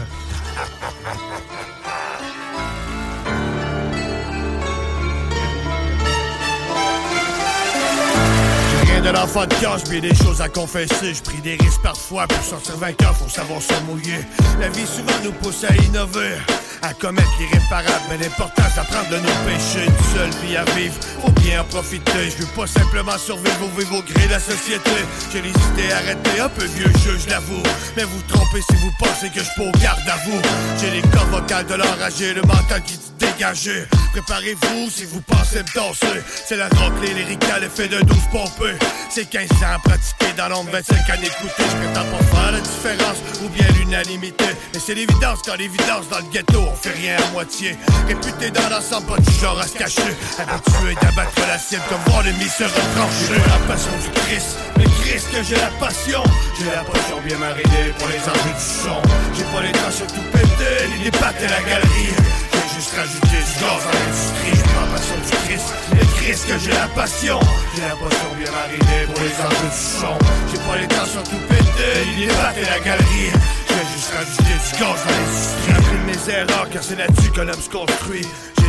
De l'enfant de cœur, j'ai des choses à confesser. Je pris des risques parfois pour sortir vainqueur, faut savoir se mouiller. La vie souvent nous pousse à innover, à commettre l'irréparable, mais l'important c'est d'apprendre de nos péchés. Une seule vie à vivre, faut bien en profiter. Je veux pas simplement survivre au vivre au gré de la société. J'ai les idées arrêtées, un peu vieux jeu, je l'avoue. Mais vous trompez si vous pensez que je peux au garde à vous. J'ai les cordes vocales de l'enragé, le mental qui dit dégagé. Préparez-vous si vous pensez me danser. C'est la raclée lyricale, effet de 12 pompées. C'est 15 ans pratiqué dans l'ombre, 25 ans d'écouter. Je prétends pas faire la différence ou bien l'unanimité. Mais c'est l'évidence quand l'évidence dans le ghetto, on fait rien à moitié. Réputé dans l'ensemble, pas du genre à se cacher. Habitué d'abattre la cible comme voir l'ennemi se retrancher. J'ai la passion du Christ, mais Christ que j'ai la passion. J'ai la passion bien marinée pour les enjeux du son. J'ai pas les traces sur tout péter, ni les pattes et la galerie. J'ai juste rajouté du gaz dans l'industrie. J'ai la passion du Christ, mais Christ que j'ai la passion. J'ai la passion bien marinée pour les enjeux du son. J'ai pas les traces sur tout péter, ni les pattes et la galerie. J'ai juste rajouté du gaz dans l'industrie. J'ai appris de mes erreurs car c'est là-dessus que l'homme se construit. J'ai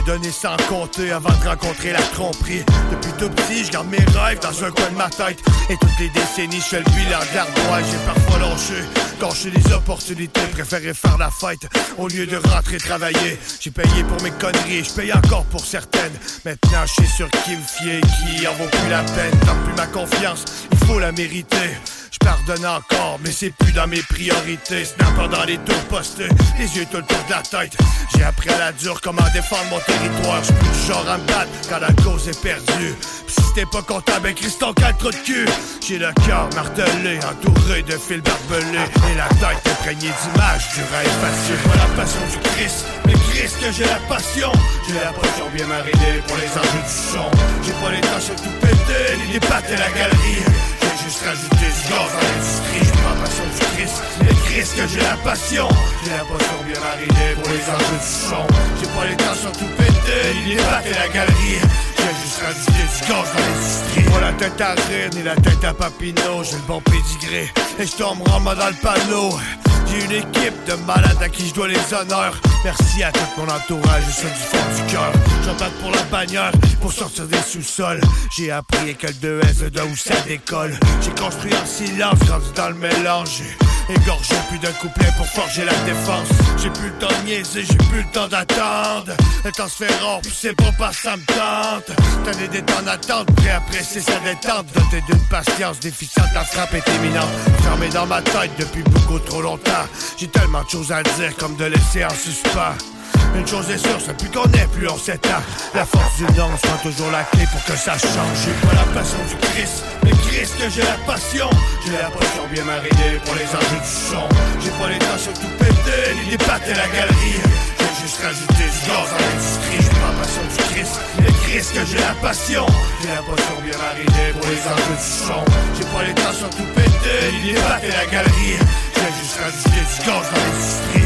J'ai donné sans compter avant de rencontrer la tromperie. Depuis tout petit, je garde mes rêves dans un coin de ma tête. Et toutes les décennies, je fais le bilan de l'ardoise. J'ai parfois lâché des opportunités, préféré faire la fête au lieu de rentrer travailler. J'ai payé pour mes conneries, je paye encore pour certaines. Maintenant, je sais sur qui me fier, qui en vaut plus la peine. Tant plus ma confiance, il faut la mériter. Je pardonne encore, mais c'est plus dans mes priorités. Snapper dans les tours postés, les yeux tout le tour de la tête. J'ai appris à la dure comment défendre mon territoire. J'suis plus du genre à me battre quand la cause est perdue. Pis si t'es pas content, ben Christ ton trou de cul. J'ai le cœur martelé, entouré de fils barbelés. Et la tête imprégnée d'images du rêve facile. J'ai pas la passion du Christ, mais Christ que j'ai la passion. J'ai la passion bien marinée pour les enjeux du son. J'ai pas les tâches à tout péter, ni les pattes et la galerie. J'ai juste rajouté du gaz dans l'industrie. J'ai pas la passion du Christ, mais Christ que j'ai la passion. J'ai la passion bien marinée pour les enjeux du son. J'ai pas les tâches à tout péter, ni les pattes et la galerie. J'ai juste rajouté du gaz dans l'industrie. Pas la tête à rire, ni la tête à Papineau. J'ai le bon pédigré, et je tombe rama dans le panneau. J'ai une équipe de malades à qui je dois les honneurs. Merci à tout mon entourage, je suis du fond du cœur. J'en batte pour la bannière, pour sortir des sous-sols. J'ai appris que le 2S de où ça décolle. J'ai construit en silence, grandi dans le mélange. Égorgé plus d'un couplet pour forger la défense. J'ai plus le temps de niaiser, j'ai plus le temps d'attendre. Le temps se fait rare, puis c'est pas parce que ça me tente. T'as des temps d'attente, prêt à presser sa détente. Doté d'une patience déficiente, la frappe est imminente. Fermé dans ma tête depuis beaucoup trop longtemps. J'ai tellement de choses à dire comme de laisser en suspens. Une chose est sûre, c'est plus qu'on est, plus on s'étend. La force du nom sera toujours la clé pour que ça change. J'ai pas la passion du Christ, mais Christ que j'ai la passion. J'ai la passion bien marinée pour les enjeux du son. J'ai pas les tâches à tout péter, ni les pattes et la galerie. J'ai juste rajouté du gaz dans l'industrie. J'ai pas la passion du Christ, mais Christ que j'ai la passion. J'ai la passion bien marinée pour les enjeux du son. J'ai pas les tâches à tout péter, ni les pattes et la galerie. J'ai juste rajouté du gaz dans l'industrie.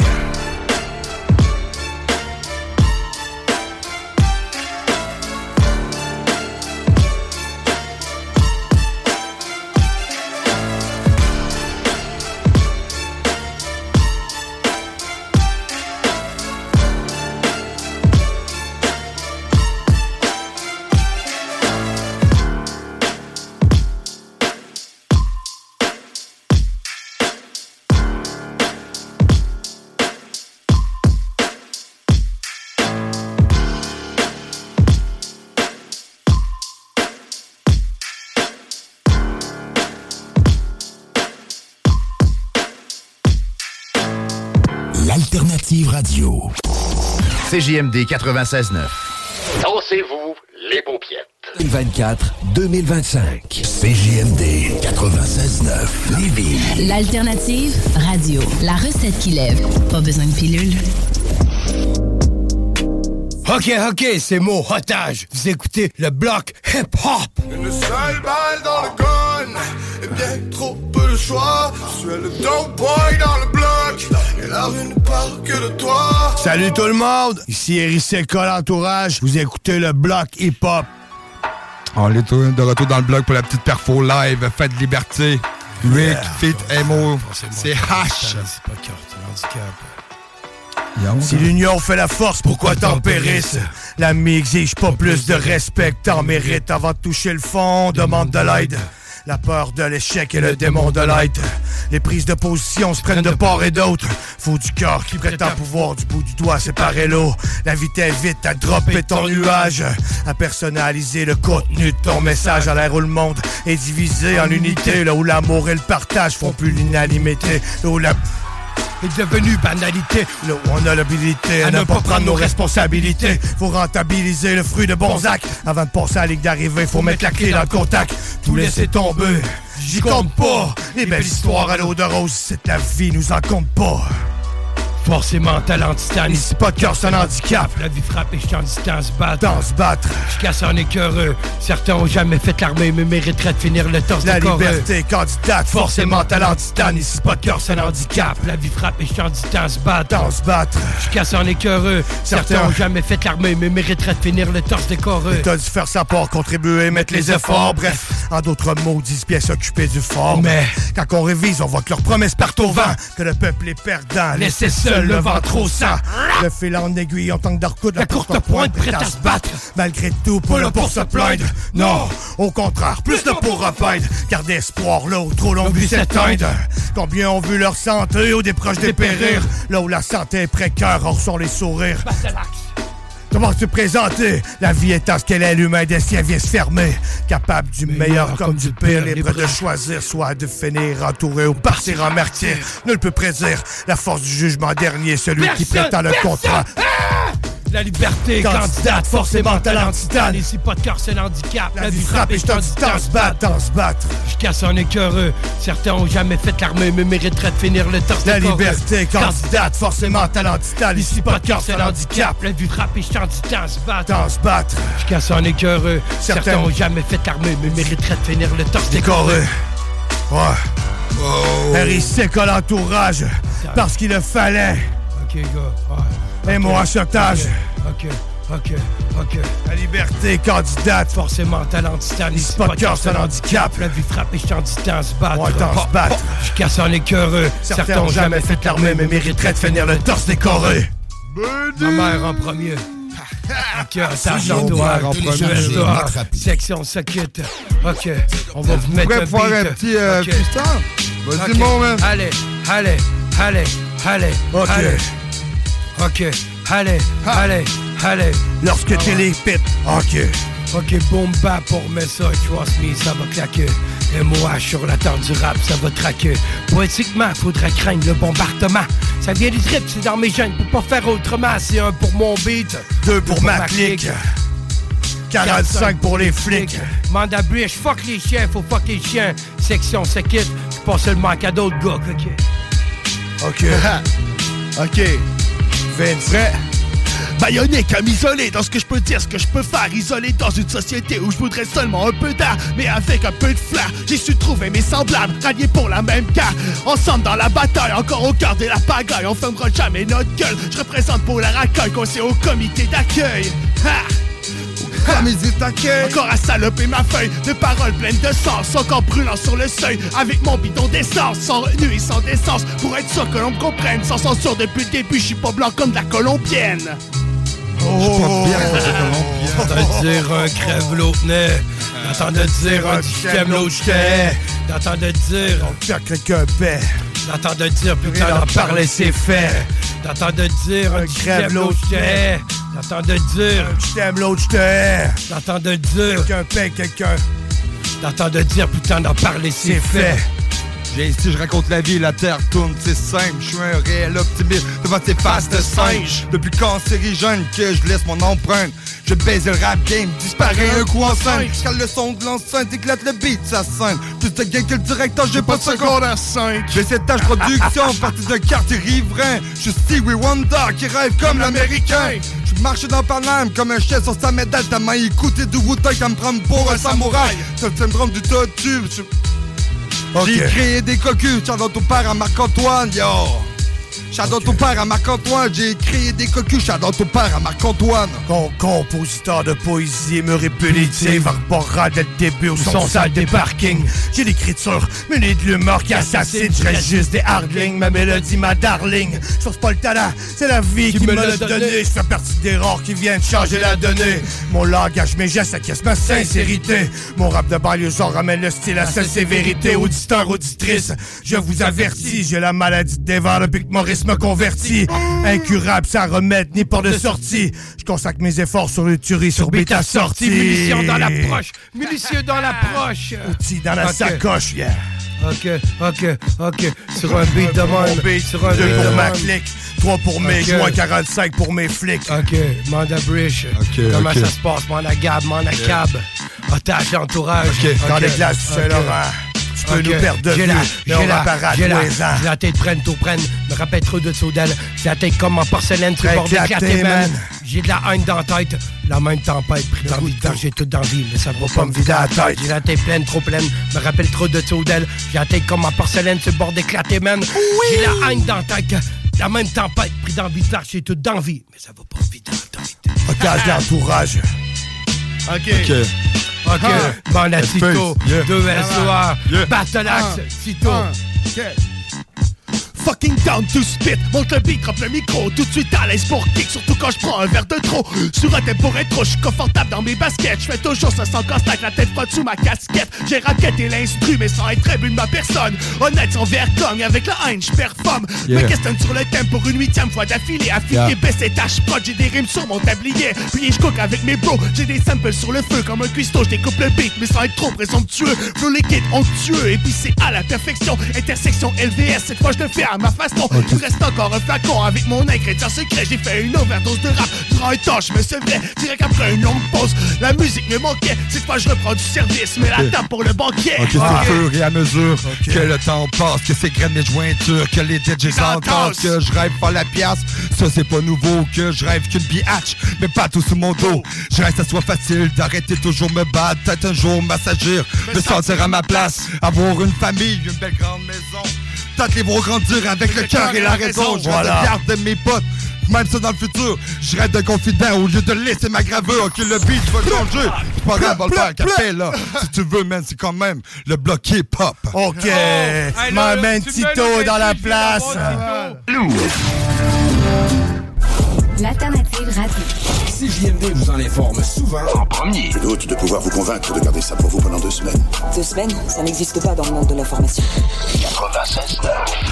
L'Alternative Radio. CJMD 96.9. Dansez-vous les paupiettes. 2024-2025. CJMD 96.9. Lévis. L'Alternative Radio. La recette qui lève. Pas besoin de pilule. Ok, c'est mon otage. Vous écoutez le bloc hip-hop. Une seule balle dans le gun, et bien trop peu de choix. Je suis le dope boy dans le bloc, et la rue ne parle que de toi. Salut tout le monde, ici Eric Seca, l'entourage. Vous écoutez le bloc hip-hop. On est de retour dans le bloc pour la petite perfo live. Fête de liberté. Rick, Fit, Emo. C'est H. C'est pas carte, handicap. Si l'union fait la force, pourquoi t'en périsses? L'ami exige pas plus de respect que t'en mérites. Avant de toucher le fond, demande de l'aide. La peur de l'échec et le démon de l'aide. Les prises de position se prennent de part et d'autre. Faut du cœur qui prétend pouvoir du bout du doigt séparer l'eau. La vie t'invite à dropper ton nuage, à personnaliser le contenu de ton message. À l'ère où le monde est divisé en unités, là où l'amour et le partage font plus l'unanimité, là où la est devenu banalité. Là où on a l'habilité à ne pas prendre nos responsabilités. Faut rentabiliser le fruit de bons actes. Avant de passer à la ligne d'arrivée, faut mettre la clé dans le contact. Tout laisser tomber, j'y compte pas. Les belles histoires à l'eau de rose, c'est la vie, nous en compte pas. Forcément talent titane. Ici pas de cœur, c'est un handicap. La vie frappe et je t'en dis tant se battre. Tant se battre. Je casse en écœureux. Certains ont jamais fait l'armée mais mériteraient de finir le torse la de corps. La liberté candidate, forcément talent titane. Ici pas de cœur, c'est un handicap. La vie frappe et je t'en dis tant se battre. Tant se battre. Je casse en écœureux. Certains ont jamais fait l'armée mais mériteraient de finir le torse décoreux. T'as dû faire sa part, contribuer, mettre les efforts. Bref, en d'autres mots, 10 pièces occupées du fort. Mais quand on révise, on voit que leurs promesses partent au vent. Que le peuple est perdant, laissez seul seul, le ventre au sang. Le fil en aiguille, on tente de recoudre la courte pointe, prête à se battre. Malgré tout, pas là pour se plaindre. Non, au contraire, plus là pour repeindre. Car d'espoir, là où trop l'on vu s'éteindre. Combien ont vu leur santé ou des proches dépérir. Là où la santé est précaire, or sont les sourires. Comment te présenter? La vie étant ce qu'elle est, l'humain des siens vient se fermer. Capable du meilleur comme du pire, libre de choisir, soit de finir entouré ou partir en martyr. Nul peut prédire la force du jugement dernier, celui qui prétend le contrat. La liberté, candidate, forcément talentitane. Ici pas de cœur, c'est l'handicap. La vie frappe et je t'en dis t'en se battre. Je casse un écœureux. Certains ont jamais fait l'armée, mais mériteraient de finir le torse. La liberté, candidate, forcément talentitane. Ici pas de cœur, c'est l'handicap. La vie frappe et je t'en dis t'en se battre. Je casse un écœureux. Certains ont jamais fait l'armée, mais mériteraient de finir le torse décoré. Ouais. RIC à l'entourage, parce qu'il le fallait. Ok, gars. Et mon achetage. Ok. La liberté, candidate. Forcément talentitane. Ici pas de cœur, c'est l'handicap. La vie frappe et je t'en dis t'en se battre. Ouais, t'en se battre. Je casse un écœureux. Certains ont jamais fait l'armée, mais mériteraient de finir le torse décoré. Ma mère en premier. Ok, attache l'entourage. Section se quitte. Ok, on va vous mettre un beat. Un petit piston. Vas-y, mon man. Allez. Ok, allez. Lorsque t'es les pits, ok, boom bap, on remet ça, trust me, ça va claquer. MOH sur la terre du rap, ça va traquer. Poétiquement, faudrait craindre le bombardement. Ça vient du trip, c'est dans mes gènes, pour pas faire autrement. C'est 1 pour mon beat, 2 pour ma clique, 45 pour les flics. Manda Bridge, fuck les chiens, faut fuck les chiens. Section se quitte, c'est pas seulement qu'à d'autres gars, ok. Vince. Baïonné comme isolé dans ce que je peux dire, ce que je peux faire. Isolé dans une société où je voudrais seulement un peu d'air, mais avec un peu de flair. J'ai su trouver mes semblables, ralliés pour la même carte. Ensemble dans la bataille, encore au cœur de la pagaille. On fermera jamais notre gueule. Je représente pour la racaille, qu'on sait au comité d'accueil. Encore à saloper ma feuille de paroles pleines de sens, encore brûlant sur le seuil avec mon bidon d'essence, sans retenue et sans décence, pour être sûr que l'on me comprenne. Sans censure depuis le début, je suis pas blanc comme de la colombienne. D'entendre dire un crève l'autre nez, d'entendre dire un j'aime l'autre j't'ai, d'entendre dire on perd quelqu'un paix, d'entendre dire putain d'en parler c'est fait, d'entendre dire un crève l'autre j't'ai, d'entendre dire je t'aime l'autre je t'ai, d'entendre dire quelqu'un paie quelqu'un, d'entendre dire putain d'en parler c'est fait. Viens ici, je raconte la vie, la terre tourne, c'est simple. Je suis un réel optimiste devant tes faces de singe. Depuis cancérigène que je laisse mon empreinte, je baise le rap game, disparaît un coup en scène. Cale le son de l'enceinte, éclate le beat, ça scène. Plus de gain que le directeur, j'ai pas de seconde à 5. J'ai cette tâche production, partie d'un quartier riverain. Je suis Stevie Wonder qui rêve comme l'américain. Je marche dans Paname comme un chef sur sa médaille. Ta main écoutée du Wu-Tang à me prendre pour un samouraï. C'est le syndrome du tortue. J'ai créé des cocus, shout-out ton père à Marc-Antoine, yo! Shout-out ton père à Marc-Antoine, j'ai créé des cocus, shout-out ton père à Marc-Antoine. Compositeur de poésie, me répétitive, arborant dès le début au son sale des parkings. J'ai l'écriture, mêlée de l'humeur qui assassine, je reste juste des hardlings, ma mélodie, ma darling. Je force pas le talent, c'est la vie qui me l'a donné. Je fais partie des rares qui viennent changer la donnée. Mon langage, mes gestes, acquiesce ma sincérité. Mon rap de banlieusard ramène le style à sa sévérité. Auditeur, auditrice, je vous avertis, j'ai la maladie de dévore depuis que Maurice me converti. Incurable, sans remède, ni port de sortie. Je consacre mes efforts sur le tuerie, sur bêta sortie. Munitions dans l'approche, munitions dans l'approche. Outils dans la sacoche, yeah. Ok. Sur un beat de même. Sur un 2 pour ma clique, 3 pour mes joints, 45 pour mes flics. Ok, Manda Bridge. Comment ça se passe, mon agab, mon acab? Otage d'entourage. Dans les glaces du Saint-Laurent. Tu peux nous perdre de vue, j'ai la tête prenne, me rappelle trop de Soudel. J'ai la tête comme en porcelaine sur le bord de éclaté, man. J'ai de la haine dans la tête, la même tempête, pris dans le vide, j'ai tout dans la vie, mais ça va pas me vider la tête. J'ai la tête pleine, trop pleine, me rappelle trop de Soudel. J'ai la tête comme en porcelaine sur le bord d'éclaté, man. J'ai la haine dans la tête, la même tempête, pris dans le vide, j'ai tout dans la vie, mais ça va pas me vider la tête. Otage d'entourage. Ok, Banda Tito, 2 SOA, Battle Axe, Tito. fucking down to spit. Monte le beat, drop le micro, tout de suite à l'aise pour kick. Surtout quand je prends un verre de trop. Sur un tempo rétro, je suis confortable dans mes baskets. Je fais toujours ça sans casse-tête, la tête frotte sous ma casquette. J'ai raquetté l'instru, mais sans être très bu de ma personne. Honnête, sans vergogne, avec la haine, je performe. Me questionne sur le thème pour une 8e fois d'affilée. Affilié, baissé, tâche prod, j'ai des rimes sur mon tablier. Puis je cook avec mes bros, j'ai des samples sur le feu. Comme un cuistot, je découpe le beat, mais sans être trop présomptueux. Flow liquide, onctueux, épicé à la perfection. Intersection LVS, cette fois je le fais à ma façon. Il reste encore un flacon avec mon ingrédient secret. J'ai fait une overdose de rap durant un temps, je me sevrais. Direct après une longue pause, la musique me manquait. Cette fois je reprends du service, mais la table pour le banquet. Ok, c'est au fur et à mesure que le temps passe, que c'est graines mes jointures, que les DJs entendent, que je rêve par la pièce. Ça c'est pas nouveau, que je rêve qu'une biatch, mais pas tout sur mon dos. Je rêve que ça soit facile d'arrêter toujours me battre, peut-être un jour m'assagir, me sentir à ma place, avoir une famille, une belle grande maison. Peut-être les voir grandir avec le cœur et la raison. Je rêve de garder mes potes, même ça dans le futur. Je rêve de confident au lieu de laisser ma gravure. Ok, le beat va changer. C'est pas grave, on va le faire café là. Si tu veux, man, c'est quand même le bloc hip-hop. Ok, ma man Tito dans la place. L'alternative radio. CJMD vous en informe souvent en premier. Je doute de pouvoir vous convaincre de garder ça pour vous pendant 2 semaines. 2 semaines? Ça n'existe pas dans le monde de l'information. 96.9.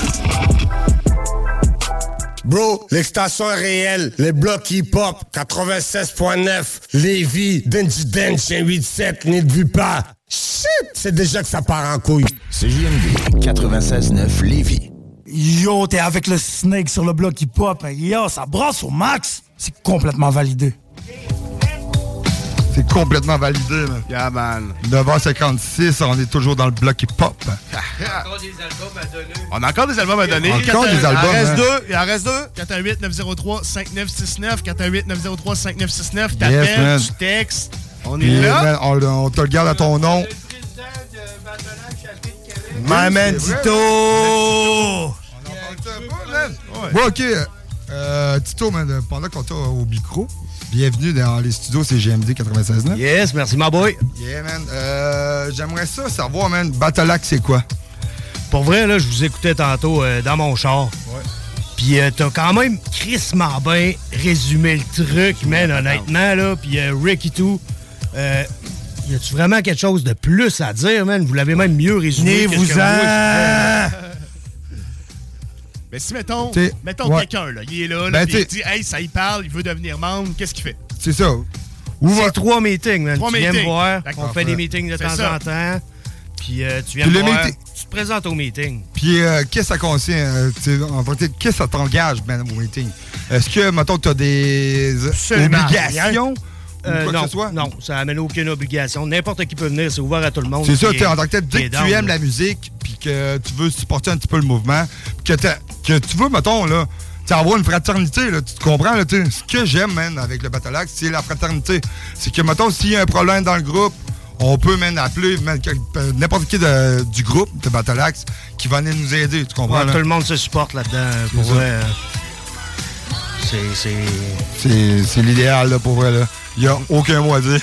Bro, l'extension est réelle. Les blocs hip-hop, 96.9. Lévis, Denji Dench, 187, n'y vu pas. Shit, c'est déjà que ça part en couille. CJMD 96.9 Lévis. Yo, t'es avec le Snake sur le bloc hip-hop. Yo, ça brasse au max. C'est complètement validé. C'est complètement validé, man. Yeah, man. 9h56, on est toujours dans le bloc hip-hop. On a encore des albums à donner. Encore des albums, Il en reste deux. 418-903-5969. 418-903-5969. T'appelles, man. tu textes. On est Puis, là. man, on te le garde à ton nom. My man Tito! Bon, ok. Tito, man, pendant qu'on t'a au micro, bienvenue dans les studios CGMD 96.9. Yes, merci, my boy. Yeah, man. J'aimerais ça savoir, man, Battleaxe, c'est quoi? Pour vrai, là, je vous écoutais tantôt dans mon char. Ouais. Puis t'as quand même crissement bien résumé le truc, man, honnêtement, là. Puis Rick et tout. Y a-tu vraiment quelque chose de plus à dire, man? Vous l'avez même mieux résumé. Venez-vous-en! Mais si, mettons quelqu'un, là, il est là, Ben, il dit, hey, ça y parle, il veut devenir membre, qu'est-ce qu'il fait? C'est ça. C'est 3 meetings, man. Tu viens me voir, D'accord. on fait des meetings de temps en temps. Puis tu viens Puis me le voir, meeting- tu te présentes au meeting. Puis, qu'est-ce que ça concerne? En fait, qu'est-ce que ça t'engage, man, au meeting? Est-ce que, mettons, tu as des obligations? Non, non, ça n'amène aucune obligation. N'importe qui peut venir, c'est ouvert à tout le monde. C'est ça, en tant que tel, dès que tu aimes la musique, puis que tu veux supporter un petit peu le mouvement, puis que tu veux, mettons, là, avoir une fraternité, là, tu te comprends, là, ce que j'aime, man, avec le Battleaxe, c'est la fraternité. C'est que, mettons, s'il y a un problème dans le groupe, on peut, man, appeler n'importe qui du groupe de Battleaxe qui va venir nous aider, tu comprends? Ouais, là? tout le monde se supporte là-dedans, pour vrai. C'est l'idéal, là, pour vrai, là. Il n'y a aucun mot à dire.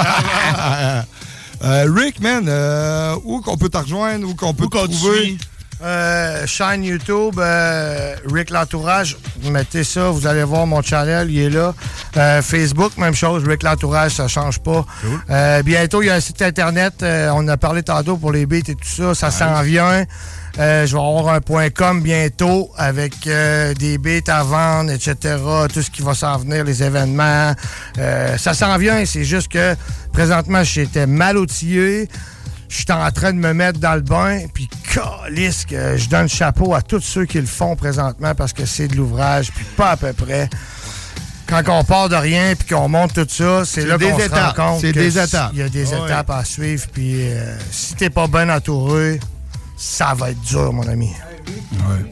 Rick, man, où qu'on peut te rejoindre, où qu'on peut te trouver? Chaîne YouTube, Rick L'Entourage. Vous mettez ça, vous allez voir mon channel, il est là. Facebook, même chose, Rick L'Entourage, ça change pas. Cool. Bientôt, il y a un site internet, on a parlé tantôt pour les beats et tout ça, ça s'en vient. Je vais avoir un .com bientôt avec des beats à vendre, etc. Tout ce qui va s'en venir, les événements. Ça s'en vient, c'est juste que présentement, j'étais mal outillé. Je suis en train de me mettre dans le bain, puis calisse que je donne chapeau à tous ceux qui le font présentement parce que c'est de l'ouvrage, puis pas à peu près. Quand on part de rien puis qu'on monte tout ça, c'est là qu'on se rend compte c'est des étapes. Il y a des étapes à suivre, puis si t'es pas bien entouré, ça va être dur, mon ami. Ouais.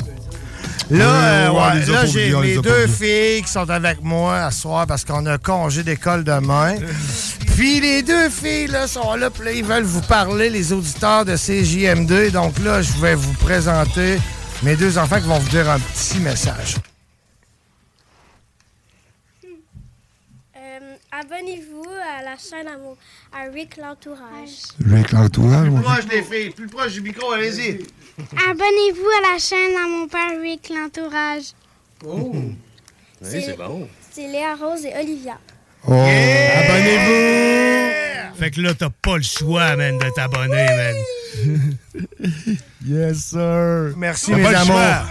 Là, j'ai mes 2 filles qui sont avec moi à ce soir parce qu'on a congé d'école demain. Puis les 2 filles là, sont là, puis là, ils veulent vous parler, les auditeurs de CJMD. Donc là, je vais vous présenter mes 2 enfants qui vont vous dire un petit message. Abonnez-vous à la chaîne à Rick l'Entourage. Rick l'Entourage, Plus proche, les filles. Plus proche du micro, allez-y. Abonnez-vous à la chaîne à mon père Rick l'Entourage. Oh! Oui, c'est bon. C'est Léa Rose et Olivia. Oh. Yeah! Abonnez-vous! Fait que là, t'as pas le choix, man, de t'abonner, man. Yes, sir. Merci, mes amours.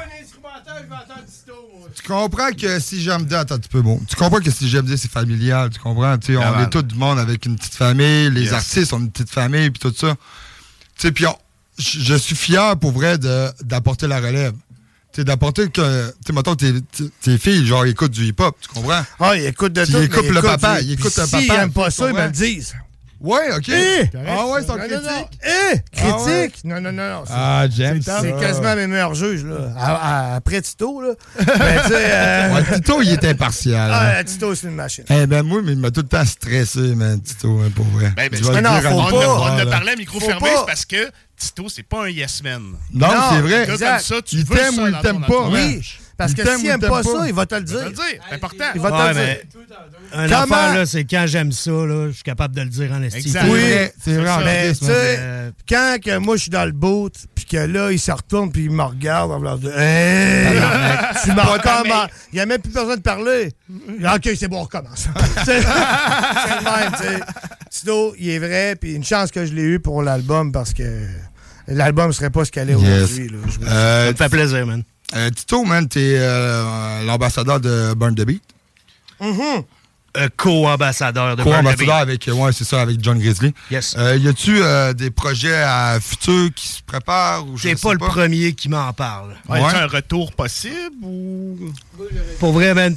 Tu comprends que si j'aime dire, attends un petit peu, bon. Tu comprends que si j'aime dire, c'est familial, tu comprends? Tu sais, on est tout du monde avec une petite famille, les artistes ont une petite famille, puis tout ça. Tu sais, puis je suis fier, pour vrai, d'apporter la relève. Tu sais, d'apporter que, tu sais, mettons, tes filles, genre, écoutent du hip-hop, tu comprends? Ah, ils écoutent de tout. Ils écoutent le papa, ils écoutent le papa. S'ils n'aiment pas ça, ils me le disent. Ouais, OK. Ah ouais, c'est en critique. Critique? Non. J'aime ça. C'est quasiment mes meilleurs juges, là. Après Tito, là. Ben, tu sais... Tito, il était impartial. Ah, Tito, c'est une machine. Moi, mais il m'a tout le temps stressé, man, Tito, pour vrai. On a parlé à micro fermé, c'est parce que Tito, c'est pas un yes man. Non, c'est vrai. Comme ça, tu il t'aime ou il t'aime pas. Oui. Parce que s'il n'aime pas ça, il va te le dire. C'est important. Il va te le dire. Un affaire, là, c'est quand j'aime ça, là, je suis capable de le dire en estime. Oui, c'est vrai. Mais tu sais, quand que moi, je suis dans le boat, puis que là, il se retourne, puis il me regarde, en voulant dire tu m'en recommences. Il n'y a même plus besoin de parler. OK, c'est bon, on recommence. C'est le même, tu sais. Tito, il est vrai, puis une chance que je l'ai eu pour l'album, parce que l'album ne serait pas ce qu'elle est aujourd'hui. Ça me fait plaisir, man. Tito, man, t'es l'ambassadeur de Burn the Beat. Co-ambassadeur de Burn the Beat. Co-ambassadeur avec, c'est ça, avec John Grizzly. Yes. Y a-tu des projets à futur qui se préparent? C'est pas le premier qui m'en parle. Ouais. Est-ce un retour possible ou... Pour vrai, man.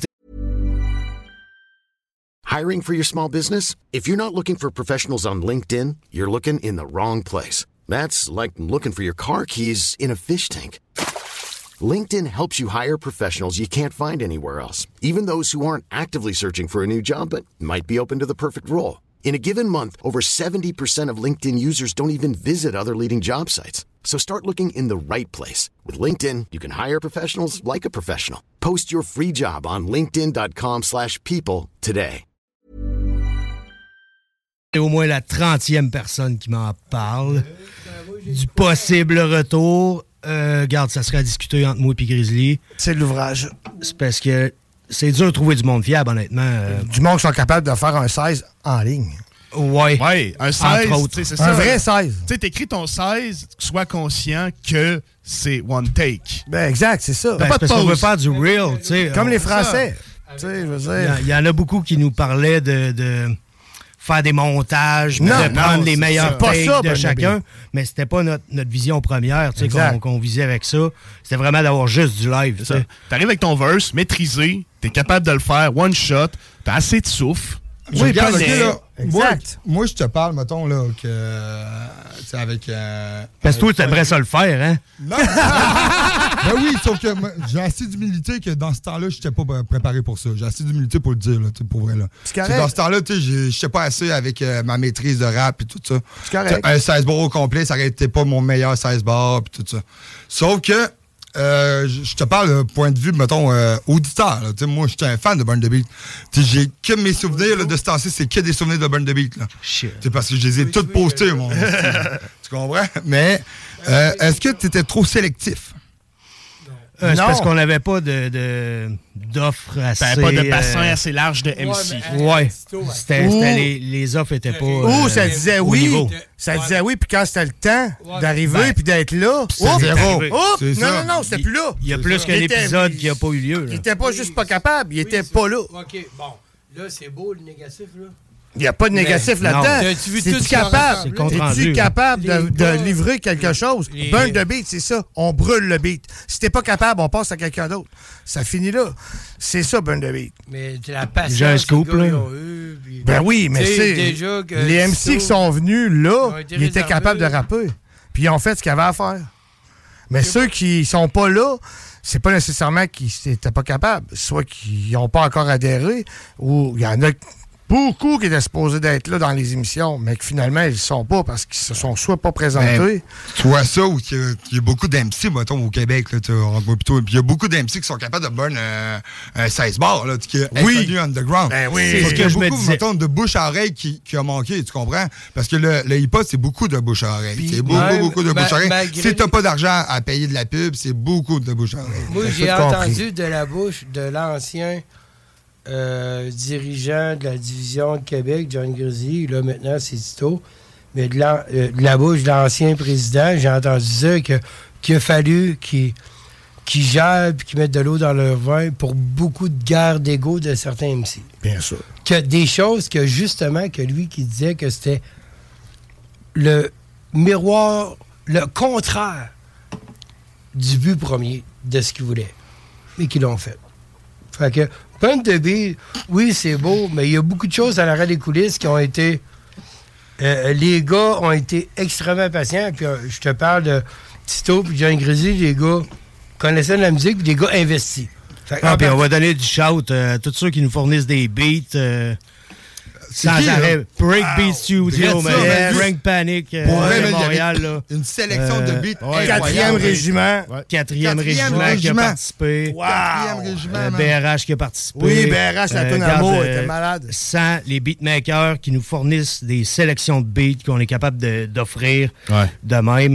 Hiring for your small business? If you're not looking for professionals on LinkedIn, you're looking in the wrong place. That's like looking for your car keys in a fish tank. LinkedIn helps you hire professionals you can't find anywhere else, even those who aren't actively searching for a new job but might be open to the perfect role. In a given month, over 70% of LinkedIn users don't even visit other leading job sites. So start looking in the right place. With LinkedIn, you can hire professionals like a professional. Post your free job on linkedin.com/people today. C'est au moins la 30e personne qui m'en parle du possible retour. Regarde, ça serait à discuter entre moi et Grizzly. C'est de l'ouvrage. C'est parce que c'est dur de trouver du monde fiable, honnêtement. Du monde qui sont capables de faire un 16 en ligne. Ouais, un 16, c'est ça. Un vrai 16. Tu sais, t'écris ton 16, sois conscient que c'est one take. Ben exact, c'est ça. Ben, pas de parce qu'on veut faire du real, tu sais. Comme les Français. Tu sais, je veux dire. Il y en a beaucoup qui nous parlaient de faire des montages, de prendre les meilleurs takes de chacun. Mais c'était pas notre vision première, tu sais, qu'on visait avec ça. C'était vraiment d'avoir juste du live. T'arrives avec ton verse maîtrisé, t'es capable de le faire one shot, t'as assez de souffle. Oui, regarde, là, moi, je te parle, mettons, là, que. Tu sais, avec. Parce que toi, t'aimerais ça le faire, hein? Non! Ben oui, sauf que j'ai assez d'humilité que dans ce temps-là, je n'étais pas préparé pour ça. J'ai assez d'humilité pour le dire, là, pour vrai. Là. Dans ce temps-là, je n'étais pas assez avec ma maîtrise de rap et tout ça. Un 16 bars au complet, ça n'aurait été pas mon meilleur 16 bars et tout ça. Sauf que. Je te parle d'un point de vue, mettons, auditeur. Là. Moi, j'étais un fan de Burn the Beat. J'ai que mes souvenirs là, de ce temps-ci, c'est que des souvenirs de Burn the Beat. Là. Parce que je les ai tous postés, mon. Tu comprends? Mais est-ce que tu étais trop sélectif? C'est parce qu'on n'avait pas d'offres assez... T'avais pas de bassin assez large de MC. Ouais. C'était les offres n'étaient pas Ou ça disait oui. Ça disait oui, puis quand c'était le temps d'arriver puis d'être là... zéro. Non, c'était plus là. Il y a plus qu'un épisode qui n'a pas eu lieu. Il était pas juste pas capable, il était pas là. OK, bon. Là, c'est beau, le négatif, là. Il n'y a pas de négatif là-dedans. Es-tu capable de livrer quelque chose? Burn the beat, c'est ça. On brûle le beat. Si t'es pas capable, on passe à quelqu'un d'autre. Ça finit là. C'est ça, Burn the beat. Mais la patience. J'ai un scoop, là. Ben oui, mais c'est... Les MC qui sont venus là, ils étaient capables de rapper. Puis ils ont fait ce qu'ils avaient à faire. Mais ceux qui sont pas là, c'est pas nécessairement qu'ils n'étaient pas capables. Soit qu'ils n'ont pas encore adhéré, ou il y en a... beaucoup qui étaient supposés d'être là dans les émissions, mais que finalement, ils ne sont pas parce qu'ils se sont soit pas présentés. Ben, tu vois ça, où il y a beaucoup d'MC, mettons, au Québec, là, puis il y a beaucoup d'MC qui sont capables de burn un 16 bars, là, qui est inconnu underground. Ben oui. C'est ce que je me disais. Mettons, de bouche à oreille qui a manqué, tu comprends? Parce que le hip-hop, c'est beaucoup de bouche à oreille. C'est beaucoup de bouche à oreille. Si t'as pas d'argent à payer de la pub, c'est beaucoup de bouche à oreille. Moi, j'ai entendu de la bouche de l'ancien dirigeant de la division de Québec, John Grizzly, là maintenant c'est Tito, mais de la bouche de l'ancien président, j'ai entendu dire qu'il a fallu qu'ils gèrent et qu'ils mettent de l'eau dans leur vin pour beaucoup de guerres d'ego de certains MC. Bien sûr. Que des choses que justement, que lui qui disait que c'était le miroir, le contraire du but premier de ce qu'ils voulaient, mais qu'ils l'ont fait. Fait que Burn the Beat, oui, c'est beau, mais il y a beaucoup de choses à l'arrière des coulisses qui ont été... les gars ont été extrêmement patients. Puis je te parle de Tito puis John Grizzly, les gars connaissaient de la musique, puis des gars investis. Puis on va donner du shout à tous ceux qui nous fournissent des beats. Sans arrêt. Breakbeat Studio, Frank Panic, Montréal. Là. Une sélection de beats. 4e régiment. 4e régiment qui a participé. Wow. 4e régiment. BRH qui a participé. Oui, BRH, la tonne à mots, était malade. Sans les beatmakers qui nous fournissent des sélections de beats qu'on est capable d'offrir de même,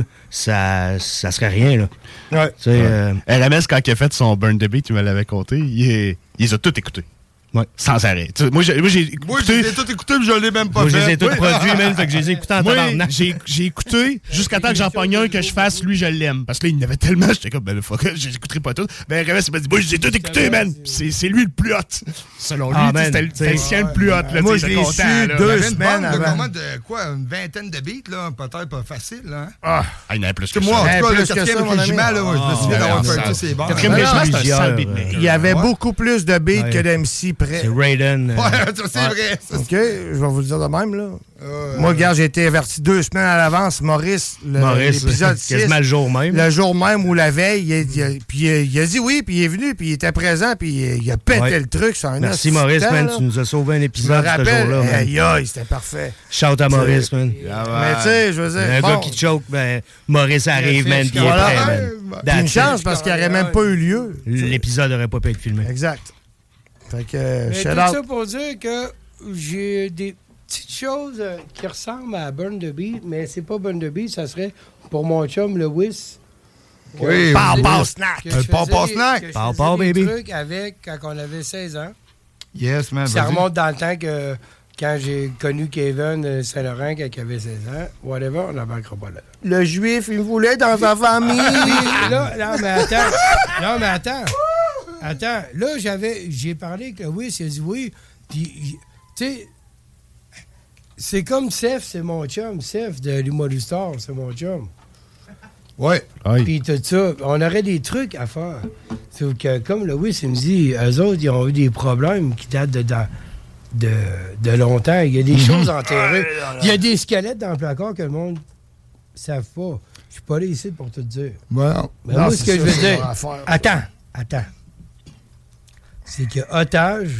ça serait rien. Là. RMS, quand il a fait son Burn the Beat, il me l'avait compté, il les a tous écoutés. Ouais. Sans arrêt. Moi, j'ai écouté. Moi, je les ai tous écoutés, mais je l'ai même pas fait. Moi, je les ai tous produits, même, fait que je les ai écoutés en tabarnak. J'ai écouté jusqu'à temps que j'en pogne un que je fasse, lui, je l'aime. Parce que là, il y en avait tellement, j'étais comme, ben, fuck, je les écouterai pas tous. Ben, RMS, il m'a dit, moi, je les ai tous écoutés, man. C'est lui le plus hot. Selon lui, c'était le sien le plus hot. Là, moi, je l'ai su 2 semaines avant. De quoi, une vingtaine de beats, là, peut-être pas facile, là. Il y en avait plus que moi, en tout cas, le 4e régiment, là, je me souviens d'avoir fait tous ces bars. 4e régiment, c'est un sale beatmaker. Il y avait beaucoup plus de beats que d'MC près. C'est Raiden. Ouais, c'est vrai. OK, je vais vous le dire de même, là. Moi, regarde, j'ai été averti 2 semaines à l'avance. Maurice, l'épisode 6. Quasiment le jour même. Le jour même ou la veille. Puis il a dit oui, puis il est venu, puis il était présent, puis il a pété le truc. Merci, Maurice, man. Tu nous as sauvé un épisode ce jour-là. Aïe, c'était parfait. Shout à Maurice, man. Mais tu sais, je veux dire. Un gars qui choke, ben, Maurice arrive, man, puis il est prêt, man. Une chance parce qu'il n'aurait même pas eu lieu. L'épisode n'aurait pas pu être filmé. Exact. Fait que, tout ça pour dire que j'ai des petites choses qui ressemblent à Burn the Beat, mais c'est pas Burn the Beat, ça serait pour mon chum, le Wiss. Oui, Pow Snack. Pow Snack. Pow baby. Des trucs avec quand on avait 16 ans. Yes, man. Ça remonte dans le temps que quand j'ai connu Kevin Saint-Laurent quand il avait 16 ans, whatever, on n'embarquera pas là. Le juif, il me voulait dans sa famille. Non, mais attends. Attends, là, j'ai parlé que oui, il a dit oui. Puis, tu sais, c'est comme Seth, c'est mon chum. Seth de l'Humoristar, c'est mon chum. Ouais. Puis tout ça, on aurait des trucs à faire. Sauf que, comme le Wiss, il me dit, eux autres, ils ont eu des problèmes qui datent de longtemps. Il y a des choses enterrées. Il y a des squelettes dans le placard que le monde ne savent pas. Je suis pas là ici pour te dire. Well, mais moi, ce que je veux dire... Attends. C'est que Otage,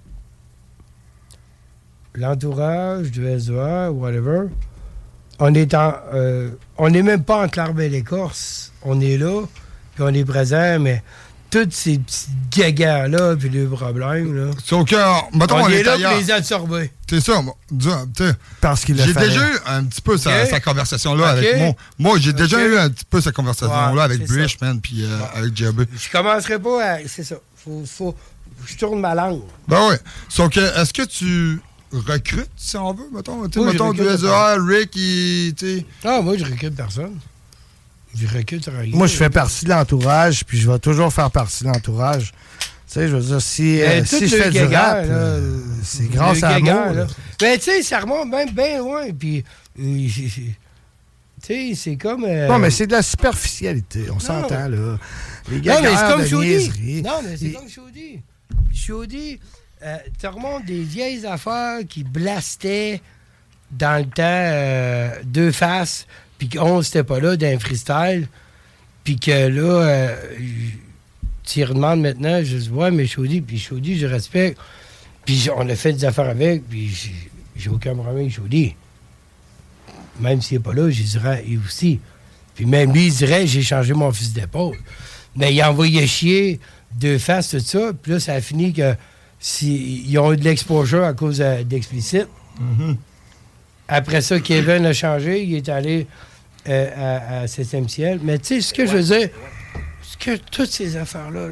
l'entourage du SEA, whatever, on n'est même pas en Clare-Belle-Écorce. On est là, puis on est présent, mais tous ces petits gagas-là, puis les problèmes, là. Sauf que, mettons, on est là pour les absorber. C'est ça, parce qu'il j'ai déjà eu un petit peu sa conversation-là avec moi. J'ai déjà eu un petit peu cette conversation-là avec Brish, man, puis avec JB. Je commencerai pas à... C'est ça. Faut je tourne ma langue. Ben oui. Sauf que, est-ce que tu recrutes, si on veut, mettons? Mettons du SEA, Rick, moi, je recrute personne. Je recrute rien. Moi, je fais partie de l'entourage, puis je vais toujours faire partie de l'entourage. Tu sais, je veux dire, si je fais du rap, c'est grâce à moi. Ben, tu sais, ça remonte même bien loin, puis... tu sais, c'est comme... Non, mais c'est de la superficialité, on s'entend, là. Les gars, mais c'est comme Chaudy. Non, mais c'est comme Chaudy. Chaudy, tu remontes des vieilles affaires qui blastaient dans le temps deux faces, puis qu'on n'était pas là d'un freestyle, puis que là, tu y redemandes maintenant, je dis, ouais, mais Chaudy, puis Chaudy, je respecte. Puis on a fait des affaires avec, puis j'ai aucun problème, je vous dis. Même s'il n'est pas là, je dirais, et aussi. Puis même lui, il dirait, j'ai changé mon fusil d'épaule. Mais il a envoyé chier 2 faces, tout ça. Puis là, ça a fini que ils ont eu de l'exposure à cause d'explicite. Mm-hmm. Après ça, Kevin a changé. Il est allé à 7e ciel. Mais tu sais, ce que je veux dire, toutes ces affaires-là,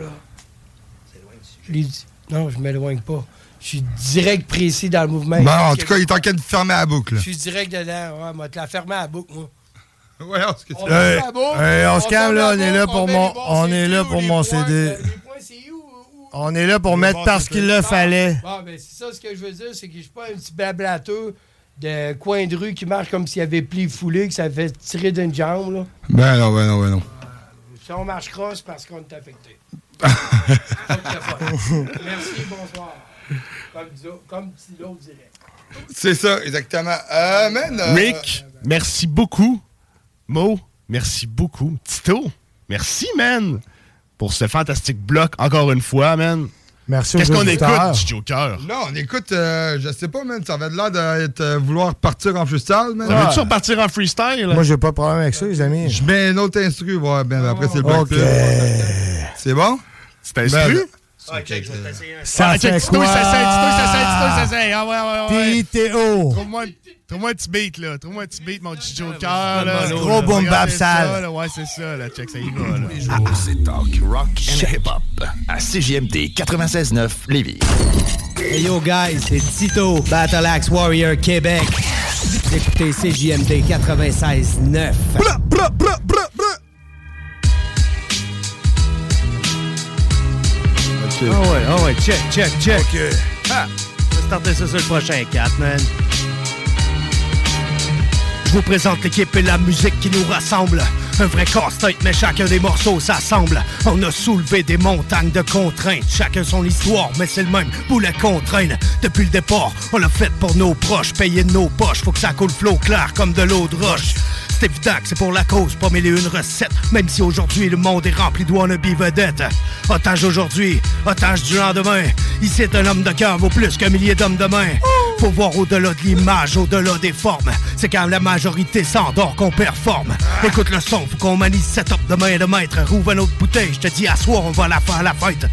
non, je ne m'éloigne pas. Je suis direct précis dans le mouvement. Bon, en tout cas, il est en train de fermer la boucle. Je suis direct dedans. Ouais, moi, te la fermer à la boucle, moi. Ouais, on se on se calme, là. On est là pour mon CD. On est là pour mettre parce qu'il le fallait. Bon, ben, c'est ça, ce que je veux dire, c'est que je suis pas un petit blablateux de coin de rue qui marche comme s'il y avait pli foulé, que ça fait tirer d'une jambe, là. Ben non. Si on marche cross, parce qu'on est affecté. Merci, bonsoir. Comme si l'autre dirait. C'est ça, exactement. Rick, merci beaucoup. Mo, merci beaucoup. Tito, merci, man, pour ce fantastique bloc, encore une fois, man. Merci. Qu'est-ce qu'on écoute, du Joker? Non, on écoute, je sais pas, man, ça avait l'air de vouloir partir en freestyle, man. Veux-tu repartir en freestyle? Moi, j'ai pas de problème avec ça, les amis. Je mets un autre instru, ouais, ben après, c'est le bloc. OK. C'est bon? C'est instru? OK, je vais t'essayer un Ça fait Tito, quoi? ça essaye. Puis Théo. Trouve-moi un petit beat, là. Trouve-moi un petit beat, mon petit Joker, là. Gros boom bap sale. Ouais, c'est ça, là. Check, ça y va, là. C'est Talk Rock and Hip Hop à CJMD 96.9 Lévis. Hey yo guys, c'est Tito, Battle Axe Warrior Québec. Vous écoutez CJMD 96.9. Ah ouais, check. OK. Ah, on va starter ça sur le prochain 4, man. Je vous présente l'équipe et la musique qui nous rassemble. Un vrai casse-tête, mais chacun des morceaux s'assemble. On a soulevé des montagnes de contraintes. Chacun son histoire, mais c'est le même boulet qu'on traîne. Depuis le départ, on l'a fait pour nos proches. Payer de nos poches, faut que ça coule flot clair comme de l'eau de roche. C'est évident que c'est pour la cause, pas mêler une recette. Même si aujourd'hui le monde est rempli de wannabe vedettes. Otage d'aujourd'hui, otage du lendemain. Ici un homme de cœur vaut plus qu'un millier d'hommes demain. Faut voir au-delà de l'image, au-delà des formes. C'est quand la majorité s'endort qu'on performe. Écoute le son, faut qu'on manie setup de main de maître. Rouvre une autre bouteille, je te dis à soir on va la faire à la fête.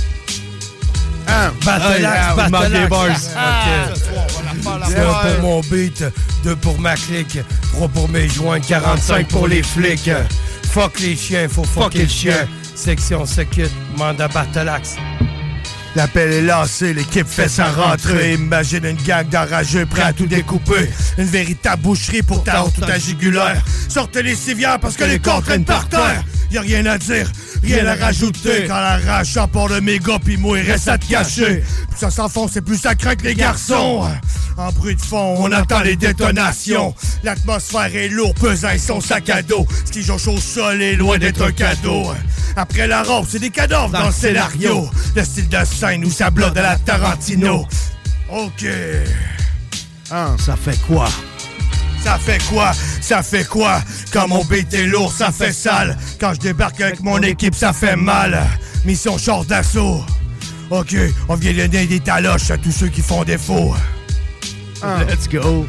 Battle Axe. Okay. Pour mon beat, 2 pour ma clique, 3 pour mes joints, 45 pour les flics. Fuck les chiens, faut fucker le chien. Section Secute, mandat Battle Axe. L'appel est lancé, l'équipe fait sa rentrée. Imagine une gang d'enrageux prêts à tout découper. Une véritable boucherie pour ta honte ou ta jugulaire. Sortez les civières parce que les corps traînent par terre. Y'a rien à dire, rien à rajouter. Quand la rage s'empare de méga pis moi il reste à te cacher. Plus ça s'enfonce et plus ça craint que les garçons. En bruit de fond, on entend les détonations. L'atmosphère est lourde, pesant son sac à dos. Ce qui jonche au sol est loin d'être un cadeau. Après la robe, c'est des cadavres dans le scénario. Le style de scène où ça bloque de la Tarantino. OK. Ça fait quoi? Ça fait quoi? Ça fait quoi? Quand mon beat est lourd, ça fait sale. Quand je débarque avec mon équipe, ça fait mal. Mission char d'assaut. OK, on vient donner des taloches à tous ceux qui font défaut. Let's go.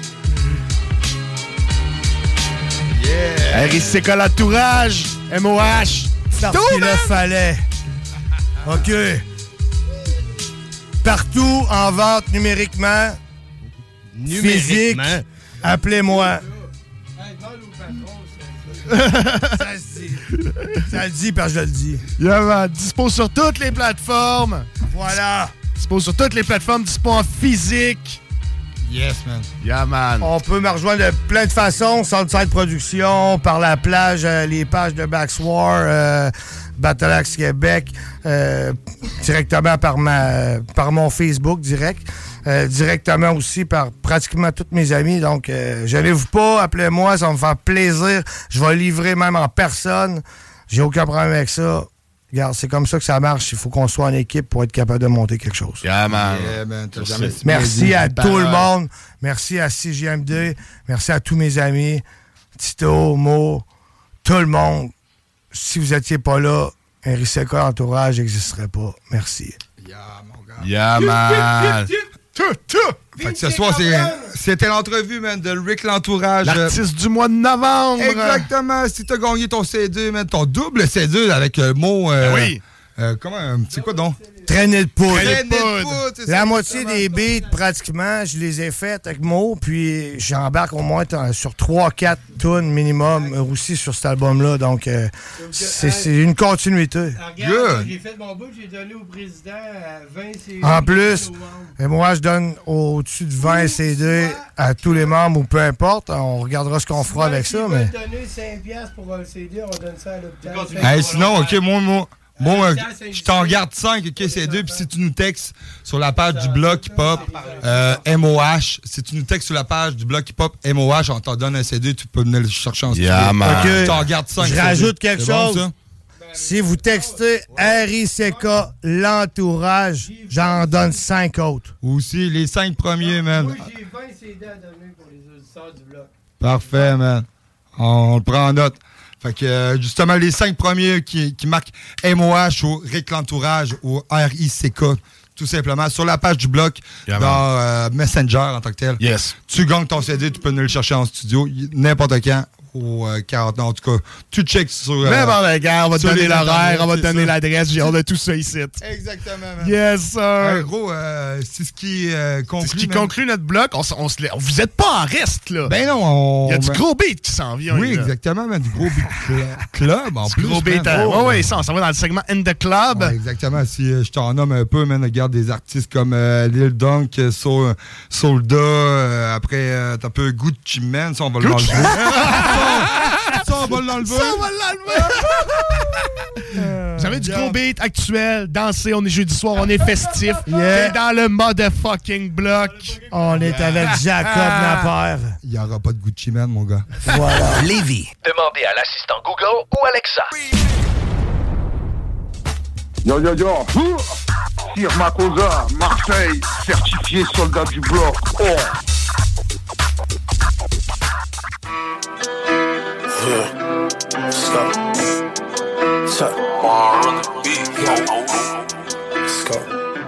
Yeah. RICK l'entourage. MOH. Parce qu'il le fallait. OK. Partout en vente numériquement. Physique. Appelez-moi. Ça se dit. Ça le dit parce que je le dis. Yeah, man. Dispo sur toutes les plateformes. Voilà. Dispo sur toutes les plateformes. Dispo en physique. Yes, man. Yeah, man. On peut me rejoindre de plein de façons. Southside Production, par la plage, les pages de Baxwar, Battle Axe Québec, directement par mon Facebook direct. Directement aussi par pratiquement tous mes amis. Donc, gênez-vous pas, appelez-moi, ça va me faire plaisir. Je vais livrer même en personne. J'ai aucun problème avec ça. Regarde, c'est comme ça que ça marche. Il faut qu'on soit en équipe pour être capable de monter quelque chose. Yeah, man. Yeah, man. Merci à tout le monde. Merci à CJMD. Merci à tous mes amis. Tito, Mo, tout le monde. Si vous n'étiez pas là, un RICK entourage n'existerait pas. Merci. Yeah, mon gars. Yeah, man! Fait que ce soir, c'était l'entrevue, man, de Rick L'Entourage. L'artiste du mois de novembre! Exactement! Si t'as gagné ton CD, man, ton double CD avec le mot... oui! Comment? C'est quoi donc? Traîner de poudre. La moitié des beats, pratiquement, je les ai faites avec Mo, puis j'embarque au moins sur 3-4 tunes minimum aussi sur cet album-là. Donc, c'est une continuité. Regarde, j'ai fait mon bout, j'ai donné au président 20 CD. En plus, et moi, je donne au-dessus de 20 CD à tous les membres, ou peu importe. On regardera ce qu'on fera avec ça. Mais donner 5$ pour un CD, on donne ça à l'hôpital. Sinon, OK, moi, je t'en garde 5, OK, c'est 2. Puis si tu nous textes sur la page du bloc hip-hop MOH, si tu nous textes sur la page du bloc hip-hop MOH, on t'en donne un CD, tu peux venir le chercher en studio. OK, je t'en garde 5. Je rajoute quelque chose. Bon, si vous textez RICK L'Entourage, j'en donne 5 autres. Aussi, les 5 premiers, man. Moi, j'ai 20 CD à donner pour les auditeurs du bloc. Parfait, man. On le prend en note. Fait que, justement, les 5 premiers qui marquent MOH ou Rick L'Entourage ou RICK, tout simplement, sur la page du bloc, dans Messenger en tant que tel. Yes. Tu gagnes ton CD, tu peux nous le chercher en studio, n'importe quand. Au 40 ans. En tout cas, tu checks sur... N'importe quand, on va te donner l'horaire, on va te donner l'adresse, on a tout ça ici. Exactement, man. Yes, sir. Gros, c'est ce qui conclut... C'est ce qui conclut notre bloc. Vous êtes pas en reste, là. Ben non, il y a du gros beat qui s'en vient. Oui, exactement, man. Du gros beat club, en plus. Gros beat. Oui, ça, on s'en va dans le segment In The Club. Ouais, exactement. Si je t'en nomme un peu, man, regarde des artistes comme Lil Dunk, Soulda, après, t'as un peu Gucci Mane, ça, on va l'enlever. Ça, on va l'enlever. Vous avez du gros beat actuel, danser, on est jeudi soir, on est festif. Yeah. Dans le motherfucking bloc. On est avec Jacob Napper. Il n'y aura pas de Gucci Mane, mon gars. Voilà. Lévis. Demandez à l'assistant Google ou Alexa. Yo. Sir Makosa, Marseille, certifié soldat du bloc. Oh. Yeah. Stop. On the beat. Let's go.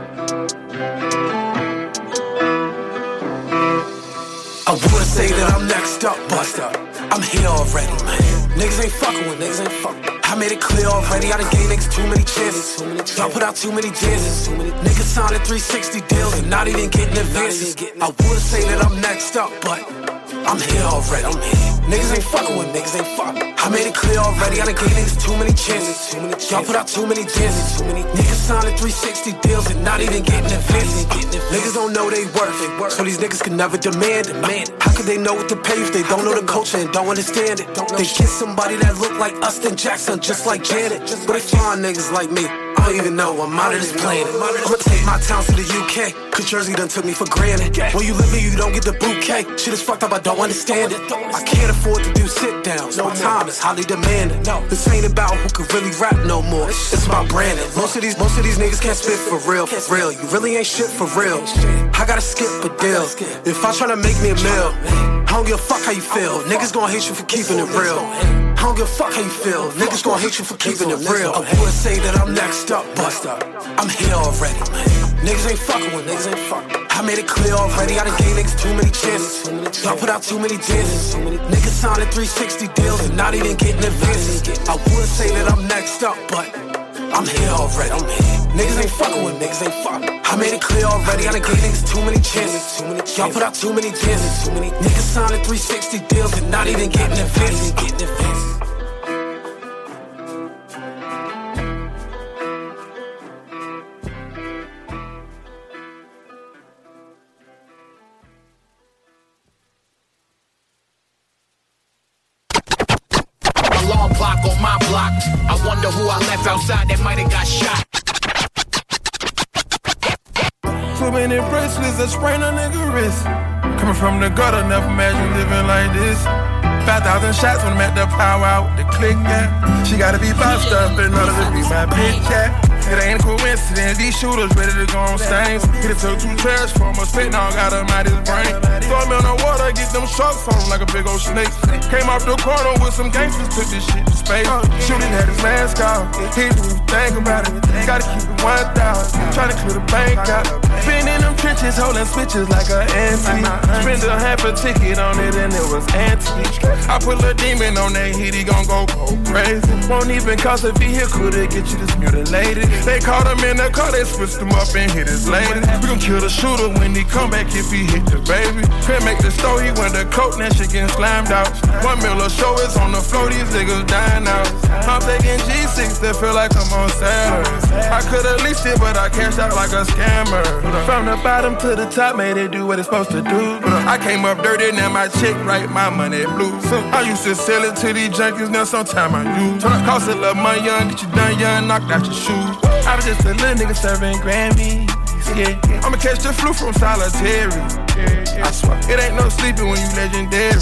I would say that I'm next up, but I'm here already, man. Niggas ain't fucking with niggas ain't fucking. I made it clear already, I done gave niggas too many chances. Y'all put out too many dances. Niggas signing 360 deals and not even getting advances. I would say that I'm next up, but I'm here already. Niggas ain't fucking with niggas ain't fucking. I made it clear already, I done gave niggas too many chances. Y'all put out too many dances. Niggas signing 360 deals and not even getting advances. Niggas don't know they worth, so these niggas can never demand it. How could they know what to pay if they don't know the culture and don't understand it? They kiss somebody that look like Austin Jackson, just like Janet. But they find niggas like me, I don't even know I'm out of this planet. I'ma take my town to the UK, cause Jersey done took me for granted. When you live here, you don't get the bouquet. Shit is fucked up, I don't understand it. I can't afford to do sit downs, my time is highly demanding. This ain't about who can really rap no more, it's about branding. Most of these niggas can't spit for real. You really ain't shit for real. I gotta skip a deal. If I tryna make me a meal, I don't give a fuck how you feel. Niggas gon' hate you for keeping it real. I don't give a fuck how you feel. Niggas gon' hate you for keeping it real. I would say that I'm next up, but I'm here already. Niggas ain't fucking with niggas ain't fucking. I made it clear already, I done gave niggas too many chances. Y'all put out too many dances. Niggas signing 360 deals and not even getting advances. I would say that I'm next up, but I'm here already. Niggas ain't fucking with niggas ain't fucking. I made it clear already, I done gave niggas too many chances. Y'all put out too many dances. Niggas signing 360 deals and not even getting advances. Alarm clock on my block. I wonder who I left outside that might have got shot. Too many bracelets that sprain a nigga wrist. Coming from the gutter, never imagined living like this. 5,000 shots when I'm at the powwow with the click, yeah. She gotta be bossed up in order to be my bitch, yeah. It ain't a coincidence, these shooters ready to go on stains. Hit it took 2 trash from a spit, now got him out his brain. Throw me on the water, get them sharks on him like a big old snake. Came off the corner with some gangsters, took this shit to space. Shooting had his mask off, he didn't think about it. Gotta keep it 1,000, trying to clear the bank out. Been in them trenches, holding switches like an antique. Spend a half a ticket on it and it was antique. I put a demon on that heat, he gon' go crazy. Won't even cost a vehicle to get you this mutilated. They caught him in the car, they switched him up and hit his lady. We gon' kill the shooter when he come back if he hit the baby. Couldn't make the store, he went to coke, that shit getting slammed out. $1 million show is on the floor, these niggas dying out. I'm taking G6 that feel like I'm on Saturn. I could've leased it, but I cashed out like a scammer. From the bottom to the top, made it do what it's supposed to do. I came up dirty, now my chick right, my money blue. I used to sell it to these junkies, now sometime I use. Cost a little money, young, get you done, young, knocked out your shoes. I was just a little nigga serving Grammys. Yeah, I'ma catch the flu from solitary. I swear, it ain't no sleeping when you legendary.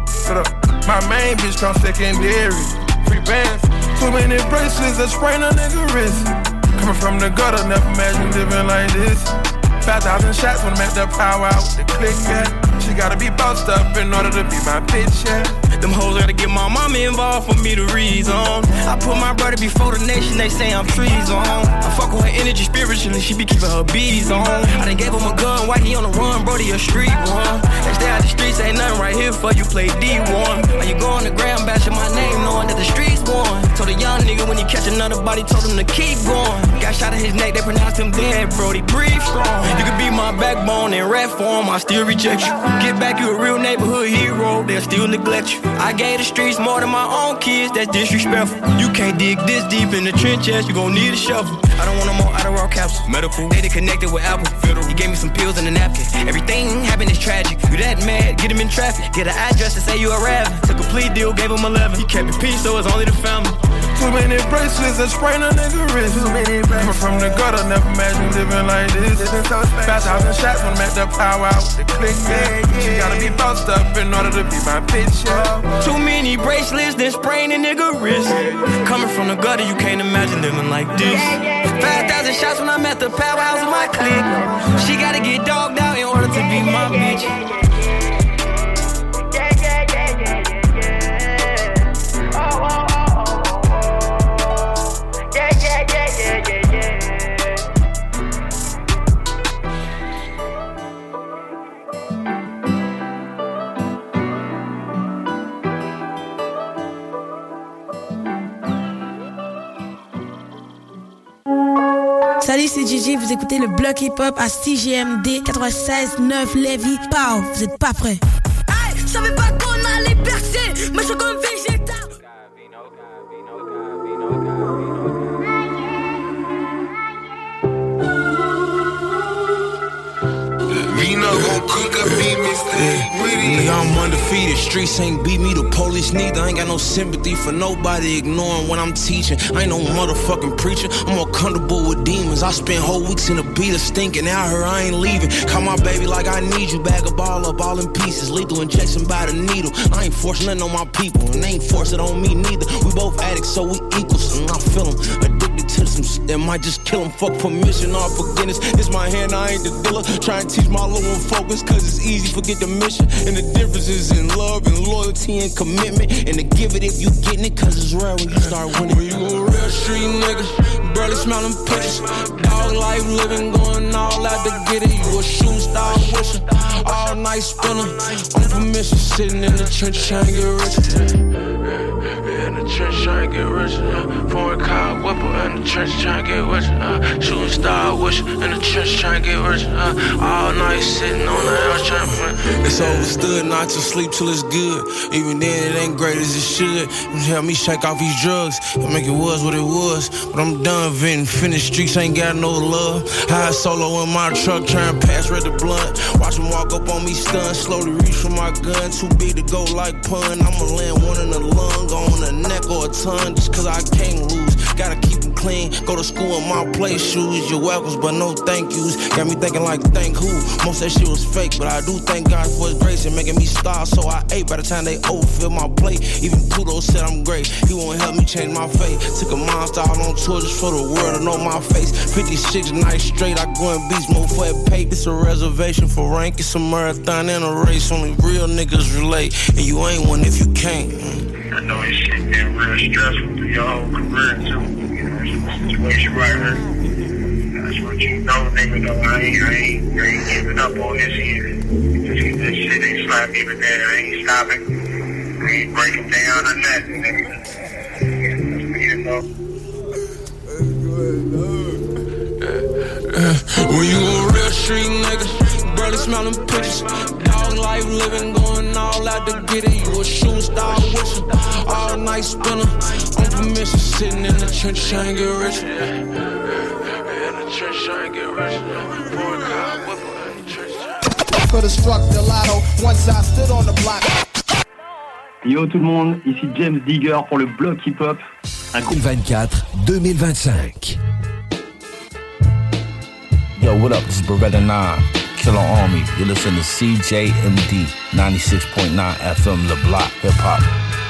My main bitch come secondary. Free bands, too many bracelets that sprain a nigga wrist. Coming from the gutter, never imagined living like this. 5,000 shots when I'm at the power out with the click, yeah. She gotta be bossed up in order to be my bitch, yeah. Them hoes gotta get my mama involved for me to reason. I put my brother before the nation, they say I'm treason. I fuck with her energy spiritually, she be keeping her bees on. I done gave him a gun, why he on the run, brody a street one. They stay out the streets, ain't nothing right here for you play D1. How you go on the ground, bashing my name, knowing that the streets won. Told a young nigga when he catch another body, told him to keep going. Got shot in his neck, they pronounced him dead, brody, breathe strong. You could be my backbone in rap form, I still reject you. Get back, you a real neighborhood hero, they'll still neglect you. I gave the streets more than my own kids, that's disrespectful. You can't dig this deep in the trenches, you gon' need a shovel. I don't want no more Adderall capsules. Medical, they connected with Apple. Federal, he gave me some pills and a napkin. Everything happened is tragic. You that mad, get him in traffic. Get an address to say you a rabbit. Took a plea deal, gave him 11. He kept it peace, so it's only the family. Too many bracelets that sprain a nigga wrist. Coming from the gutter, never imagined living like this. 5,000 shots when I'm at the power out with the click, yeah. She gotta be bossed up in order to be my bitch, yeah. Too many bracelets, then sprain a nigga wrist. Coming from the gutter, you can't imagine living like this. 5,000 shots when I'm at the powerhouse with my clique. She gotta get dogged out in order to be my bitch. Salut, c'est Gigi, vous écoutez le bloc hip-hop à CJMD 96.9 Lévis. Pow, vous êtes pas prêts. Hey, je savais pas qu'on allait percer, mais je suis comme végétal. Nigga, I'm undefeated. Streets ain't beat me, the police neither. I ain't got no sympathy for nobody ignoring what I'm teaching. I ain't no motherfucking preacher. I'm more comfortable with demons. I spent whole weeks in a beater stinking out here. I ain't leaving. Call my baby like I need you. Bag a ball up all in pieces. Lethal injection by the needle. I ain't forcing nothing on my people, and they ain't forcing it on me neither. We both addicts, so we equals. And I feel them addicted to some shit that might just kill them. Fuck permission or forgiveness. It's my hand, I ain't the dealer. Try and teach my little one focus, cause it's easy, forget the mission. And the difference is in love and loyalty and commitment. And to give it if you getting it, cause it's rare when you start winning. When you a real street nigga, barely smelling pictures. Dog life living, going all out to get it. You a shooting star wisher, all night spinner. On permission, sitting in the trench trying to get rich. In the trench trying to get rich. Foreign car whipper in the trench trying to get rich. Shooting star wisher in the trench trying to get rich. All night sitting on the house trying to. It's overstood not to sleep till it's good. Even then it ain't great as it should. It help me shake off these drugs and make it was what it was. But I'm done venting. Finished streets ain't got no love. High solo in my truck trying to pass red the blunt. Watch them walk up on me stun. Slowly reach for my gun. Too big to go like pun. I'ma land one in the lung, on a neck or a tongue. Just cause I can't lose. gotta keep them clean. Go to school in my place, shoes. You're welcome, but no thank yous. Got me thinking like, thank who? Most of that shit was fake, but I do thank God for his grace and making me star. So I ate by the time they overfill my plate. Even Pluto said I'm great. He won't help me change my fate. Took a monster out on tour just for the world to know my face. 56 nights straight, I go in beast mode for that pay. It's a reservation for rank. It's a marathon and a race. Only real niggas relate. And you ain't one if you can't. I know this shit been real stressful through your whole career too. You know, it's a situation right here. That's what you know, nigga. Though I ain't giving up on this here. Just this shit ain't slap me with that. I ain't stopping. I ain't breaking down or nothing, nigga. You know. When you a real street nigga, barely smelling pictures. Dog life living, going all out to get it. You a shooting star with you, all night spinner. On permission, sitting in the trench trying to get rich. In the trench trying to get rich. Could have struck the lotto once I stood on the block. Yo tout le monde, ici James Digger pour le bloc hip-hop. 2024-2025. Yo, what up? This is Beretta 9, Killer Army. You listen to CJMD 96.9 FM, Le Block, Hip Hop.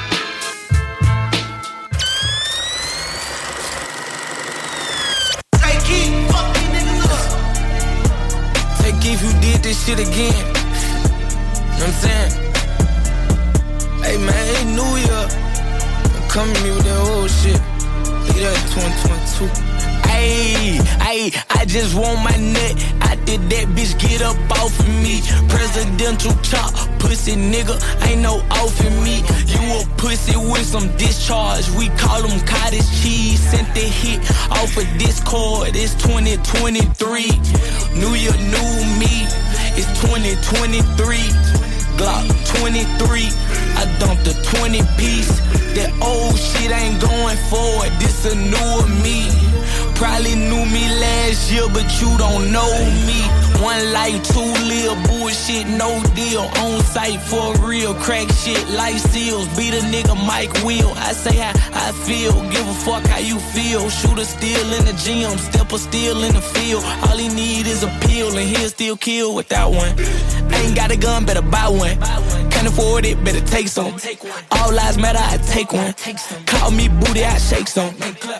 Take if you did this shit again. You know what I'm saying? Hey man, hey New Year. Come to me with that old shit. Leave that 2022. Ayy, I just want my nut. I did that bitch get up off of me. Presidential chop, pussy nigga, ain't no off in me. You a pussy with some discharge. We call them cottage cheese. Sent the hit off of Discord. It's 2023. New year, new me. It's 2023. Glock 23. I dumped a 20 piece. That old shit ain't going forward. This a newer me. Probably knew me last year, but you don't know me. One life, two live, bullshit, no deal. On site for real, crack shit, life seals. Beat a nigga Mike Will. I say how I feel, give a fuck how you feel. Shooter still in the gym, stepper still in the field. All he need is a pill, and he'll still kill without one. Ain't got a gun, better buy one. Can't afford it, better take some. All lives matter, I take one. Call me booty, I shake some.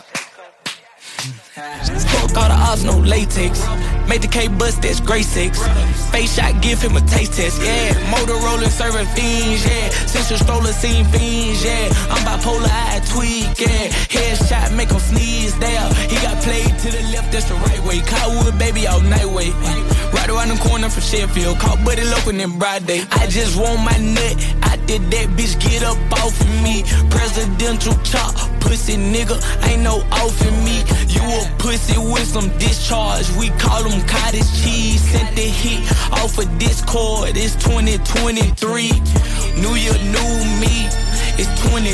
Fuck all the odds, no latex. Made the K bust, that's grade 6. Face shot, give him a taste test, yeah. Motorola serving fiends, yeah. Central stroller, seen fiends, yeah. I'm bipolar, I tweak, yeah. Headshot, make him sneeze, there. He got played to the left, that's the right way. Cottonwood, baby, all night way. Right around the corner from Sheffield. Caught Buddy Local in broad day. I just want my nut. I did that bitch get up off of me. Presidential chop, pussy nigga, ain't no off in me. You a pussy with some discharge. We call them cottage cheese. Sent the hit off of Discord. It's 2023. New year, new me. It's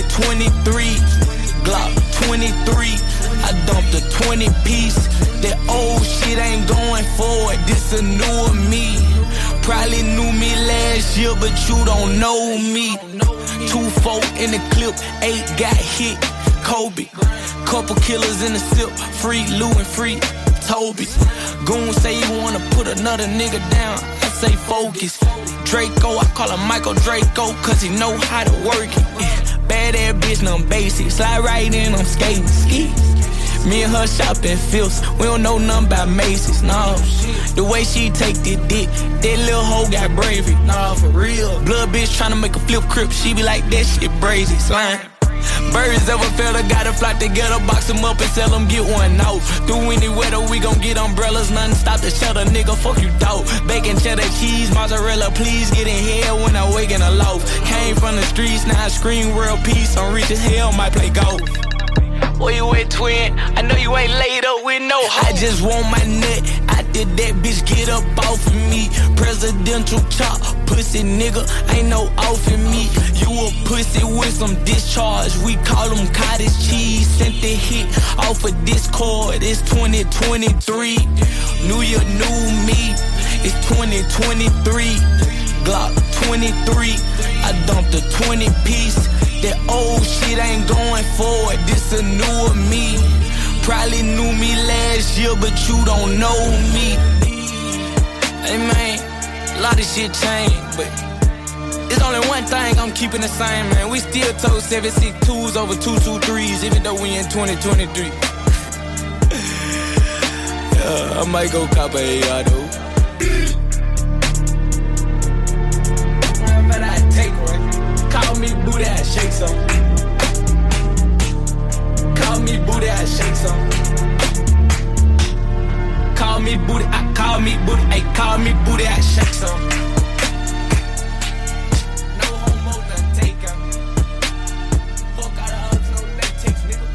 2023. Glock 23. I dumped a 20 piece. That old shit ain't going forward. This a newer me. Probably knew me last year, but you don't know me. 2-4 in the clip, 8 got hit. Kobe, couple killers in the sip. Free Lou and free Toby. Goon say he wanna put another nigga down. I say focus. Draco, I call him Michael Draco, cause he know how to work it. Bad ass bitch, none basic. Slide right in, I'm skating ski. Me and her shopping filths. We don't know nothing about Macy's, no. The way she take the dick, that little hoe got bravery, nah, for real. Blood bitch tryna make a flip crip, she be like, that shit brazy, slime. Birds ever fell, gotta fly together, box them up and sell them, get one out. Through any weather, we gon' get umbrellas, nothing stop the shelter, nigga, fuck you dog. Bacon, cheddar, cheese, mozzarella, please get in here when I wake in a loaf. Came from the streets, now I scream world peace, I'm rich as hell, might play golf. Where you at, twin? I know you ain't laid up with no hoe. I just want my nut. I did that bitch get up off of me. Presidential chop, pussy nigga, ain't no off in me. You a pussy with some discharge. We call them cottage cheese. Sent the hit off of Discord. It's 2023. New year, new me. It's 2023. Glock 23. I dumped a 20 piece. That old shit ain't going forward. This a newer me. probably knew me last year, but you don't know me. Hey man, a lot of shit changed, but it's only one thing I'm keeping the same, man. We still told 762s over 223s, even though we in 2023. Yeah, I might go cop a AR though. But I take one. Call me booty, I shake some. Call me booty, I shake some. Call me booty, I call me booty, ay, call me booty, I shake some. No homo, none taker. Fuck out of hugs, no latex, nigga.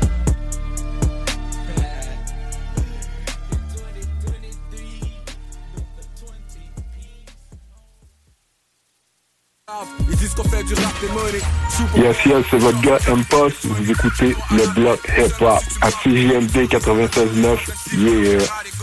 Ils disent qu'on fait du rap et money. Yes, c'est votre gars M-Post. Vous écoutez le bloc hip-hop à CJMD 96.9. Yeah.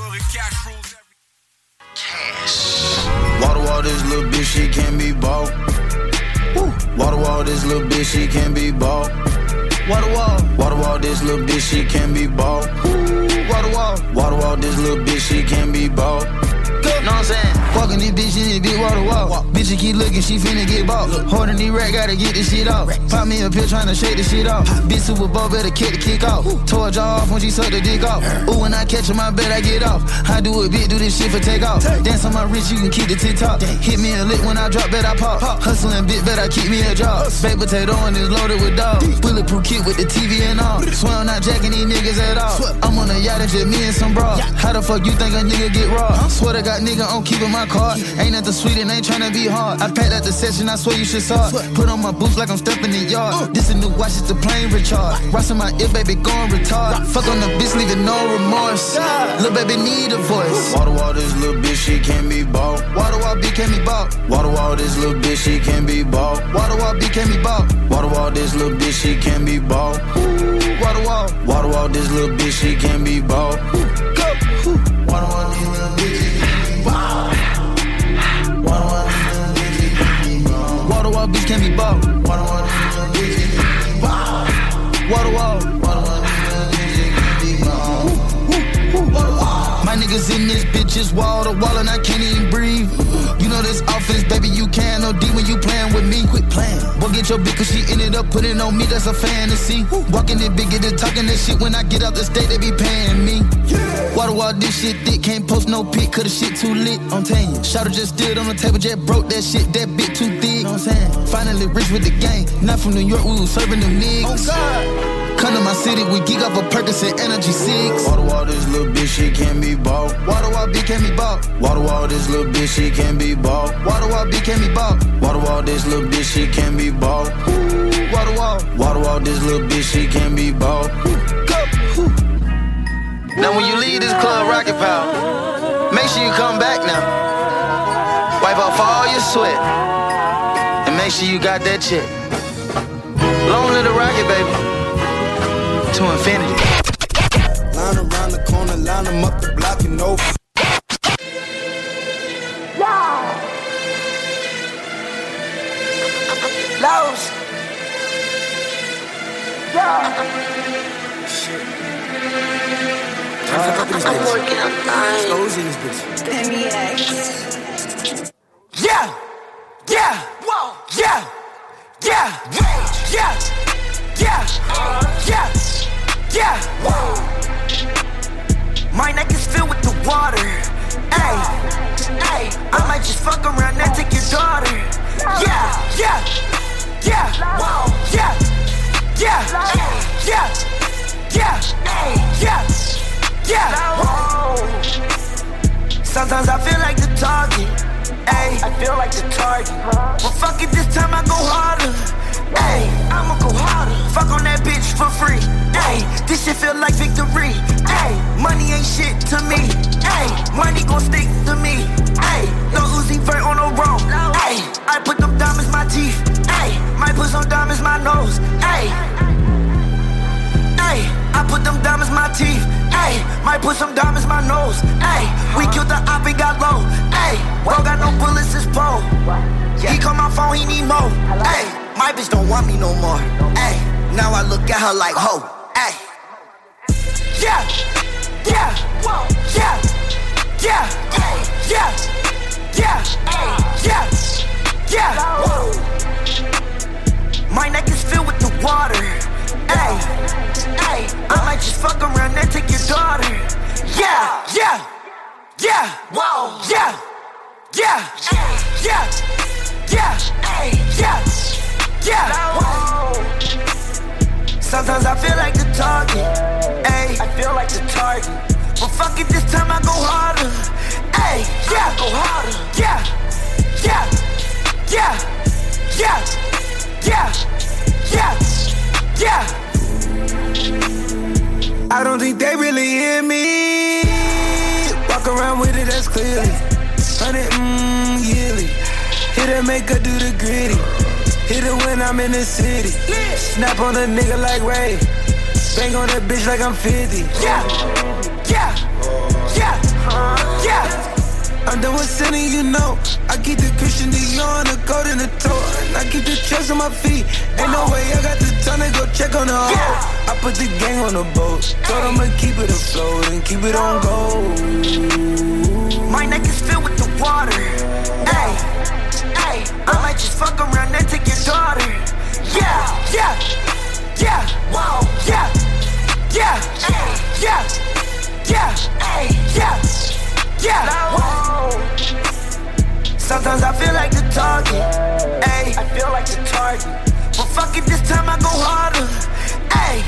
Wall to wall, this little bitch, she can't be bought. Wall to wall, this little bitch, she can't be bought. Wall to wall, wall to wall, this little bitch, she can't be bought. Wall to wall, wall to wall, this little bitch, she can't be bought. Know what I'm saying? Walking this bitch in this big wall to wall. Bitch, she keep looking, she finna get bought. Holding these racks, gotta get this shit off. Pop me a pill, tryna shake this shit off. Bitch, Super Bowl, better kick the kick off. Tore her jaw off when she sucked the dick off. Ooh, when I catch her, my bet I get off. I do it big, do this shit for take off. Dance on my wrist, you can keep the TikTok. Hit me a lick when I drop, bet I pop. Hustling bit, bet I keep me a job. Baked potato and it's loaded with dogs. Bulletproof kit with the TV and all. Swear I'm not jacking these niggas at all. I'm on a yacht and just me and some bras. How the fuck you think a nigga get raw? Swear to God, nigga, I'm keeping my card. Ain't nothing sweet and ain't tryna be hard. I packed out the session, I swear you should saw it. Put on my boots like I'm stepping in yard. This a new watch, it's the plane recharge. Rockin' my ear, baby, going retard. Fuck on the bitch, leaving no remorse. Lil' baby need a voice. Wall to wall, this little bitch, she can't be bought. Wall to wall, B can't be bought. Wall to wall, this little bitch, she can't be bought. Wall to wall, B can't be bought. Wall to wall, this little bitch, she can't be bought. Wall to wall, wall to wall, this little bitch, she can't be bought. Go. Wall to wall, these little bitches can't be bought. Wall to wall, bitch can't be bought. Wall to wall, bitch can't be bought. Wall to wall, bitch can't be bought. My niggas in this bitch is wall to wall and I can't even breathe. You know this offense, baby, you can't no D when you playing with me. Quit playing. Boy, get your bitch cause she ended up putting on me, that's a fantasy. Walking it big, get it talking that shit. When I get out the state, they be paying me. Wall to wall, this shit thick, can't post no pic, cause the shit too lit. I'm telling you, Shawty just stood on the table, just broke that shit, that bit too thick. Know what I'm saying? Finally rich with the gang, not from New York, we was serving them niggas. Oh God. Come to my city, we geek up a Percocet Energy 6. Wall to wall, this little bitch, she can't be bought. Wall to wall, B can't be bought. Wall to wall, this little bitch, she can't be bought. Wall to wall, B can't be bought. Wall to wall, this little bitch, she can't be bought. Wall to wall, this little bitch, she can't be bought. Go. Now when you leave this club, Rocket Power, make sure you come back now. Wipe off all your sweat, and make sure you got that check. Long live the rocket, baby. To infinity. Line around the corner, line them up the block and over. Lowe's. Shit. I'm working on time. Slows in this bitch. Yeah. Yeah. Whoa. Yeah. Yeah. Yeah. Yeah. Yeah. Yeah. Whoa. My neck is filled with the water. Ay. Ay. I might just fuck around and take your daughter. Yeah. Yeah. Yeah. Whoa. Yeah. Yeah. Yeah. Yeah. Yeah. Yeah. Whoa. Sometimes I feel like the target. Ay. I feel like the target. Well, fuck it, this time I go harder. Ay, I'ma go harder. Fuck on that bitch for free. Ay, this shit feel like victory. Ay, money ain't shit to me. Ay, money gon' stick to me. Ay, no Uzi Vert on the road. Ay, I put them diamonds in my teeth. Ay, might put some diamonds in my nose. Ay, ay, I put them diamonds in my teeth. Ay, might put some diamonds in my nose. Ay, we killed the op and got low. Ay, bro got no bullets, it's pole. He call my phone, he need more. Ay, my bitch don't want me no more. Ay, now I look at her like ho. Ay, yeah, yeah, whoa, yeah, yeah, yeah, yeah, yeah, yeah, whoa. My neck is filled with the water. Ay, ay, I might just fuck around and take your daughter. Yeah, yeah, yeah, whoa, yeah, yeah, yeah, yeah, yeah, yeah, whoa. Sometimes I feel like the target. Ay, I feel like the target. But fuck it, this time I go harder. Ay, yeah, go harder. Yeah, yeah, yeah, yeah, yeah, yeah, yeah. I don't think they really hear me. Walk around with it, that's clearly 100, yearly. Hit her, make her do the gritty. Hit it when I'm in the city. Snap on a nigga like Ray. Bang on that bitch like I'm 50. Yeah, yeah, yeah, yeah. I'm done with sinning, you know. I keep the Christian Dior and the gold in the toe. And I keep the trust on my feet. Ain't no way I got the time to go check on the hoe. I put the gang on the boat. Told I'ma keep it afloat and keep it on go. My neck is filled with the water. Ay, ay, I might just fuck around and take your daughter. Yeah, yeah, yeah, whoa, yeah, yeah, yeah, yeah, yeah, yeah, whoa. Sometimes I feel like the target. Ay, I feel like the target. But fuck it, this time I go harder. Ay.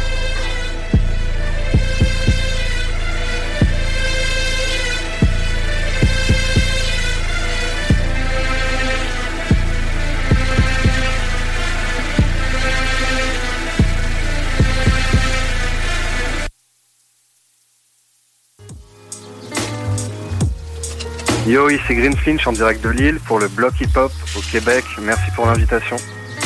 Yo, ici Green Finch en direct de Lille pour le bloc hip-hop au Québec. Merci pour l'invitation.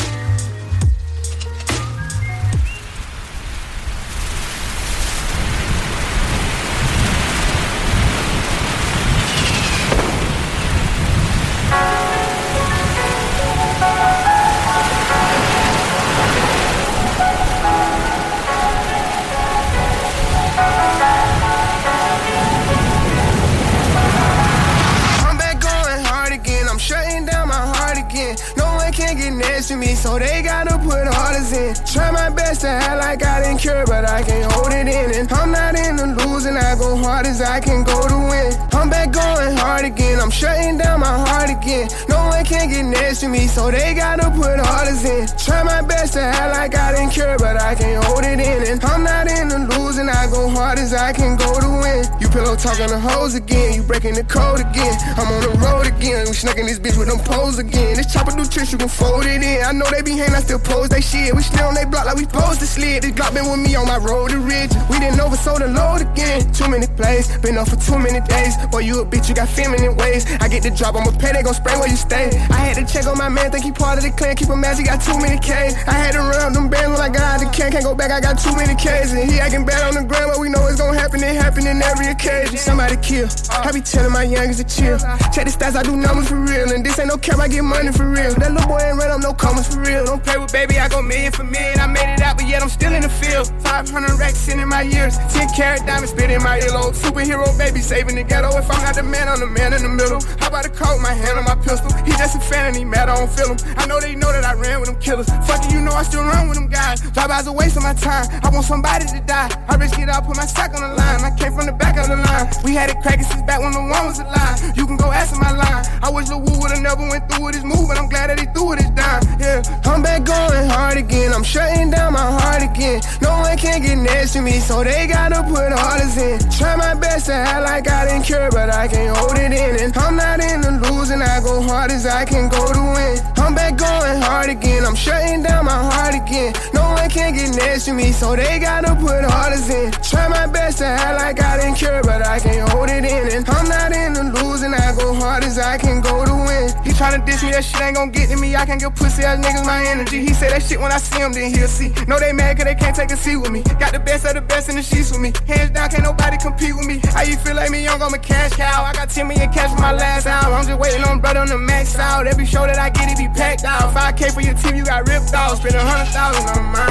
To me, so they gotta put orders in. Try my best to act like I didn't care, but I can't hold it in. And I'm not into losing, I go hard as I can go to win. I'm back going hard again, I'm shutting down my heart again. No one can get next to me, so they gotta put orders in. Try my best to act like I didn't care, but I can't hold it in. And I'm not into losing, I go hard as I can go to win. You pillow talking the hoes again, you breaking the code again. I'm on the road again, we snucking this bitch with them poles again. This chopper do tricks, you can fold it in. I know they be hating, I still pose they shit. We still on they block like we supposed to slid. This Glock been with me on my road to Ridge. We didn't oversold the load again. Too many plays, been up for too many days. Boy, you a bitch, you got feminine ways. I get the drop, I'ma pay, they gon' spray where you stay. I had to check on my man, think he part of the clan. Keep him mad, he got too many K's. I had to run them bands when I got out the can. Can't go back, I got too many K's. And he acting bad on the ground, but we know it's gon' happen. It happen in every occasion. Somebody kill. I be telling my youngest to chill. Check the stats, I do numbers for real. And this ain't no cap, I get money for real. That little boy ain't run up no commas for real. Don't play with baby, I go million for million. I made it out, but yet I'm still in the field. 500 racks in my years. 10 carat diamonds spit in my earlobe. Superhero baby saving the ghetto. If I'm not the man, I'm the man in the middle. How about a coat, my hand on my pistol? He just a fan and he mad, I don't feel him. I know they know that I ran with them killers. Fuck it, you know I still run with them guys. Drive-bys a waste of my time. I want somebody to die. I risk it all, put my sack on the line. I came from the back of the line. We had it cracking since back when the one was alive. You can go ask my line. I wish Lil Wu would've never went through with his move, but I'm glad that he threw it his dime. Yeah, I'm back going hard again. I'm shutting down my heart again. No one can get next to me, so they gotta put orders in. Try my best to act like I didn't care, but I can't hold it in. And I'm not into losing, I go hard as I can go to win. I'm back going hard again. I'm shutting down my heart again. No one can get next to me, so they gotta put orders in. Try my best to act like I didn't care, but I can't hold it in. And I'm not into losing, I go hard as I can go to win. He tryna diss me, that shit ain't gon' get to me. I can't give pussy ass niggas my energy. He say that shit when I see him, then he'll see. No, they mad cause they can't take a seat with me. Got the best of the best in the sheets with me. Hands down, can't nobody compete with me. How you feel like me young, I'm a cash cow. I got 10 million cash for my last album. I'm just waiting on brother on the max out. Every show that I get, it be packed out. 5K for your team, you got ripped off. Spend 100,000 on mine.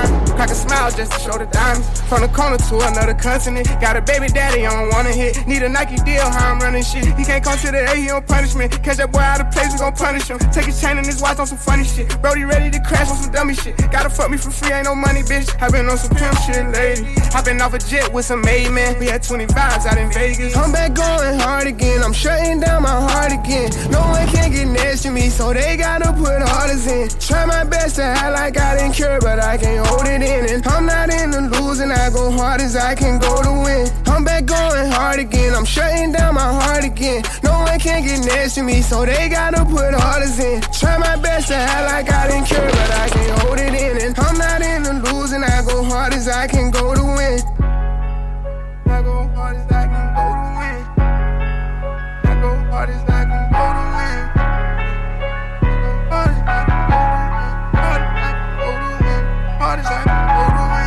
can smile just to show the diamonds. From the corner to another continent. Got a baby daddy, I don't wanna hit. Need a Nike deal, how I'm running shit. He can't come to the A, he on punishment. Catch that boy out of place, we gon' punish him. Take his chain and his watch on some funny shit. Brody ready to crash on some dummy shit. Gotta fuck me for free, ain't no money, bitch. I been on some pimp shit, lady. I been off a jet with some maid man. We had 20 vibes out in Vegas. I'm back going hard again. I'm shutting down my heart again. No one can get next to me, so they gotta put orders in. Try my best to act like I didn't care, but I can't hold it in. And I'm not in the losing, I go hard as I can go to win. I'm back going hard again. I'm shutting down my heart again. No one can get next to me, so they gotta put orders in. Try my best to act like I didn't care, but I can't hold it in. And I'm not in the losing, I go hard as I can go to win. I go hard as I can go to win. I go hard as I can go to win. Hard as I can go to win. Hard as I can go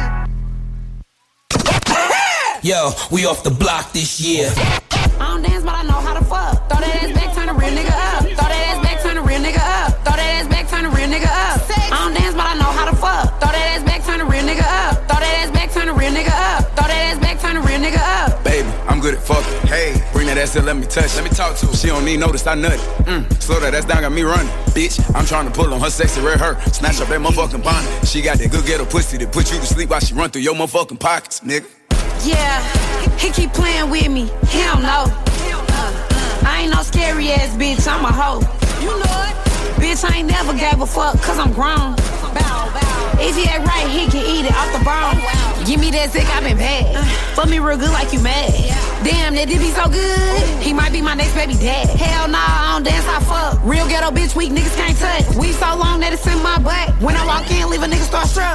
to win. Yo, we off the block this year. I don't dance, but I know how to fuck. Throw that ass back, turn a real nigga up. Throw that ass back, turn a real nigga up. Throw that ass back, turn a real nigga up. I don't dance, but I know how to fuck. Throw that ass back, turn a real nigga up. Throw that ass back, turn a real nigga up. Throw that ass back, turn a real nigga up. Baby, I'm good at fucking. Hey, bring that ass in, let me touch. Let me talk to her. She don't need notice, I nut it. Slow that ass down, got me running. Bitch, I'm trying to pull on her sexy red hair. Snatch up that motherfucking bonnet. She got that good ghetto pussy that put you to sleep while she run through your motherfucking pockets, nigga. Yeah, he keep playing with me. He don't know. I ain't no scary ass bitch, I'm a hoe. You know it. Bitch, I ain't never gave a fuck, cause I'm grown. If he ain't right, he can eat it off the bone. Give me that zick, I been bad. Fuck me real good like you mad. Damn, that did be so good. He might be my next baby dad. Hell nah, I don't dance, I fuck. Real ghetto bitch, weak niggas can't touch. We so long that it's in my butt. When I walk in, leave a nigga starstruck.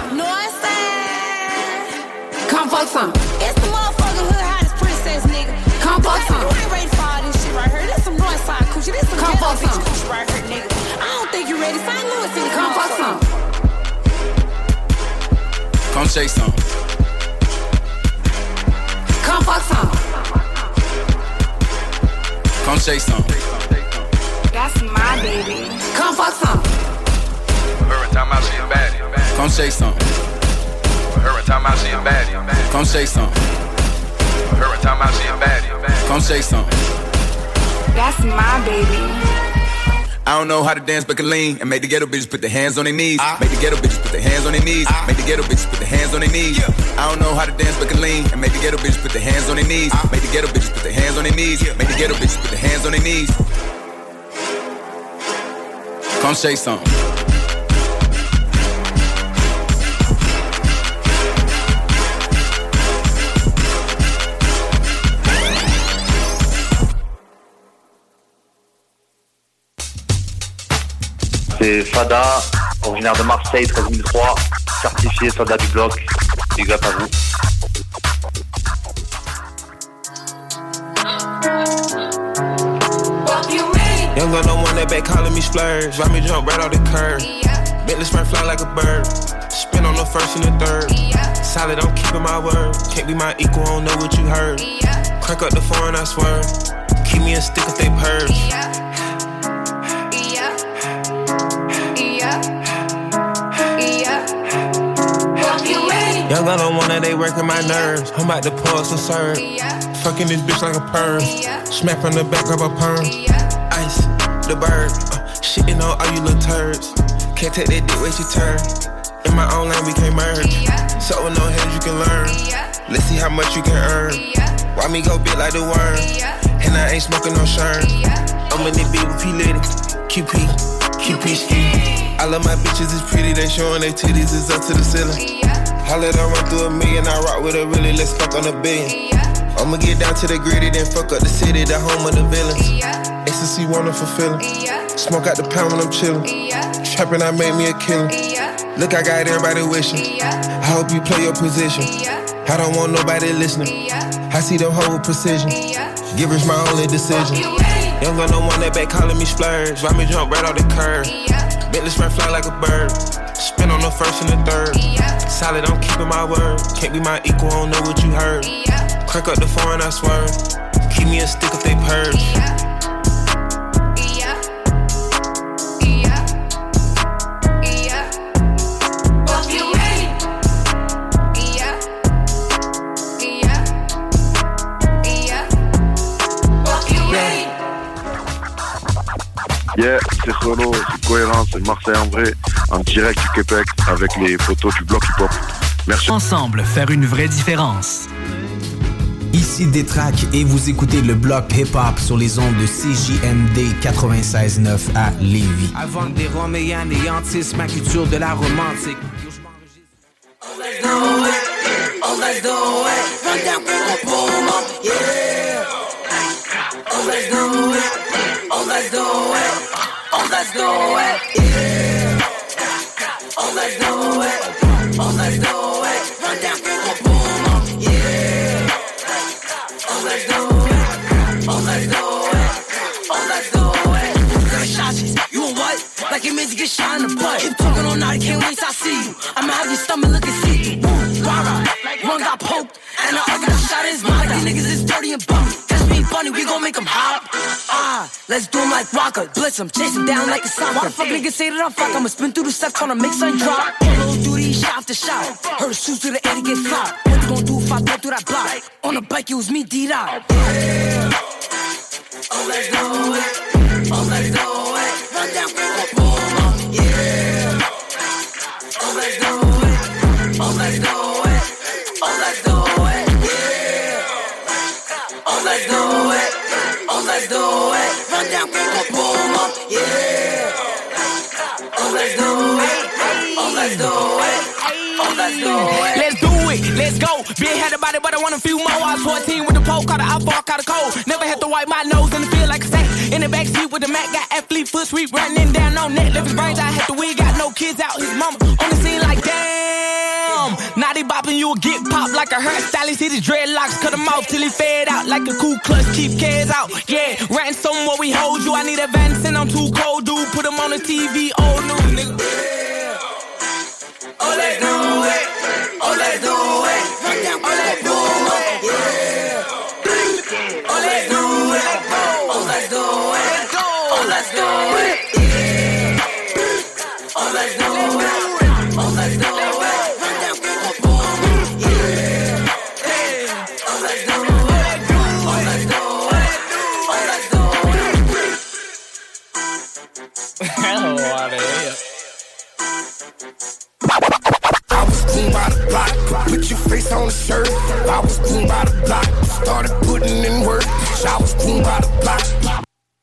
Northside. Come fuck some. It's the motherfucker hood hottest princess, nigga. Come fuck some. You ain't ready for all this shit right here. This some Northside coochie. This some come fuck some coochie right here, nigga. I don't think you ready. St. Louis in the come fuck some. Come shake some. Come fuck some. Come shake some. That's my baby. Come fuck some. Every time I see a baddie. Come shake some. Every time I see a baddie. Come shake some. Every time I see a baddie. Come shake some. That's my baby. I don't know how to dance but can lean and make the ghetto bitches put their hands on their knees. Make the ghetto bitches put their hands on their knees. Make the ghetto bitches put their hands on their knees. I don't know how to dance but can lean and make the ghetto bitches put their hands on their knees. Make the ghetto bitches put their hands on their knees. Make the ghetto bitches put their hands on their knees. Come shake something. C'est Fada, originaire de Marseille, 13003, certifié soldat du bloc. Big up à vous. Young gun no one that back calling me splurge. Ride me jump right off the curb. Bentley sprint fly like a bird. Spin on the first and the third. Solid, I'm keeping my word. Can't be my equal, I don't know what you heard. Crank up the foreign, I swear. Keep me a stick if they purge. Young gun don't want that, they working my nerves. I'm about to pour some serve. Fucking this bitch like a perm. Smack from the back of a perm. Ice, the bird. Shitting on all you little turds. Can't take that dick, wait your turn. In my own lane, we can't merge. So with no heads, you can learn. Let's see how much you can earn. Why me go big like the worm? And I ain't smoking no shirt. I'm in the beat with P-Litty. QP ski. I love my bitches, it's pretty. They showing their titties, it's up to the ceiling. I let her run through a million, I rock with her really, let's fuck on a billion. I'ma get down to the gritty, then fuck up the city, the home of the villains. Ecstasy, wonderful feeling. Smoke out the pound when I'm chillin'. Trappin', I made me a killer. Look, I got everybody wishing. I hope you play your position. I don't want nobody listening. I see them hold with precision. Givers my only decision. Young gun no one that back calling me splurge. Ride me jump right off the curb. Bentley sprint fly like a bird. Spin on the first and the third. Solid, I'm keeping my word. Can't be my equal, I don't know what you heard. Crank up the foreign, I swear. Keep me a stick if they purge. Yeah, c'est Renaud, c'est Cohérent, c'est Marseille en vrai, en direct du Québec avec les photos du bloc hip-hop. Merci. Ensemble, faire une vraie différence. Ici Détrac et vous écoutez le bloc hip-hop sur les ondes de CJMD 96.9 à Lévis. Avant des Roms et anéantissent ma culture de la romantique. Let's do it, oh let's do it, run down, boom, up, yeah. Oh let's do it, oh let's do it, oh let's do it, yeah. Oh let's do it, oh let's do it, run down, boom, up, yeah. Oh let's do it, oh let's do it, oh let's do it. Gunshots, you a what? Like it means to get shot in the butt. Keep talking all night, can't wait till I see you. I'ma have your stomach looking see-through. One got poked, and the other got shot in his mouth. These niggas is dirty and bummy. That's me funny, we gon' make them hop. Let's do them like Rocker. Blitz them, chase them down like a soccer. Why the fuck niggas say that I'm fuck? I'ma spin through the steps on a mix and drop. Little duty, shot to shot. Heard shoes to the ear to get flop. What you gon' do if I go through that block? On the bike, it was me, D-Dot. Yeah. Oh, let's do it. Oh, let's do it. Run down, boom, up, yeah. Oh, let's do it. Oh, let's do it. Oh, let's do it, yeah. Oh, let's do it. Oh, let's do it. Run down, boom, up, yeah. Oh, let's do it. Oh, let's do it. Oh, let's do it. Let's do it, let's go. Been had about it, but I want a few more. I was 14 with the pole, caught the outfall, caught a cold. Never had to wipe my nose in the field like a sack. In the backseat with the Mac, got athlete foot sweep running down on net. Left his brains, I had the wig, got no kids out. His mama on the scene like damn. Now they bopping, you'll get popped like a hairstylist. Hit his dreadlocks, cut him off till he fade out like a cool clutch. Keep cares out, yeah. Ransom where we hold you. I need a Vance and I'm too cold, dude. Put him on the TV, old news, nigga. Yeah. Oh, let's do it. Oh, let's do it. Oh, let's do it. Yeah. Oh, let's do it. Oh, let's do it. Oh, let's do it. Yeah. Oh, let's do it. Oh, let's do it. Run down, boom, yeah. Oh, let's do it. Oh, let's do it. Oh, let's do it. Hello, out of here. I was clean by the block, put your face on the shirt. I was clean by the block, started putting in work. I was clean by the block.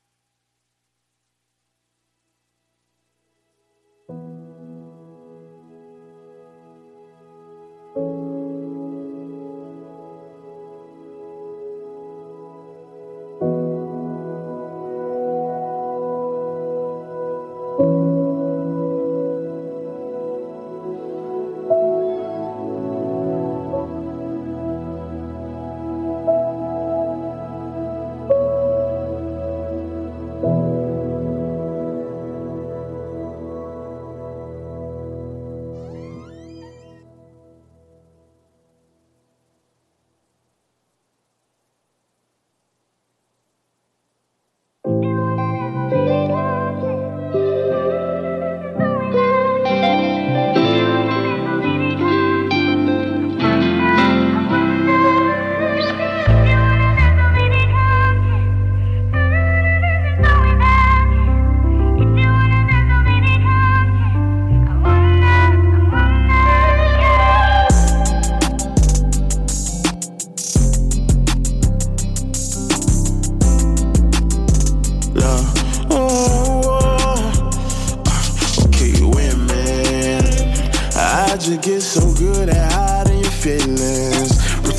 just get so good at hiding your feelings,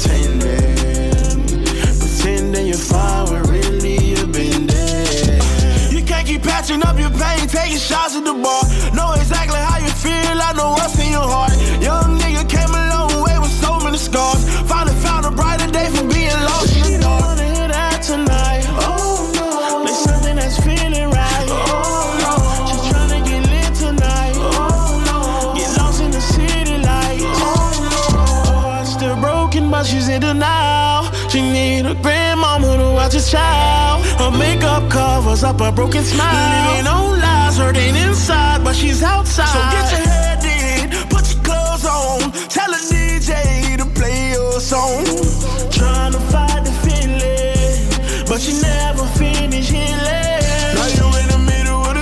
pretending you're fine when really you've been dead. You can't keep patching up your pain, taking shots at the bar. Know exactly how you feel, I know what's in your heart. Young nigga came a long way with so many scars. Finally found a brighter day from being lost in the dark. She don't wanna hear that tonight. Oh no, there's something that's feeling right. Oh no, she's tryna get lit tonight. Oh no, get lost in the city lights. Oh no, heart's still broken but she's in denial. She need a grandmama to watch her child. Her makeup covers up a broken smile. Living on lies, hurting inside but she's outside. So get your head in, put your clothes on. Tell the DJ to play your song. Trying to fight the feeling, but you never finish healing. Now you in the middle of the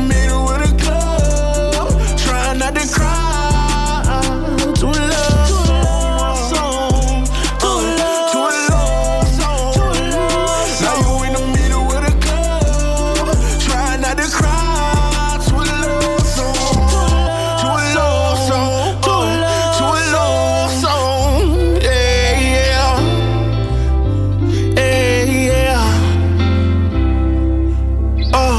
middle of the club, trying not to cry. To a love song, to a love song. Now you in the middle of the club, trying not to cry. To a love song, to a love song, to a love song. Yeah, yeah, yeah, yeah. Oh.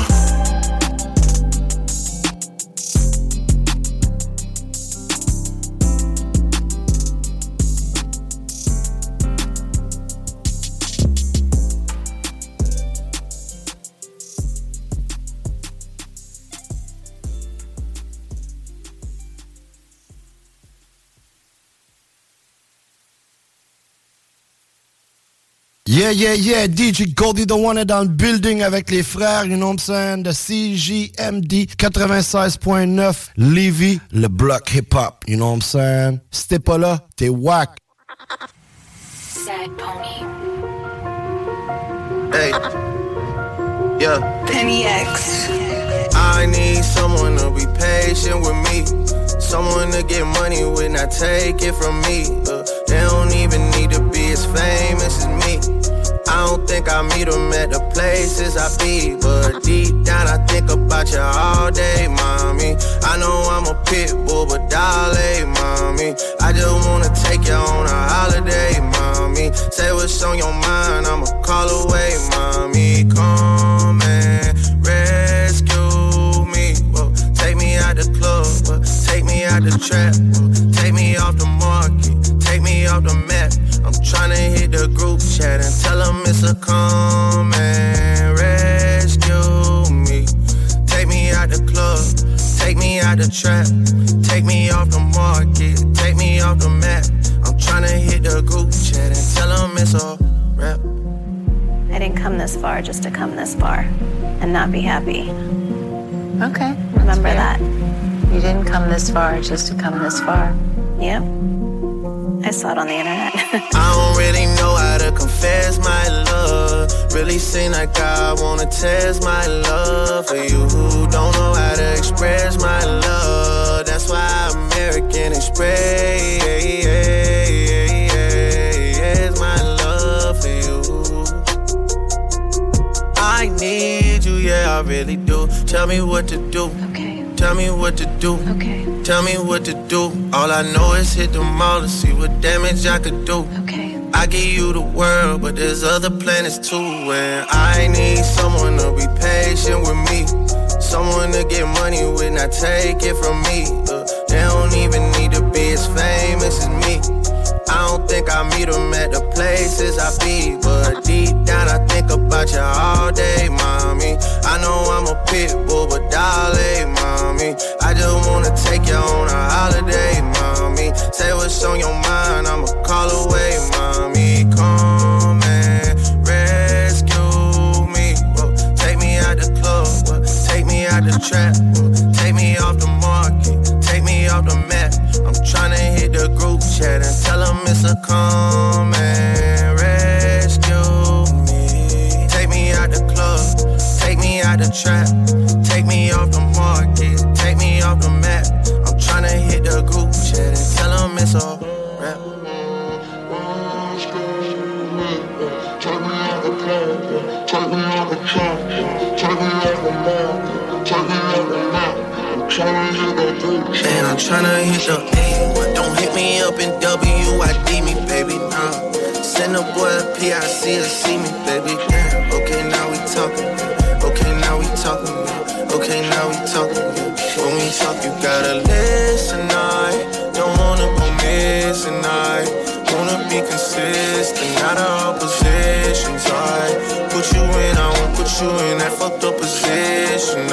Yeah, yeah, yeah, DJ Goldie the One est dans le building avec les frères, you know what I'm saying, de CJMD 96.9 Lévis, le bloc hip-hop, you know what I'm saying. Si t'es pas là, t'es whack. Sad Pony. Hey, yeah. Penny X. I need someone to be patient with me. Someone to get money with, not take it from me. They don't even need to be as famous as me. I don't think I meet them at the places I be, but deep down I think about you all day, mommy. I know I'm a pit bull, but darling, mommy, I just wanna take you on a holiday, mommy. Say what's on your mind, I'ma call away, mommy. Come and rescue me. Whoa. Take me out the club, take me out the trap, take me off the market, take me off the map. I'm tryna hit the group chat and tell them it's a come and rescue me. Take me out the club, take me out the trap, take me off the market, take me off the map. I'm tryna hit the group chat and tell them it's a rap. I didn't come this far just to come this far and not be happy. Okay. Remember that. You didn't come this far just to come this far. Yep. I saw it on the internet. I don't really know how to confess my love. Really seem like I wanna test my love for you. Don't know how to express my love. That's why American Express my love for you. I need you, yeah, I really do. Tell me what to do. Okay. Tell me what to do. Okay. Tell me what to do. All I know is hit the mall to see what damage I could do. Okay. I give you the world, but there's other planets too. And I need someone to be patient with me. Someone to get money with, not take it from me. They don't even need to be as famous as me. I don't think I meet them at the places I be, but deep down I think about you all day, mommy. I know I'm a pit bull, but darling, mommy, I just wanna take you on a holiday, mommy. Say what's on your mind, I'ma call away, mommy. Come and rescue me. Whoa. Take me out the club, take me out the trap, take me off the market, take me off the map. I'm tryna hit the group chat and tell them it's a come and rescue me. Take me out the club, take me out the trap, take me off the market, take me off the map. I'm tryna hit the group chat and tell them it's a rap. Take me out the club, take me out the trap, take me off the market, take me off the map. And I'm tryna hit the A, but don't hit me up in WID me, baby, nah. Send a boy a PIC to see me, baby, damn. Okay, now we talking, okay, now we talking, okay, now we talking. When we talk, you gotta listen, I don't wanna go missing, I wanna be consistent, not all positions, I put you in, I won't put you in that fucked up position,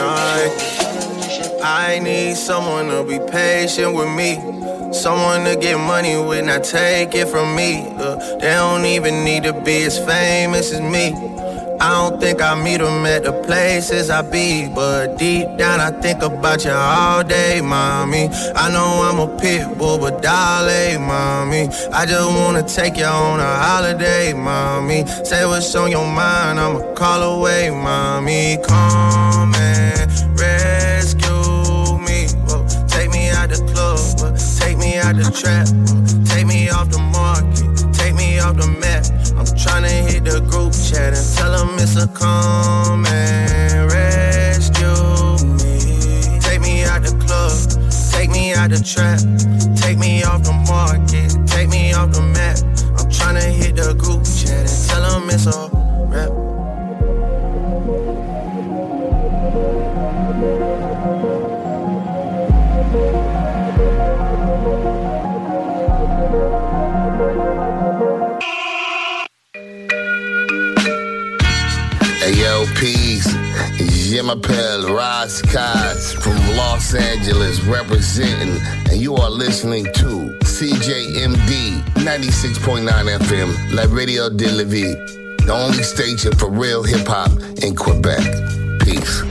I need someone to be patient with me. Someone to get money with, not take it from me. They don't even need to be as famous as me. I don't think I meet them at the places I be, but deep down I think about you all day, mommy. I know I'm a pit bull, but darling, mommy, I just wanna take you on a holiday, mommy. Say what's on your mind, I'ma call away, mommy. Come and rescue me. Whoa. Take me out the club, take me out the trap, take me off the market, take me off the map. I'm tryna hit the group chat and tell them it's a come and rescue me. Take me out the club, take me out the trap, take me off the market, take me off the map. I'm tryna hit the group chat and tell them it's a rap. Hey yo, peace. Je m'appelle Raz Kaz from Los Angeles representing, and you are listening to CJMD 96.9 FM, La Radio de la Vie, the only station for real hip hop in Quebec. Peace.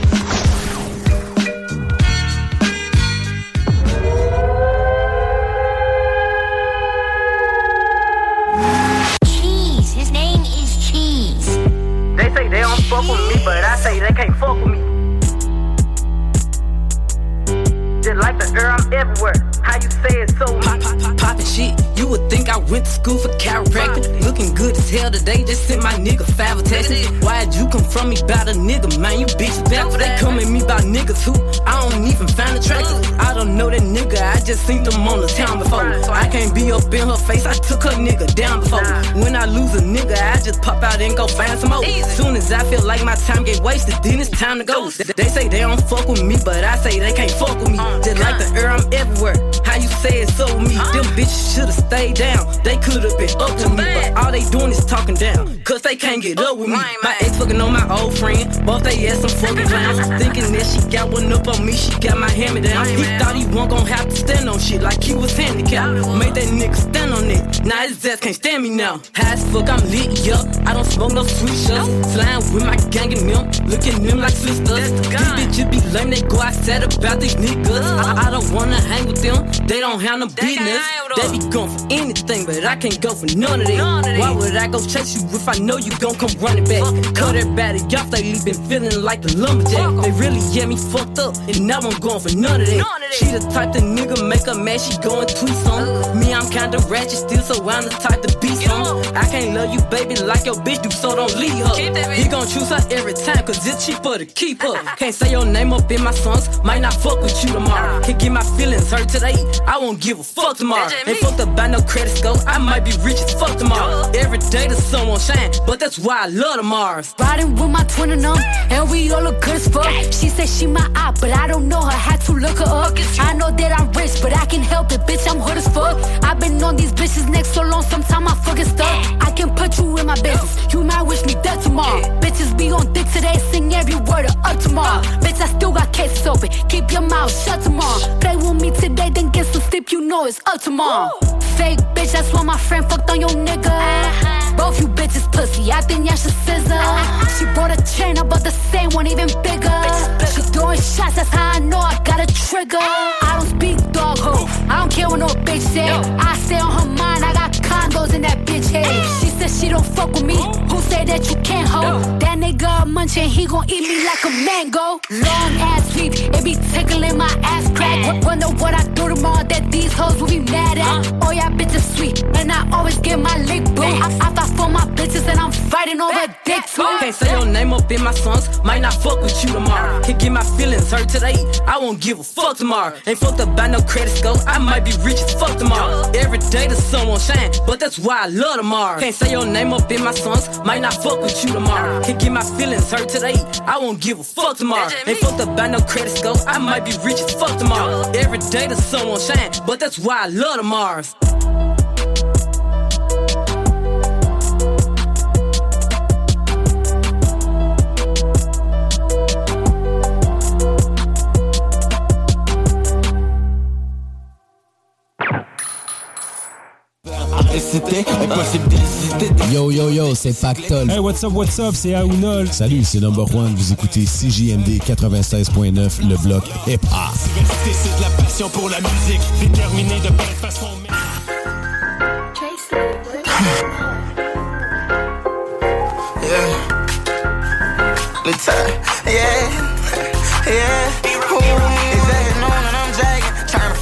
Cheese. His name is Cheese. They say they don't fuck with me, but I say they can't fuck with me. Just like the air, I'm everywhere. How you say it so Poppin' shit, you would think I went to school for chiropractic. Looking good as hell today, just sent my nigga 5 text. Why'd you come from me about a nigga, man? You bitches back. They come at me about niggas who I don't even find attractive. I don't know that nigga, I just seen them on the town before. I can't be up in her face, I took her nigga down before. When I lose a nigga, I just pop out and go find some more. Soon as I feel like my time get wasted, then it's time to go. They say they don't fuck with me, but I say they can't fuck with me. Just like the air, I'm everywhere. How you say it so with me? Them bitches should've stayed down. They could've been up to me, but all they doing is talking down, cause they can't get up with me. My ex fucking on my old friend, both they ass some fucking clowns. Thinking that she got one up on me, she got my hand-me-down. He thought he wasn't gon' have to stand on shit like he was handicapped. Made that nigga stand on it, now his ass can't stand me now. High as fuck, I'm lit, yup, I don't smoke no sweet shots. Flying with my gang and them, looking at them like sisters. These bitches be lame, they go outside about these niggas. I don't wanna hang with them, they don't have no business. They be going for anything, but I can't go for none of it. Why would I go chase you if I know you gon' come running back? Cut everybody off, they been feeling like the lumberjack. They really get me fucked up, and now I'm going for none of that. She the type the nigga make her mad, she going tweets on me. I'm kinda ratchet still, so I'm the type to be some. I can't love you, baby, like your bitch do, so don't leave her. He gon' choose her every time, cause it's cheaper to keep her. Can't say your name up in my songs, might not fuck with you tomorrow. Can't get my feelings hurt today, I won't give a fuck tomorrow. Ain't fucked up by no credit score, I might be rich as fuck tomorrow. Every day the sun won't shine, but that's why I love tomorrow. Riding with my twin and them, and we all look good as fuck. She said she my eye, but I don't know her, had to look her up. I know that I'm rich, but I can help it, bitch, I'm hood as fuck. I've been on these bitches' necks so long, sometimes I fucking stuck. I can put you in my business, you might wish me dead tomorrow. Bitches be on dick today, sing every word of up tomorrow. Bitch, I still got cases open, keep your mouth shut tomorrow. Play with me today, then get some sleep, you know it's up tomorrow. Fake bitch, that's why my friend fucked on your nigga. Both you bitches pussy, I think y'all should scissor. She bought a chain, I bought the same one, even bigger. She throwing shots, that's how I know I got a trigger. I don't speak dog ho, I don't care what no bitch say. I stay on her mind, I got condos in that bitch head. She said she don't fuck with me, who say that you can't hold? That nigga munchin', he gon' eat me like a mango. Long ass sleep, it be tickling my ass crack. Wonder what I do tomorrow that these hoes will be mad at. Oh yeah, bitches sweet, and I always get my lick boo. I fight for my bitches and I'm fighting over dick too. Can't say your name up in my songs, might not fuck with you tomorrow. Can't get my feelings hurt today, I won't give a fuck tomorrow. Ain't fucked up by no credit score, I might be rich as fuck tomorrow. Every day the sun won't shine, but that's why I love tomorrow. Can't say your name up in my songs, might not fuck with you tomorrow. Can't get my feelings hurt today, I won't give a fuck tomorrow. Ain't fucked up by no credit score, I might be rich as fuck tomorrow. Every day the sun won't shine, but that's why I love tomorrow. Yo yo yo, c'est Pactol. Hey, what's up, c'est Aounol. Salut, c'est Number One, vous écoutez CJMD 96.9, le bloc hip-hop. Diversité, c'est de la passion pour la musique, déterminé de belle façon. Yeah. Le time, yeah, yeah.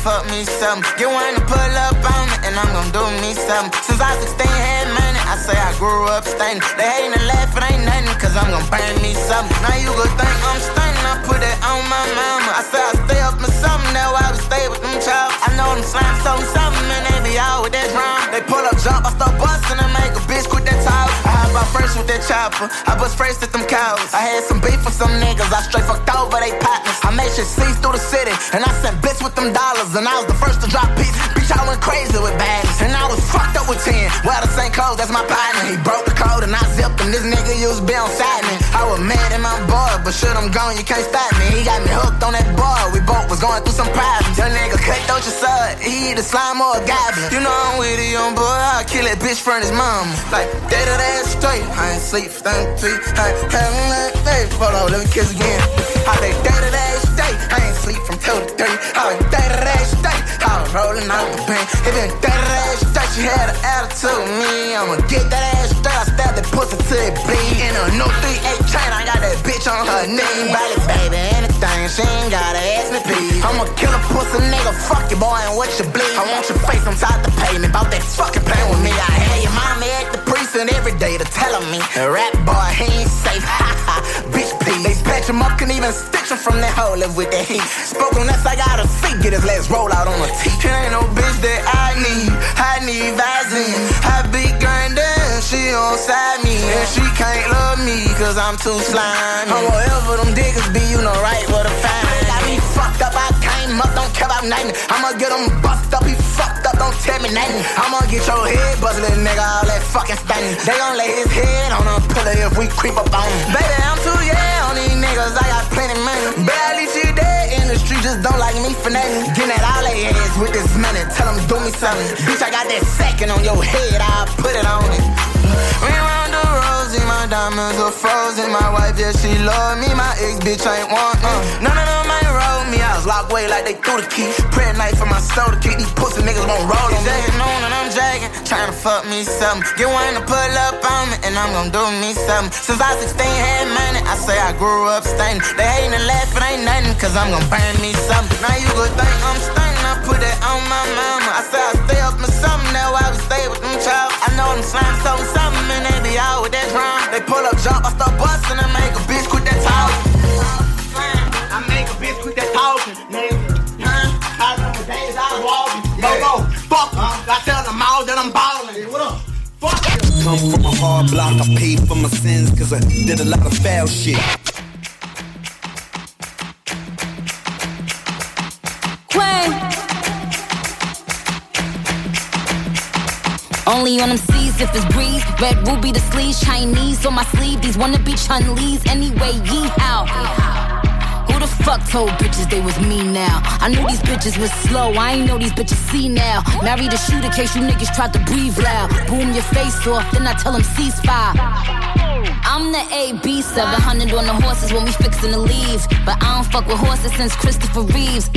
fuck me something. Get one to pull up on me, and I'm gon' do me something. Since I was 16, had money, I say I grew up stunning. They hatin' and laugh, it ain't nothing, cause I'm gon' burn me something. Now you gon' think I'm stunning, I put it on my mama. I say I stay up in something, that's why I would stay with them chops. I know them slimes so something, and they be out with that drum. They pull up, jump, I start bustin' and make a bitch quit that talk. I hop out first with that chopper, I bust first at them cows. I had some beef with some niggas, I straight fucked over they partners. I made shit cease through the city, and I sent bits with them dollars, and I was the first to drop beats. Bitch, I went crazy with bags, and I was fucked up with 10. Wear the same clothes, that's my partner. He broke the code, and I zipped him. This nigga used to be on side me. I was mad at my boy, but shit, I'm gone, you can't stop me. He got me hooked on that boy, we both was going through some problems. Young nigga cut out your son, he either slime or a goblin. You know I'm with a young boy, I'll kill that bitch from his mama. Like, day to day straight, I ain't sleep for 33. I ain't having that day. Hold on, let me kiss again. I say day to day straight, I ain't sleep from 2 to 3. I was day to day straight, I was rolling out the pen. It been day to day straight, she had an attitude with me. I'ma get that ass straight, I stab that pussy till it bleed. In a new 3-8 chain, I got that bitch on her knee. Body baby, anything, she ain't gotta ask me please. I'ma kill a pussy nigga, fuck you boy, and what you bleed. I want your face inside the pavement, bout that fucking pain with me. I had your mama at the precinct every day to tell me, a rap boy, he ain't safe, ha ha, bitch please. They patch him up, can even stitch him from that hole, live with that heat. Spoken less, I got a seat, get his legs roll out on a teeth. It ain't no bitch that I need Vaseline. I be grindin', she on side me, and she can't love me, cause I'm too slimy. I'm whatever them niggas be, you know right where to find me. Got me fucked up, I came up, don't care about nothing. I'ma get him bust up, he fucked up, don't tell me nothing. I'ma get your head busted, little nigga, all that fucking stunning. They gon' lay his head on a pillow if we creep up on him. Baby, I'm too on these niggas, I got plenty money. Barely shit dead in the street, just don't like me for nothing. Getting at all they ass with this money, tell them do me something. Bitch, I got that second on your head, I'll put it on it. We round the rosy, my diamonds are frozen. My wife, yeah, she love me, my ex bitch ain't want me. None of them ain't roll me, I was locked away like they threw the key. Prayer night for my soul to keep these pussy niggas won't roll on me. Jagging on and I'm jagging, trying to fuck me something. Get one to pull up on me, and I'm gon' do me something. Since I was 16, had money, I say I grew up stunning. They hatin' and laugh, it ain't nothing, cause I'm gon' burn me something. Now you gon' think I'm stunning, I put it on my mama. I say I stay up in something, that's why we stay with them chops. I know them slimes so something, and they be out with that drum. They pull up, jump, I start bustin' and make a bitch quit that talking. I make a bitch quit that talking, nigga. I remember days I was walking. Go, fuck em. I tell them all that I'm ballin'. What up? Fuck you. Come from a hard block, I paid for my sins, cause I did a lot of foul shit. Only on them seas if it's breeze. Red ruby the sleeves, Chinese on my sleeve. These wanna be Chun-Lees anyway, yee-how. Who the fuck told bitches they was me now? I knew these bitches was slow, I ain't know these bitches see now. Married a shooter case you niggas tried to breathe loud. Boom your face off, then I tell them ceasefire. I'm the AB, 700 on the horses when we fixin' to leave. But I don't fuck with horses since Christopher Reeves.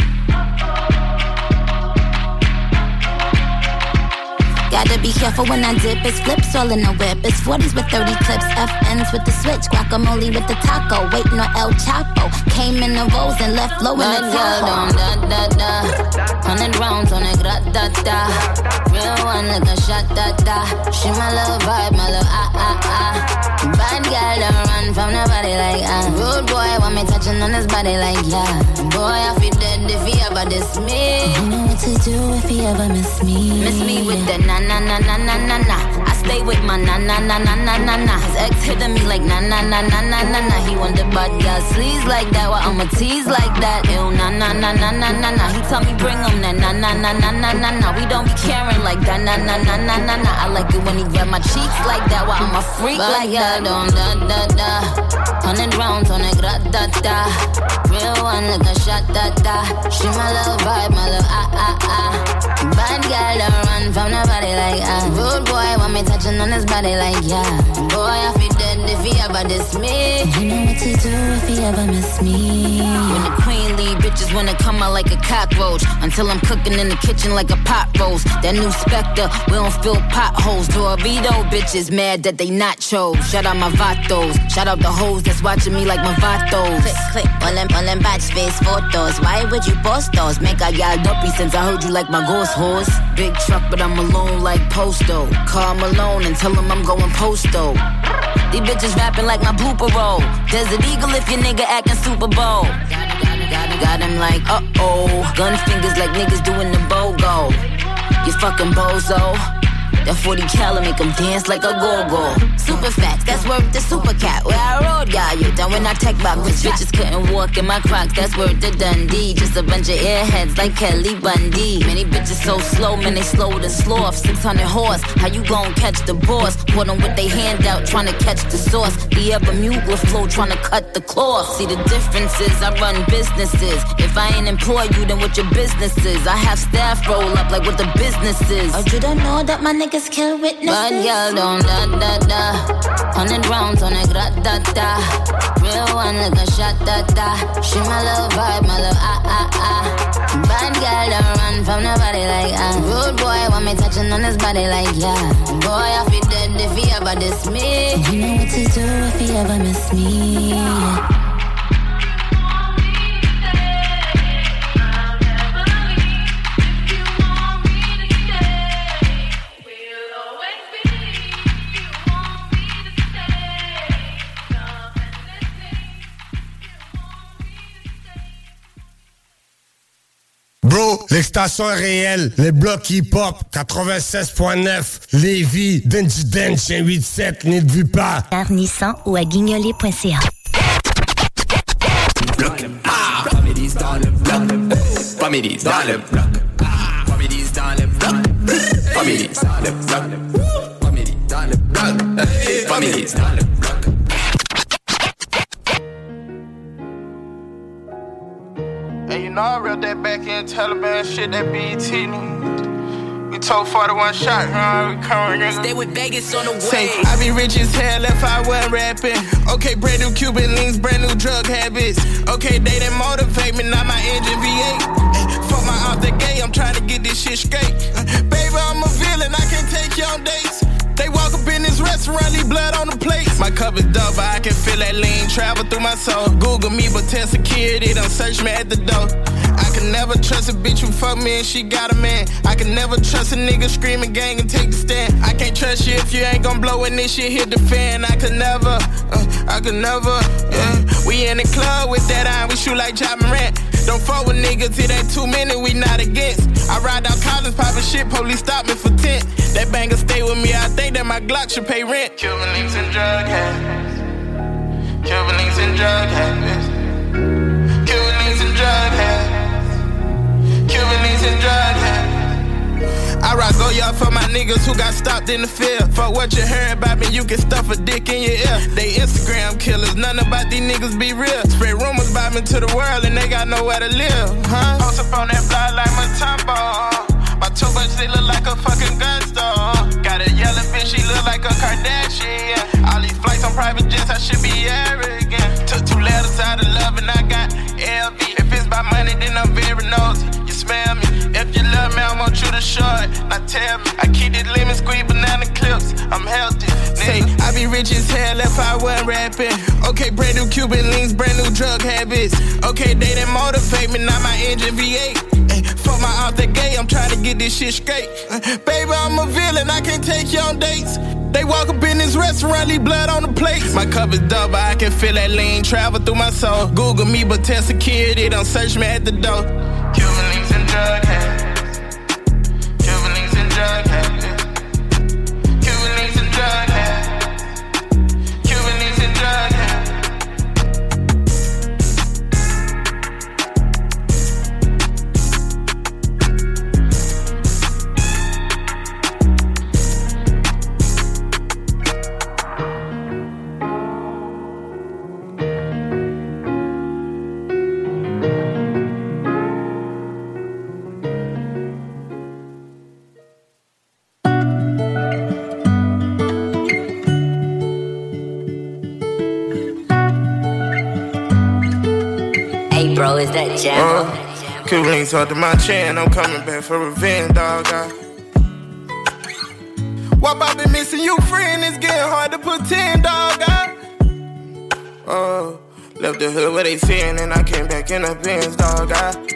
Gotta be careful when I dip, it's flips all in the whip. It's 40s with 30 clips, FNs with the switch. Guacamole with the taco, waiting on El Chapo. Came in the rolls and left low in the Tahoe. Da-da-da, 100 rounds on it, gra-da-da. Real one like a shot-da-da. She my little vibe, my little ah-ah-ah. Bad girl don't run from nobody like rude boy want me touching on his body like yeah. Boy, I feel dead if he ever diss me. You know what to do if he ever miss me. Miss me with the na-na-na-na-na-na-na. I stay with my na-na-na-na-na-na-na. His ex hitting me like na-na-na-na-na-na-na. He want the bad girl sleeves like that, well I'ma tease like that. Ew, na-na-na-na-na-na-na. He tell me bring him that na-na-na-na-na-na-na. We don't be caring like that, na-na-na-na-na-na. I like it when he grab my cheeks like that, well I'm a freak like that. Da-da-da. 100 rounds on it, gra-da-da. Real one like a shot-da-da. She my little vibe, my little ah-ah-ah. Bad girl don't run from nobody like rude boy want me touching on his body like yeah. Boy, I feel dead if he ever diss me. You know what to do if he ever miss me. When the queen leave, bitches bitches wanna come out like a cockroach until I'm cooking in the kitchen like a pot roast. That new Spectre, we don't fill potholes. Dorito bitches mad that they nachos. Shout out my vatos. Shout out the hoes that's watching me like my vatos. Click, click, all them batch face photos. Why would you post those? Make a y'all dumpy since I heard you like my ghost horse. Big truck, but I'm alone like Posto. Call Malone and tell him I'm going Posto. These bitches rapping like my blooper roll. Desert Eagle if your nigga acting Super Bowl. Got him like, uh-oh. Gun fingers like niggas doing the BOGO. You fucking bozo. That 40 cal make them dance like a go-go. Super facts, that's worth the super cat. Where I rode, got you down when I tech box. Cause bitches couldn't walk in my Crocs, that's worth the Dundee. Just a bunch of airheads like Kelly Bundy. Many bitches so slow, man, they slower than sloth. 600 horse, how you gon' catch the boss? Put them with they hand out, trying to catch the sauce. The Bermuda flow, trying to cut the cloth. See the differences, I run businesses. If I ain't employ you, then what your business is? I have staff roll up like what the business is. Oh, you don't know that my niggas kill witnesses? Bad girl don't da-da-da. 100 rounds on a grat-da-da. Real one like a shot-da-da. She my love vibe, my love ah-ah-ah. Bad girl don't run from nobody like Rude boy want me touching on his body like yeah. Boy, I feel dead if he ever diss me. You know what to do if he ever miss me. Bro, l'extension est réelle. Les blocs hip-hop, 96.9, Lévis, Denji Dench, 187, n'y te vu pas. Nissan ou à guignolé.ca. Bloc. Families dans le bloc. Families dans le bloc. Families dans le bloc. Families dans le bloc. Families dans le bloc. Families dans le bloc. Hey, you know I read that back in Taliban shit, that BET. We told 41 shot, we coming in. Stay with Vegas on the way. Say, I be rich as hell if I wasn't rapping. Okay, brand new Cuban links, brand new drug habits. Okay, they that motivate me, not my engine V8. Fuck my out the gate, I'm trying to get this shit straight. Baby, I'm a villain, I can take you on dates. They walk up in this restaurant, leave blood on the plate. My cup is double, I can feel that lean travel through my soul. Google me, but tell security, don't search me at the door. I can never trust a bitch who fuck me and she got a man. I can never trust a nigga screaming gang and take the stand. I can't trust you if you ain't gon' blow when this shit hit the fan. I could never, yeah. We in the club with that iron, we shoot like Ja Morant. Don't fuck with niggas, it ain't too many, we not against. I ride out college, poppin' shit, police stop me for 10. That banger stay with me, I think that my Glock should pay rent. Cuban links and drug habits. Cuban links and drug habits. Cuban links and drug habits. Cuban links and drug habits. I rock go y'all for my niggas who got stopped in the field. Fuck what you heard about me, you can stuff a dick in your ear. They Instagram killers, none about these niggas be real. Spread rumors about me to the world and they got nowhere to live, huh? Post up on that block like Matumbo. My two bucks, they look like a fucking gun store. Got a yellow bitch, she look like a Kardashian. All these flights on private jets, I should be arrogant. Took 2 letters out of love and I got LV. If it's by money, then I'm very nosy. You smell me. If you love me, I want you to show it. Now tell me, I keep this lemon squeeze banana clips. I'm healthy. Say, I be rich as hell if I wasn't rapping. Okay, brand new Cuban links, brand new drug habits. Okay, they that motivate me, not my engine V8. Fuck my out the gate, I'm trying to get this shit straight. Baby, I'm a villain, I can't take you on dates. They walk up in this restaurant, leave blood on the plate. My cup is double, I can feel that lean travel through my soul. Google me, but tell security, don't search me at the door. Cuban links and drug habits. Cuban links and drug habits. Cuban links and drug habits. Cuban links and drug habits. is that Jam? Cuban links under my chin, I'm coming back for revenge, dog. Why I been missing you, friend? It's getting hard to pretend, dog. Left the hood where they sin, and I came back in the Benz, dog.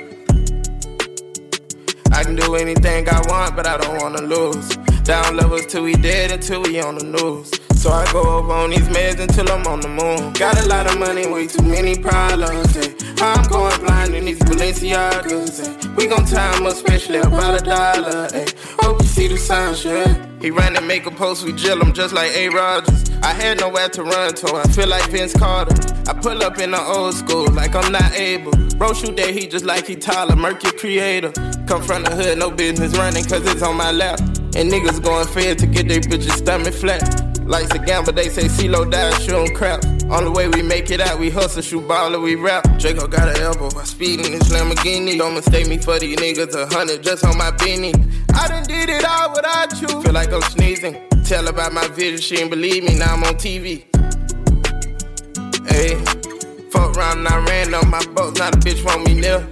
I can do anything I want, but I don't wanna lose. Down levels till we dead, until we on the news. So I go over on these meds until I'm on the moon. Got a lot of money, way too many problems. I'm going blind in these Balenciagas. We gon' time up, especially about $1. Hope you see the signs, yeah. He ran and make a post, we drill him just like A. Rodgers. I had nowhere to run to, I feel like Vince Carter. I pull up in the old school like I'm not able. Bro shoot that heat just like he Tyler, Mercury creator. Come from the hood, no business running cause it's on my lap. And niggas going fed to get their bitches stomach flat. Life's a gamble, they say CeeLo died shooting crap. Only way we make it out, we hustle, shoot baller, we rap. Draco got an elbow by speeding this Lamborghini. Don't mistake me for these niggas, 100 just on my beanie. I done did it all without you. Feel like I'm sneezing. Tell about my vision, she ain't believe me, now I'm on TV. Ayy, fuck around and I ran on my boat, now the bitch want me near.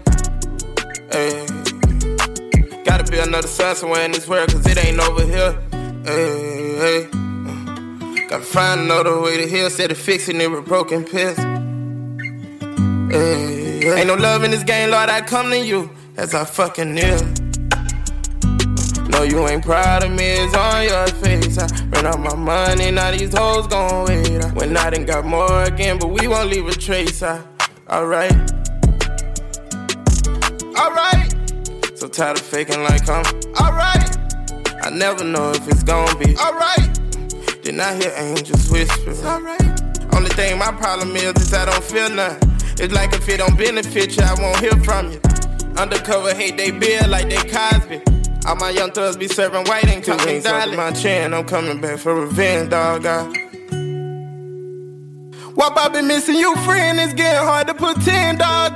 Ayy, gotta be another sun somewhere in this world, cause it ain't over here. Ayy, gotta find another way to heal, instead of fixing it with broken pills. Ain't no love in this game, Lord, I come to you as I fucking kneel. No, you ain't proud of me, it's on your face. I ran out my money, now these hoes gon' wait. When I done got more again, but we won't leave a trace. Alright. So tired of faking like I'm alright. I never know if it's gon' be alright. Then I hear angels whisper. It's alright. Only thing my problem is I don't feel nothing. It's like if it don't benefit you, I won't hear from you. Undercover hate they bill like they Cosby. All my young thugs be serving white, ain't talking dolly. My chin, I'm coming back for revenge, dog. Why I been missing you, friend? It's getting hard to pretend, dog.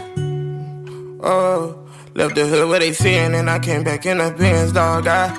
Left the hood where they sin, and I came back in the Benz, dog. I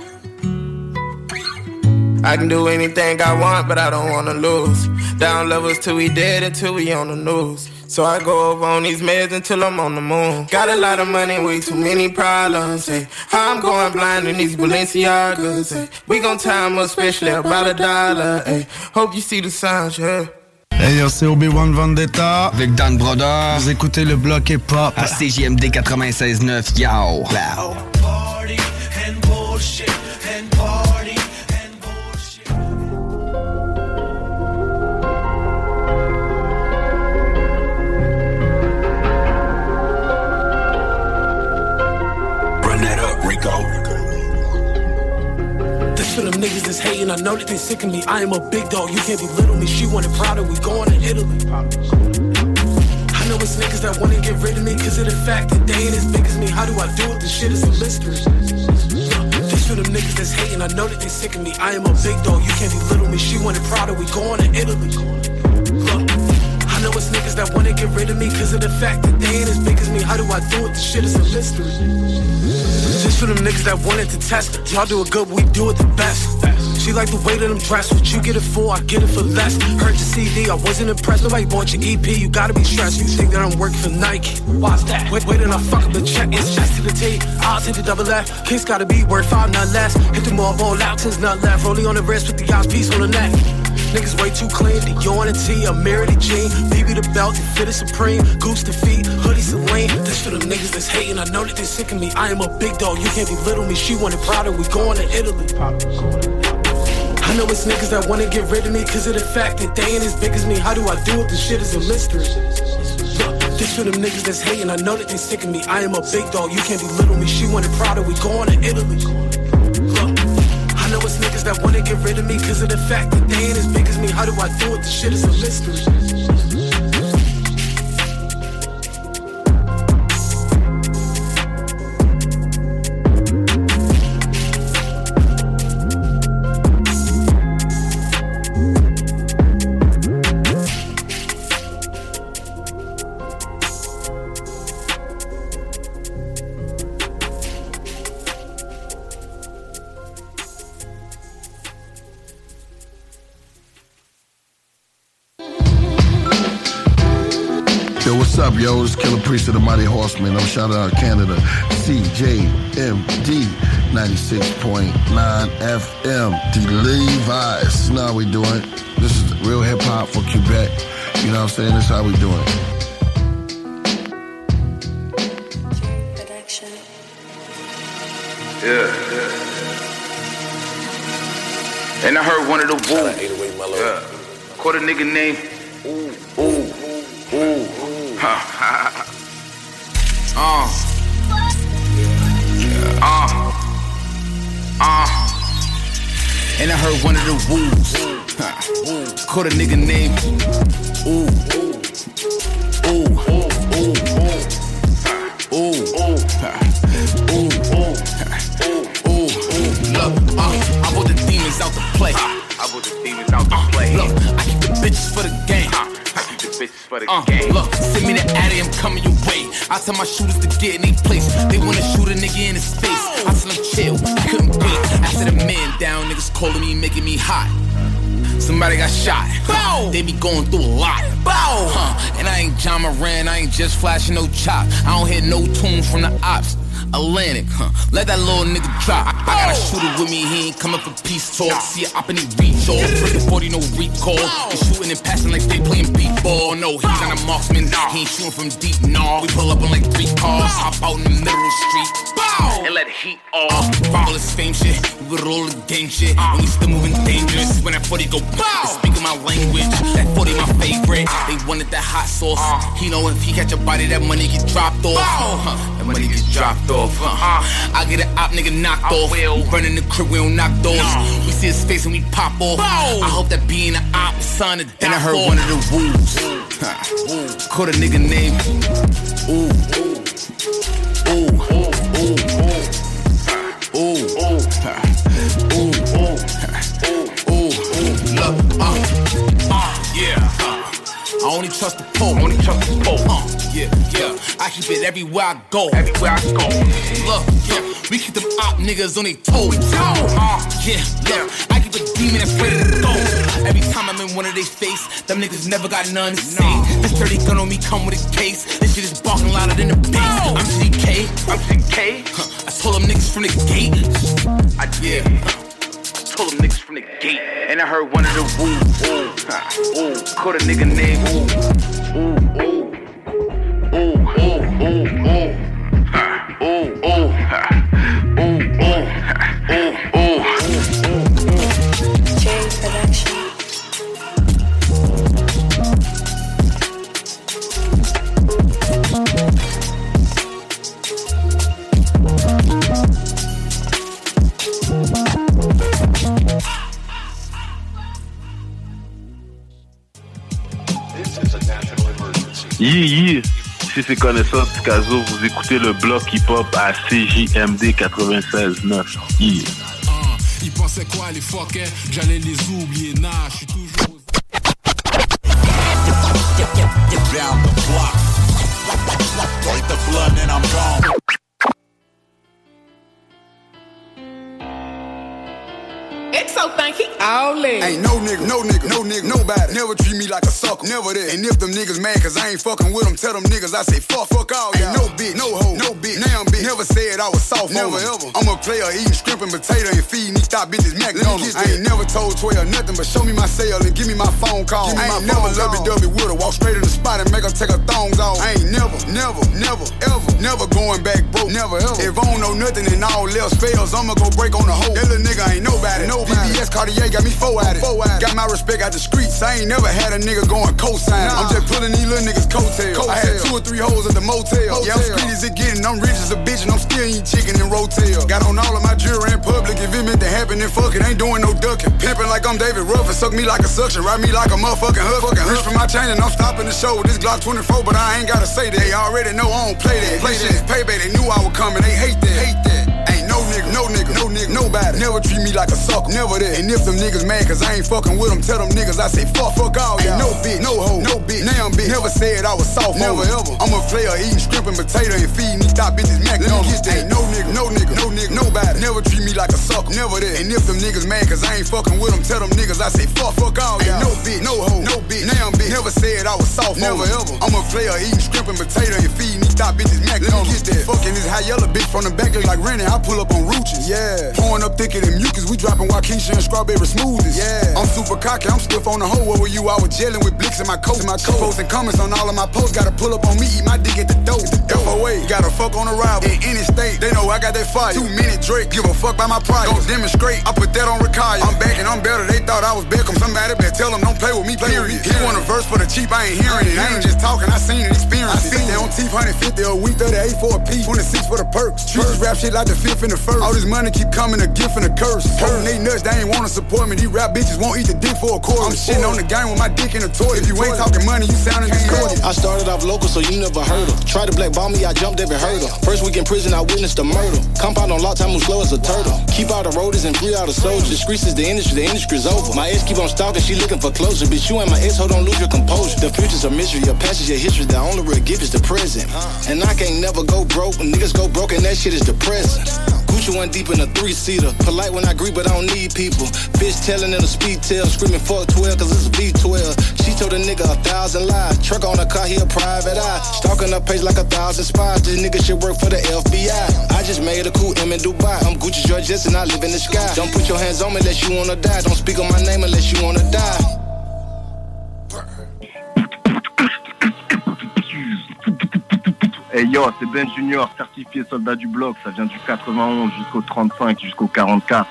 can do anything I want, but I don't wanna lose. Down levels till we dead, until we on the news. So I go over on these meds until I'm on the moon. Got a lot of money, way too many problems. I'm going blind in these Balenciagas. We gon' time up, especially about $1. Hope you see the signs, yeah. Hey yo, c'est Obi-Wan Vendetta avec Dan Brodeur. Vous écoutez le bloc hip-hop à CJMD 96.9. Yo. Wow. Party and bullshit and party. This for them niggas that's hating, I know that they sick of me. I am a big dog, you can't belittle me. She wanted Prada, we going to Italy. I know it's niggas that wanna get rid of me, cause of the fact that they ain't as big as me. How do I do it? This shit is a mystery. This for them niggas that's hating, I know that they sick of me. I am a big dog, you can't belittle me. She wanted Prada, we going to Italy. I know it's niggas that wanna get rid of me, cause of the fact that they ain't as big as me. How do I do it? This shit is a mystery. Just for them niggas that wanted to test. Y'all do it good, we do it the best. She like the way that I'm dressed. What you get it for, I get it for less. Heard your CD, I wasn't impressed. Nobody bought your EP, you gotta be stressed. You think that I'm working for Nike? Why's that? Wait, and I fuck up the check. It's S to the T, I'll take the double F. Kicks gotta be worth 5, not less. Hit the mall, ball out, since not left. Rolling on the wrist with the eyes piece on the neck. Niggas way too clean, the yawn and T, a mirror the jean. BB the belt, the fit is supreme. Goose the feet, hoodie Celine. This for them niggas that's hating, I know that they sick of me. I am a big dog, you can't belittle me. She wanted Prada, we going to Italy. I know it's niggas that wanna get rid of me, cause of the fact that they ain't as big as me. How do I do it? This shit is a mystery. This for them niggas that's hating, I know that they sick of me. I am a big dog, you can't belittle me. She wanted Prada, we going to Italy. I know it's niggas that wanna get rid of me, cause of the fact that they ain't as big as me. How do I do it? This shit is a mystery. What's up, yo? It's Killer Priest of the Mighty Horsemen. I'm shouting out Canada. CJMD 96.9 FM. The Levi's. You know how we doing. This is real hip-hop for Quebec. You know what I'm saying? This is how we doing. Yeah. And I heard one of the wolves. Yeah. Caught a nigga named Ooh. And I heard one of the wolves. Caught a nigga named Ooh. Look, I brought the demons out to play. Look, I keep the bitches for the game. Look, send me the addy, I'm coming your way. I tell my shooters to get in their place. They wanna shoot a nigga in his face. I tell them chill, I couldn't wait. After the man down, niggas calling me, making me hot. Somebody got shot. Bow. They be going through a lot. Bow. And I ain't John Moran, I ain't just flashing no chop. I don't hear no tunes from the ops. Atlantic, let that little nigga drop. I got a shooter with me, he ain't coming for peace talk. See a op and he reach off. Freaking 40, no recall. They shooting and passing like they playing beat ball. No, he's not a marksman, he ain't shooting from deep, nah. We pull up on like 3 cars, hop out in the middle of the street. And let the heat off. All this fame shit, we with all the gang shit. And we still moving dangerous. When that 40 go bow, speaking my language. That 40 my favorite. They wanted that hot sauce. He know if he catch a body, that money get dropped off. That money get dropped off. I get an op nigga knocked off. We burning the crib, we don't knock doors. We see his face and we pop off. I hope that being an op son to die. And I heard one of the wolves. Caught a nigga named Ooh. Look, yeah. I only trust the pole. Yeah. I keep it everywhere I go. Look, yeah. We keep them op niggas on their toes. Yeah. I keep a demon that's ready to go. Every time I'm in one of their face, them niggas never got none to say. This 30 gun on me come with a case. This shit is barking louder than the bass. I'm CK. I told them niggas from the gate. Told them niggas from the gate. And I heard one of the wolves. Caught a nigga named J Production. Yeah. Si c'est connaissant Picasso, vous écoutez le bloc hip-hop à CJMD 96.9. Yeah. Ils pensaient quoi les fuckers? J'allais les oublier, nah, j'suis toujours... Down the block. Break the blood and I'm gone. Exo think he all in. Ain't no nigga, nobody. Never treat me like a sucker, never that. And if them niggas mad cause I ain't fucking with them, tell them niggas I say fuck all y'all. Ain't no bitch, no hoe, no bitch, now I'm bitch. Never said I was soft, never ever. I'm a player eating shrimp and potato and feeding these top bitches McDonald's. I ain't never told 12 nothing but show me my cell and give me my phone call. I ain't never lovey-dovey with her, walk straight in the spot and make her take her thongs off. I ain't never, ever going back broke, never ever. If I don't know nothing and all else fails, I'ma go break on the hoe. That little nigga ain't nobody. VVS Cartier got me 4 at it. Got my respect out the streets. I ain't never had a nigga going cosign. I'm just pulling these little niggas coattails. I had 2 or 3 hoes at the motel. Yeah, I'm street as it getting. I'm rich as a bitch and I'm still eating chicken and rotel. Got on all of my jewelry in public. If it meant to happen, then fuck it. Ain't doing no ducking. Pimping like I'm David Ruffin. Suck me like a suction. Ride me like a motherfucking hood. Reach for my chain and I'm stopping the show with this Glock 24. But I ain't gotta say that. They already know I don't play that. Play shit is payback. They knew I was coming. They hate that. Ain't no nigga, nobody. Never treat me like a sucker, never that. And if them niggas mad cause I ain't fucking with them, tell them niggas I say fuck all y'all. Ain't no bitch, no hoe, no bitch, now I'm bitch. Never said I was soft, never ever. I'm a player eating shrimp and potato and feeding these top bitches McDonald's. Ain't no nigga, nobody. Never treat me like a sucker, never that. And if them niggas mad cause I ain't fucking with them, tell them niggas I say fuck all y'all. Ain't no bitch, no hoe, no bitch, now I'm bitch. Never said I was soft, never ever. I'm a player eating shrimp and potato and feeding these top bitches McDonald's. Fucking this high yellow bitch from the back look like Rennie. I pull up on Rooches, yeah. Pouring up thicker than mucus, we dropping Waukesha and strawberry smoothies, yeah. I'm super cocky, I'm stiff on the hoe. Where were you? I was gelling with blicks in my coat. She posting comments on all of my posts. Gotta pull up on me, eat my dick at the dope. FOA, gotta fuck on the rival. In any state, they know I got that fire. 2 minute Drake, give a fuck by my price. Don't demonstrate, I put that on Rakaya. I'm back and I'm better, they thought I was Beckham. Somebody better tell them don't play with me, period. He want a verse for the cheap, I ain't hearing it. I ain't just talking, I seen it, experience. I seen it on teeth, 150 a week, 38 for a piece, 26 for the perks. Trees rap shit like the 5th and the 1st. All this money keep coming, a gift and a curse. Hurting they nuts, they ain't wanna support me. These rap bitches won't eat the dick for a quarter. I'm shitting on the game with my dick in a toy. If you ain't talking money, you sounding distorted. I started off local, so you never heard of. Tried to blackball me, I jumped every hurdle. First week in prison, I witnessed a murder. Compound on lock, time move slow as a turtle. Keep out the roaders and free out the soldiers. Streets is the industry's over. My ex keep on stalking, she looking for closure. Bitch, you ain't my ex, hold on, lose your composure. The future's a mystery, your past is your history. The only real gift is the present. And I can't never go broke. When niggas go broke and that shit is depressing. Gucci one deep in a 3-seater. Polite when I agree, but I don't need people. Bitch telling in a speed tail, screaming fuck 12 cause it's a V12. She told a nigga 1,000 lies. Truck on her car, he a private eye. Stalking her page like 1,000 spies. This nigga should work for the FBI. I just made a cool M in Dubai. I'm Gucci Georgette and I live in the sky. Don't put your hands on me unless you wanna die. Don't speak on my name unless you wanna die. Hey yo, c'est Ben Junior, certifié soldat du bloc. Ça vient du 91 jusqu'au 35, jusqu'au 44.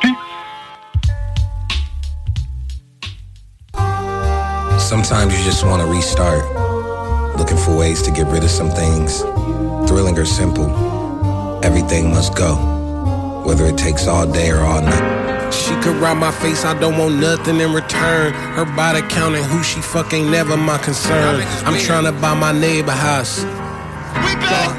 Sometimes you just want to restart. Looking for ways to get rid of some things. Thrilling or simple. Everything must go. Whether it takes all day or all night. She could ride my face, I don't want nothing in return. Her body counting who she fuck ain't never my concern. I'm trying to buy my neighbor house. We back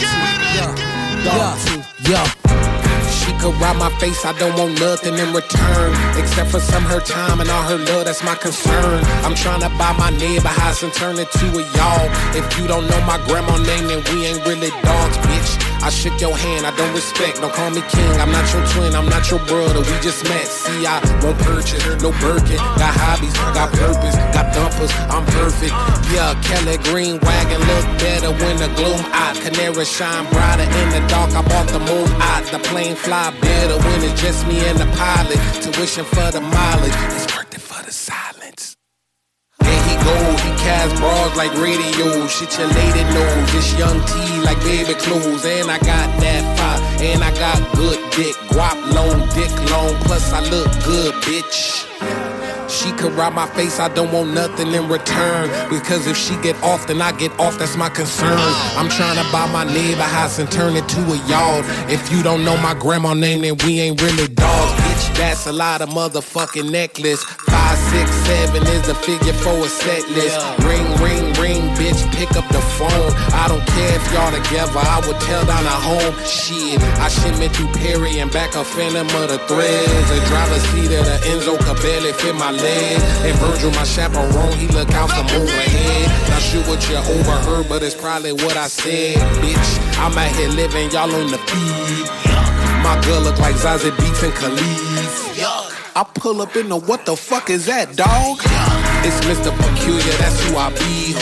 at it! Yeah. She could ride my face, I don't want nothing in return. Except for some her time and all her love, that's my concern. I'm trying to buy my neighbor house and turn it to a y'all. If you don't know my grandma name, then we ain't really dogs, bitch. I shook your hand, I don't respect, don't call me king. I'm not your twin, I'm not your brother, we just met. See, I won't purchase, no Birkin. Got hobbies, got purpose, got dumpers, I'm perfect. Yeah, Kelly Green wagon look better when the gloom out. Canary shine brighter in the dark, I bought the moon out. The plane fly better when it's just me and the pilot. Tuition for the mileage, it's worth it for the silence. There he go, he cast bras like radio. Shit your lady knows, this young T like baby clothes. And I got that fire, and I got good dick. Guap long, dick long, plus I look good, bitch. She could ride my face, I don't want nothing in return. Because if she get off, then I get off, that's my concern. I'm trying to buy my neighbor house and turn it to a yard. If you don't know my grandma name, then we ain't really dogs, bitch. That's a lot of motherfucking necklace. 5, 6, 7 is the figure for a set list. Ring, ring, ring, bitch, pick up the phone. I don't care if y'all together, I would tell down at home. Shit, I shimmy through Perry and back a phantom of the threads. A driver's seat of the Enzo could barely fit my leg. And Virgil, my chaperone, he look out from overhead. Not sure what you overheard, but it's probably what I said, bitch. I'm out here living, y'all on the feed. My girl look like Zazie Beetz and Khalid. I pull up in the what the fuck is that, dog? It's Mr. Peculiar, that's who I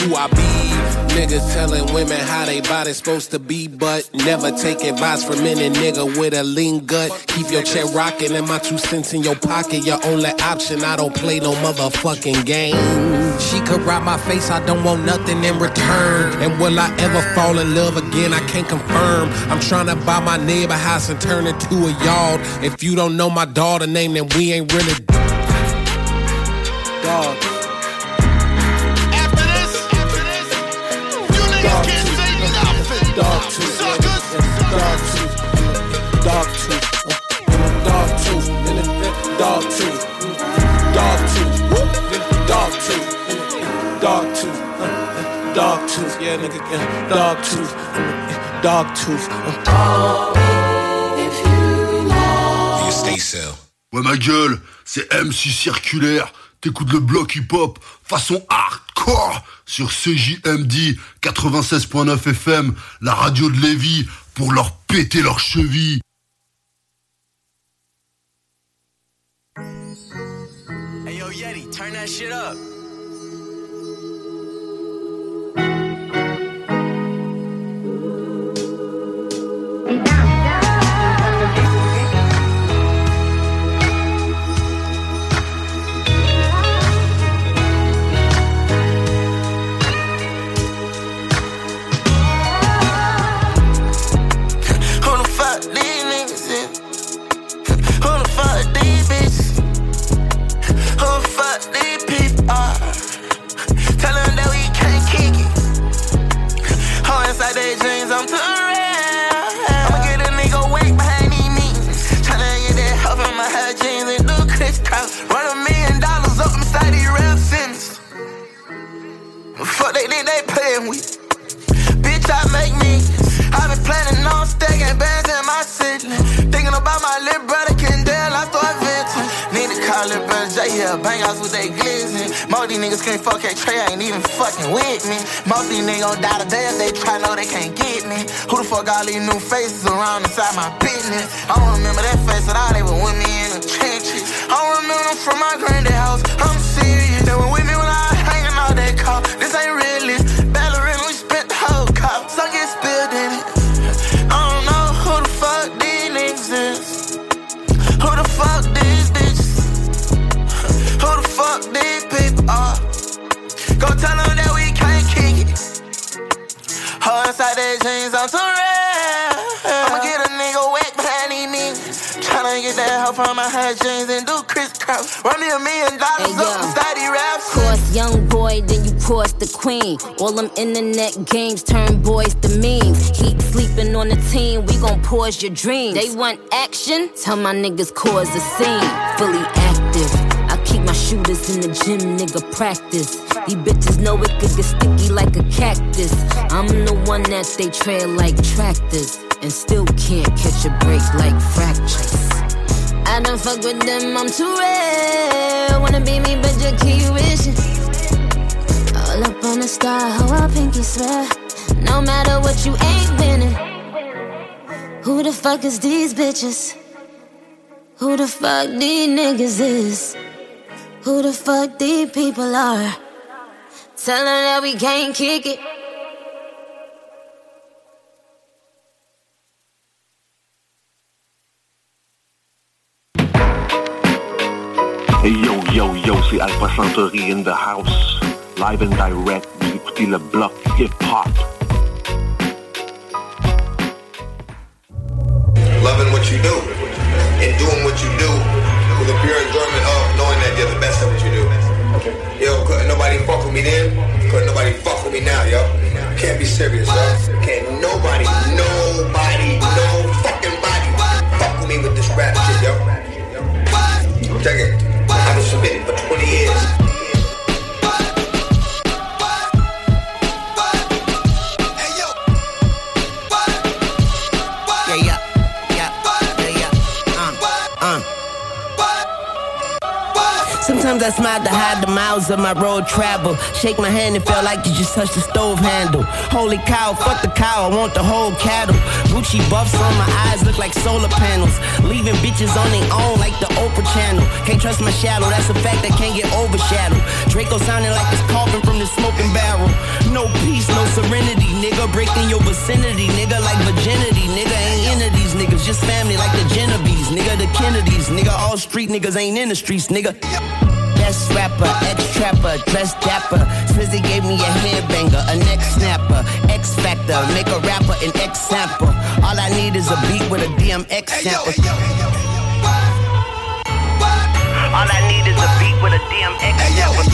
be. Niggas telling women how they body's supposed to be, but never take advice from any nigga with a lean gut. Keep your check rocking and my 2 cents in your pocket, your only option. I don't play no motherfucking game. She could ride my face, I don't want nothing in return. And will I ever fall in love again? I can't confirm. I'm trying to buy my neighbor house and turn it to a yard. If you don't know my daughter name, then we ain't really dogs. Dog tooth, dog tooth, dog tooth, dog tooth, dog tooth, dog tooth, dog tooth, dog tooth, dog tooth, yeah, nigga, dog tooth, dog tooth. Be a stay cell. Ouais ma gueule, c'est MC Circulaire. T'écoutes le bloc hip-hop façon hardcore sur CJMD 96.9 FM, la radio de Lévis, pour leur péter leurs chevilles. Hey yo Yeti, turn that shit up. I'm too real. I'ma get a nigga wake behind these meetings. Tryna get that help in my hair jeans and do crisscross. Run $1 million up inside these rap centers. Fuck they think they playing with. Bitch, I make me. I been planning on stacking bands in my city. Thinking about my little brother Kendall, I start venting. Need to call it brother J, yeah, bang outs with they glizzy. Most these niggas can't fuck K-Trey, ain't even fucking with me. Most these niggas gon' die today if they try, know they can't get me. Who the fuck all these new faces around inside my business? I don't remember that face at all, they were with me in the trenches. I don't remember them from my granddad house, I'm serious. They were with me when I was hanging out that car. This ain't realist, Ballerina, we spent the whole car. Some get spilled in it. I don't know who the fuck these niggas is. Who the fuck these bitches? Who the fuck these people are? Go tell them that we can't kick it. Hold inside their jeans, I'm too real. I'ma get a nigga wet behind these niggas. Tryna get that help from my hair jeans and do crisscross. Run me $1 million up inside these raps. Course young boy, then you course the queen. All them internet games turn boys to memes. Keep sleeping on the team, we gon' pause your dreams. They want action? Tell my niggas cause a scene. Fully active, I keep my shooters in the gym, nigga practice. These bitches know it could get sticky like a cactus. I'm the one that they trail like tractors, and still can't catch a break like fractures. I don't fuck with them, I'm too real. Wanna be me, but you keep wishing. All up on the star, how I pinky swear. No matter what, you ain't winning. Who the fuck is these bitches? Who the fuck these niggas is? Who the fuck these people are? Tell them that we can't kick it. Yo, yo, yo, c'est Alpha Centauri in the house. Live and direct, vous écoutez le bloc hip-hop. Loving what you do and doing what you do with a pure enjoyment of knowing that you're the best at what you do. Yo, couldn't nobody fuck with me then, couldn't nobody fuck with me now, yo. Can't be serious, yo. Can't nobody, no fucking body fuck with me with this rap shit, yo. Check it. I've been submitting for 20 years. Sometimes I smile to hide the miles of my road travel. Shake my hand, it felt like you just touched the stove handle. Holy cow, fuck the cow, I want the whole cattle. Gucci buffs on my eyes look like solar panels. Leaving bitches on their own like the Oprah channel. Can't trust my shadow, that's a fact that can't get overshadowed. Draco sounding like it's coughing from the smoking barrel. No peace, no serenity, nigga. Breaking your vicinity, nigga, like virginity. Nigga ain't into these niggas, just family like the Genovese. Nigga, the Kennedys, nigga, all street niggas ain't in the streets, nigga. Best rapper, ex-trapper, dress dapper. Swizzy gave me a headbanger, a neck snapper. X-Factor, make a rapper an X-sample. All I need is a beat with a DMX sample. All I need is a beat with a DMX sample.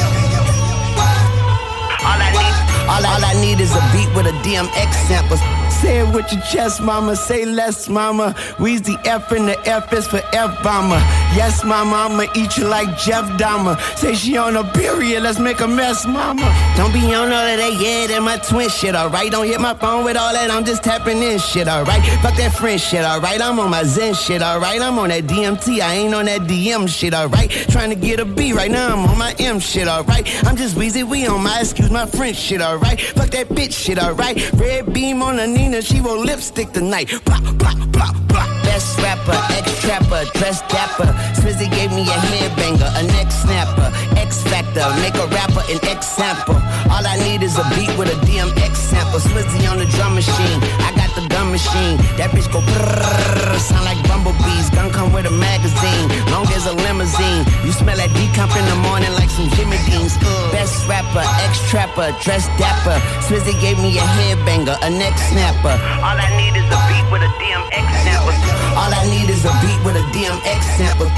All I need is a beat with a DMX sample. Say it with your chest, mama. Say less, mama. We's the F and the F is for F-bomber. Yes, mama, I'ma eat you like Jeff Dahmer. Say she on a period, let's make a mess, mama. Don't be on all of that, yeah, that my twin shit, alright. Don't hit my phone with all that, I'm just tapping in shit, alright. Fuck that friend shit, alright. I'm on my Zen shit, alright. I'm on that DMT, I ain't on that DM shit, alright. Trying to get a B right now, I'm on my M shit, alright. I'm just Weezy, we on my excuse my French shit, alright. Fuck that bitch shit, alright. Red beam on the Nina, she roll lipstick tonight. Plop, plop, plop, plop. Best rapper, ex-trapper, dress dapper. Swizzy gave me a headbanger, a neck snapper. X-Factor, make a rapper an X-sample. All I need is a beat with a DMX sample. Swizzy on the drum machine, I got the gun machine. That bitch go brrrr, sound like bumblebees. Gun come with a magazine, long as a limousine. You smell that decomp in the morning like some Jimmy Deans. Best rapper, ex-trapper, dress dapper. Swizzy gave me a headbanger, a neck snapper. All I need is a beat with a DMX sample. All I need is a beat with a DMX sample.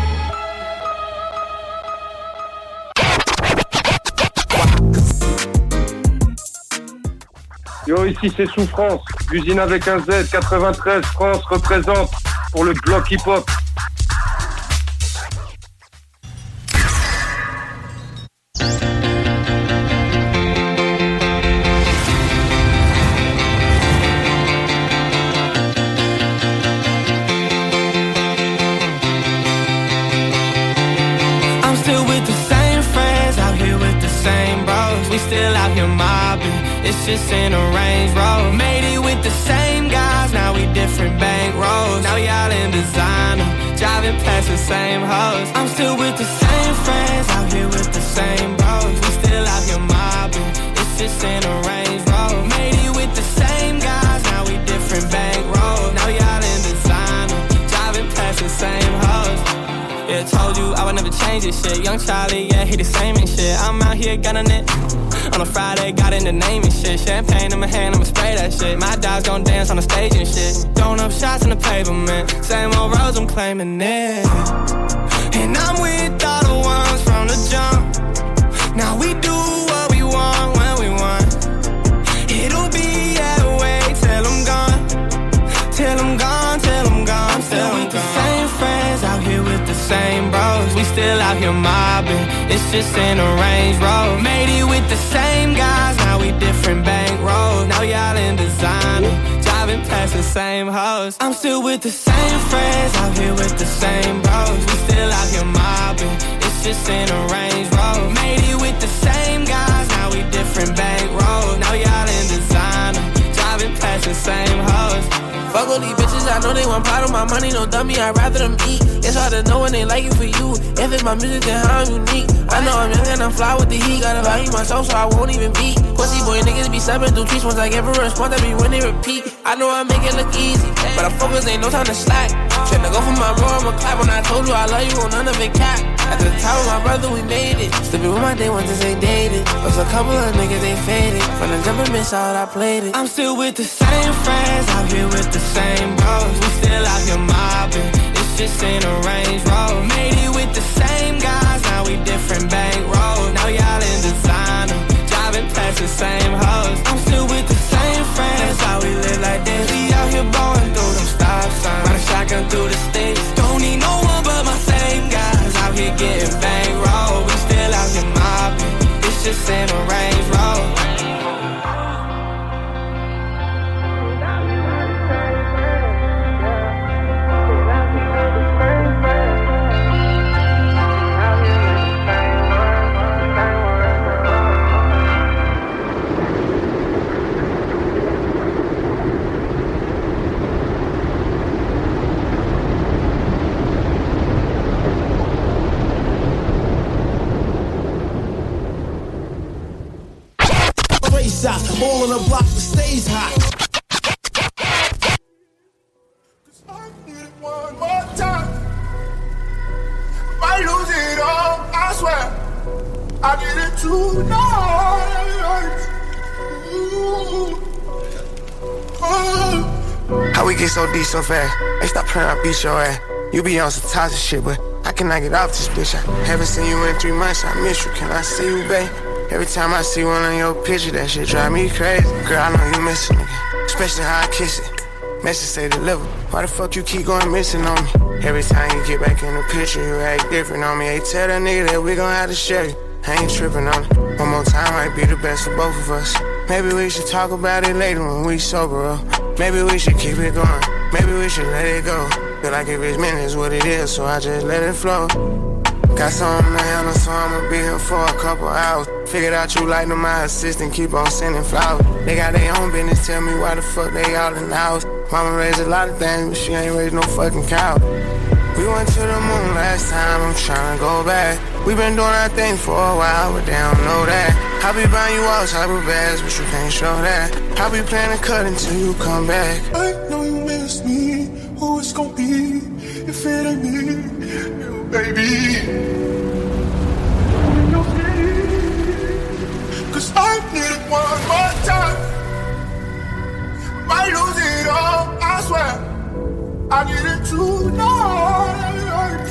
Yo, ici c'est Souffrance, l'usine avec un Z, 93, France représente pour le bloc hip-hop. I'm still with the same friends, out here with the same bros. We still out here mobbing. It's just in a Range Rover. Made it with the same guys, now we different bank rolls. Now y'all in designer, driving past the same hoes. I'm still with the same friends, out here with the same bros. We still out here mobbing, it's just in a Range Rover. Made it with the same guys, now we different bank rolls. Now y'all in designer, driving past the same hoes. Yeah, told you I would never change this shit. Young Charlie, yeah, he the same and shit. I'm out here gunning it. On a Friday, got in the name and shit. Champagne in my hand, I'ma spray that shit. My dogs gon' dance on the stage and shit. Throwing up shots in the pavement. Same old roads, I'm claiming it. And I'm with all the ones from the jump. Now we do what we want when we want. It'll be that way till I'm gone. Till I'm gone, till I'm gone. I'm still with the same friends, out here with the same bros. We still out here mobbing, it's just in a Range Rover. Made it with the same guys, now we different bank rolls. Now y'all in designer, driving past the same hoes. I'm still with the same friends, out here with the same bros. We still out here mobbing, it's just in a Range Rover. Made it with the same guys, now we different bank rolls. Now y'all in designer, driving past the same hoes. Fuck all these bitches, I know they want part of my money, no dummy, I'd rather them eat. It's hard to know when they like it for you. If it's my music, then how I'm unique. I know I'm young and I'm fly with the heat. Gotta value myself so I won't even beat. Pussy boy niggas be stepping through tweets. Once I give a response, that be when they repeat. I know I make it look easy, but I focus, ain't no time to slack. Tryna go for my bro, I'ma clap. When I told you I love you, on none of it cap. At the top of my brother, we made it. Still be with my day ones, they dated. Was a couple of niggas, they faded. From the jump and miss out, I played it. I'm still with the same friends, out here with the same bros. We still out here mobbing, it's just in a Range Rover. Made it with the same guys, now we different bank rolls. Now y'all in designer, driving past the same hoes. I'm still with the same friends, that's how we live like this. We out here blowing through them stop signs, ride a shotgun through the sticks. Don't need no one but my same guys, out here getting bank rolled. We still out here mobbing, it's just in a Range Rover. All on the block that stays hot. I need it one more time. Might lose it all, I swear. I need it tonight. How we get so deep so fast? Hey, stop playing, I beat your ass. You be on some toxic shit, but I cannot get off this bitch. I haven't seen you in 3 months, I miss you. Can I see you, babe? Every time I see one on your picture, that shit drive me crazy. Girl, I know you miss it, nigga. Especially how I kiss it. Message say deliver. Why the fuck you keep going missing on me? Every time you get back in the picture, you act different on me. Hey, tell that nigga that we gon' have to share you. I ain't tripping on it. One more time might be the best for both of us. Maybe we should talk about it later when we sober up. Maybe we should keep it going. Maybe we should let it go. Feel like if it's meant, it's what it is, so I just let it flow. Got something to handle, so I'ma be here for a couple hours. Figured out you like them, my assistant, keep on sending flowers. They got their own business, tell me why the fuck they all in the house. Mama raised a lot of things, but she ain't raised no fucking cow. We went to the moon last time, I'm tryna go back. We been doing our thing for a while, but they don't know that. I be buying you all type of bags, but you can't show that. I be planning to cut until you come back. I know you miss me, who it's gon' be if it ain't me, you baby. Cause I need it one more time. Might lose it all, I swear. I need it tonight.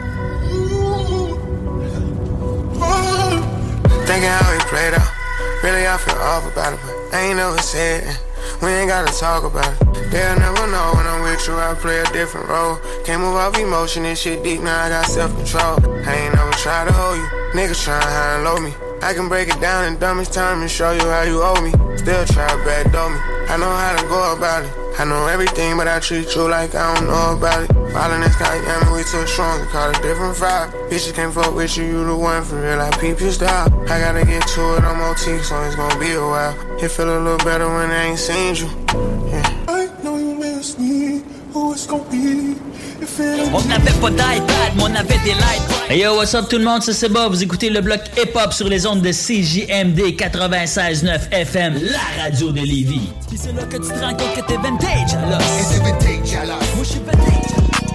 Thinking how we played out. Really, I feel off about it, but I ain't never said it. We ain't gotta talk about it. They'll never know when I'm with you, I play a different role. Can't move off emotion, this shit deep, now I got self-control. I ain't never tried to hold you, niggas tryna high and low me. I can break it down in dumbest time and show you how you owe me. Still try to backdoor me, I know how to go about it. I know everything, but I treat you like I don't know about it. Falling this guy, yeah, we too strong to call it different vibe. Bitches can't fuck with you, you the one for real, I peep your style. I gotta get to it, I'm OT, so it's gonna be a while. It feel a little better when I ain't seen you. Yeah. I know you miss me, who it's gonna be. On n'avait pas d'iPad, mais on avait des lights. Hey yo, what's up tout le monde, c'est Bob. Vous écoutez le bloc hip-hop sur les ondes de CJMD 96.9 FM, la radio de Lévis. Pis c'est là que tu te rends compte que t'es vintage à l'os. Et t'es vintage à l'os. Moi j'suis vintage.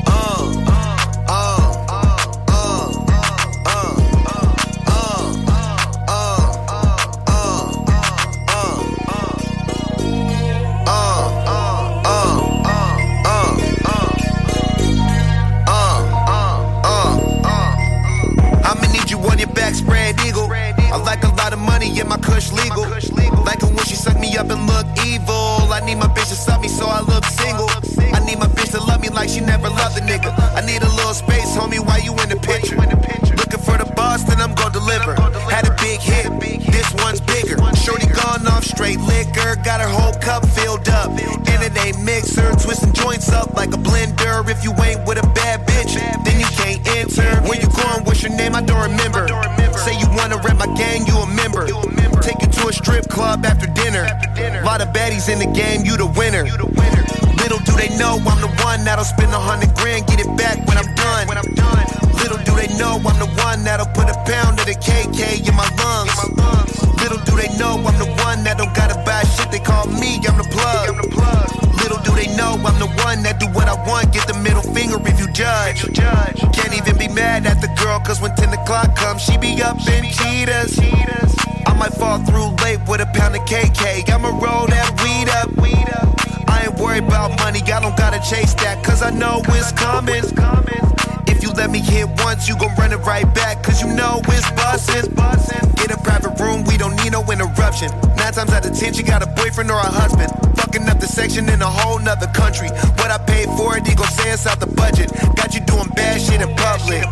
Spread eagle. I like a lot of money, yeah, my kush legal. Like it when she suck me up and look evil. I need my bitch to suck me so I look single. I need my bitch to love me like she never loved a nigga. I need a little space, homie, while you in the picture. Looking for the boss, then I'm gon' deliver. Had a big hit, this one's bigger. Shorty gone off straight liquor, got her whole cup filled up. And it ain't mixer, twisting joints up like a blender. If you ain't with a bad bitch, then you can't enter. Where you going, what's your name, I don't remember. Say you wanna rep my gang, you a member. Take you to a strip club after dinner. Lot of baddies in the game, you the winner. Little do they know I'm the one that'll spend 100 grand, get it back when I'm done. Little do they know I'm the one that'll put a pound of the KK in my lungs. Little do they know I'm the one that don't gotta buy shit, they call me, I'm the plug. Little do they know I'm the one that do what I want, get the middle finger if you judge. Can't even be mad at the girl, cause when 10 o'clock comes, she be up in cheetahs. I might fall through late with a pound of KK, I'ma roll that weed up. I ain't worried about money, I don't gotta chase that, cause I know it's coming. If you let me hit once, you gon' run it right back, cause you know it's bustin'. Get a private room, we don't need no interruption. 9 times out of 10, you got a boyfriend or a husband. Fucking up the section in a whole nother country. What I paid for it, he gon' say it's out the budget. Got you doing bad shit in public.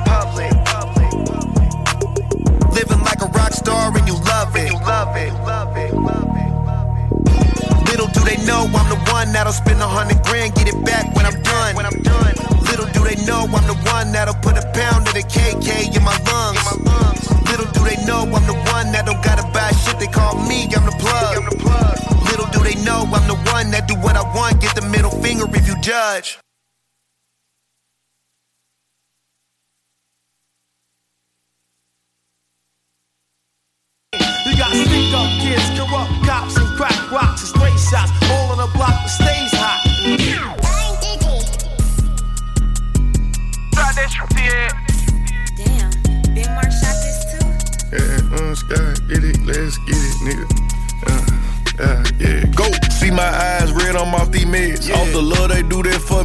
Living like a rock star and you love it. Little do they know I'm the one that'll spend 100 grand, get it back when I'm done. Little do they know I'm the one that'll put a pound of the KK in my lungs. Little do they know I'm the one that don't gotta buy shit, they call me, I'm the plug. Little do they know I'm the one that do what I want, get the middle finger if you judge. You got sneak up kids, corrupt cops, and crack rocks and stray shots. All on the block that stays hot. Damn, Big Mark shot this too? Yeah, Sky, get it, let's get it, nigga. Yeah, go. See my eyes red, I'm off these meds. Yeah. Off the love they do that for me.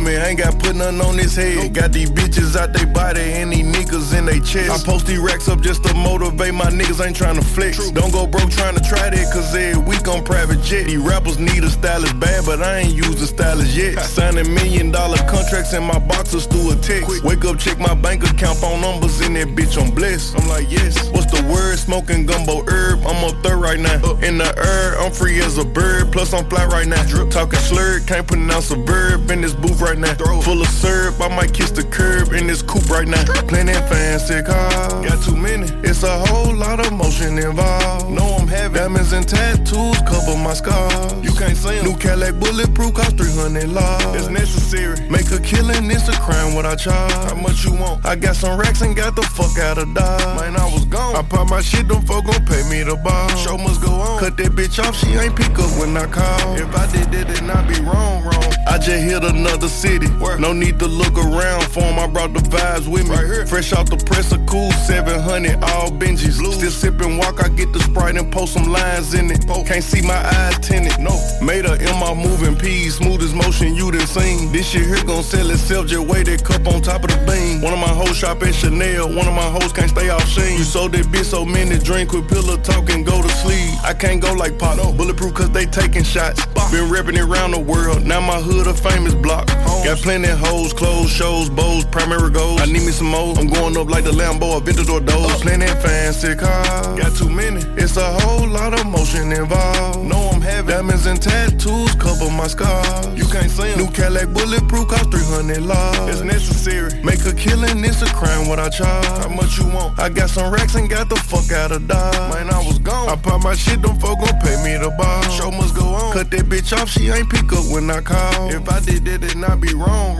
me, ain't got put nothing on his head. Got these bitches out they body and these niggas in they chest. I post these racks up just to motivate my niggas, ain't trying to flex. Don't go broke trying to try that, cause every week on private jet. These rappers need a stylist bad, but I ain't used a stylist yet. Signing $1 million contracts in my boxers through a text. Wake up, check my bank account, phone numbers in that bitch, I'm blessed. I'm like, yes. What's the word? Smoking gumbo herb. I'm up there right now. In the air, I'm free as a bird. Plus I'm fly right now. Talking slurred, can't pronounce a verb in this booth right now. Full of syrup, I might kiss the curb in this coupe right now. Plenty fancy cars, got too many. It's a whole lot of motion involved. Know I'm having diamonds and tattoos cover my scars. You can't see them. New Cadillac bulletproof cost $300. It's necessary. Make a killing, it's a crime what I charge. How much you want? I got some racks and got the fuck out of Dodge. Man, I was gone. I pop my shit, them folk gon' pay me the ball. Show must go on. Cut that bitch off, she ain't pick up when I call. If I did that, then I be wrong. I just hit another city. No need to look around for him. I brought the vibes with me. Right here. Fresh out the press, a cool 700, all Benjis. Still sippin' walk, I get the Sprite and post some lines in it. Can't see my eyes tinted. No. Made her in my moving peas, smoothest motion you done seen. This shit here gon' sell itself, just weigh that cup on top of the beam. One of my hoes shop at Chanel, one of my hoes can't stay off Sheen. You sold that bitch so many, drink with pillow talk and go to sleep. I can't go like Pop, no. Bulletproof cause they taking shots. Been reppin' it around the world, now my hood a famous block. Got plenty hoes, clothes, shows, bows, primary goals. I need me some more, I'm going up like the Lambo, Aventador doors. Plenty fancy cars, got too many. It's a whole lot of motion involved. Know I'm having diamonds and tattoos cover my scars. You can't see them. New Cadillac bulletproof cost $300. It's necessary. Make a killing, it's a crime what I charge. How much you want? I got some racks and got the fuck out of Dodge. Man, I was gone. I pop my shit, them folk gon' pay me the ball. Show must go on. Cut that bitch off, she ain't pick up when I call. If I did that, then I be wrong.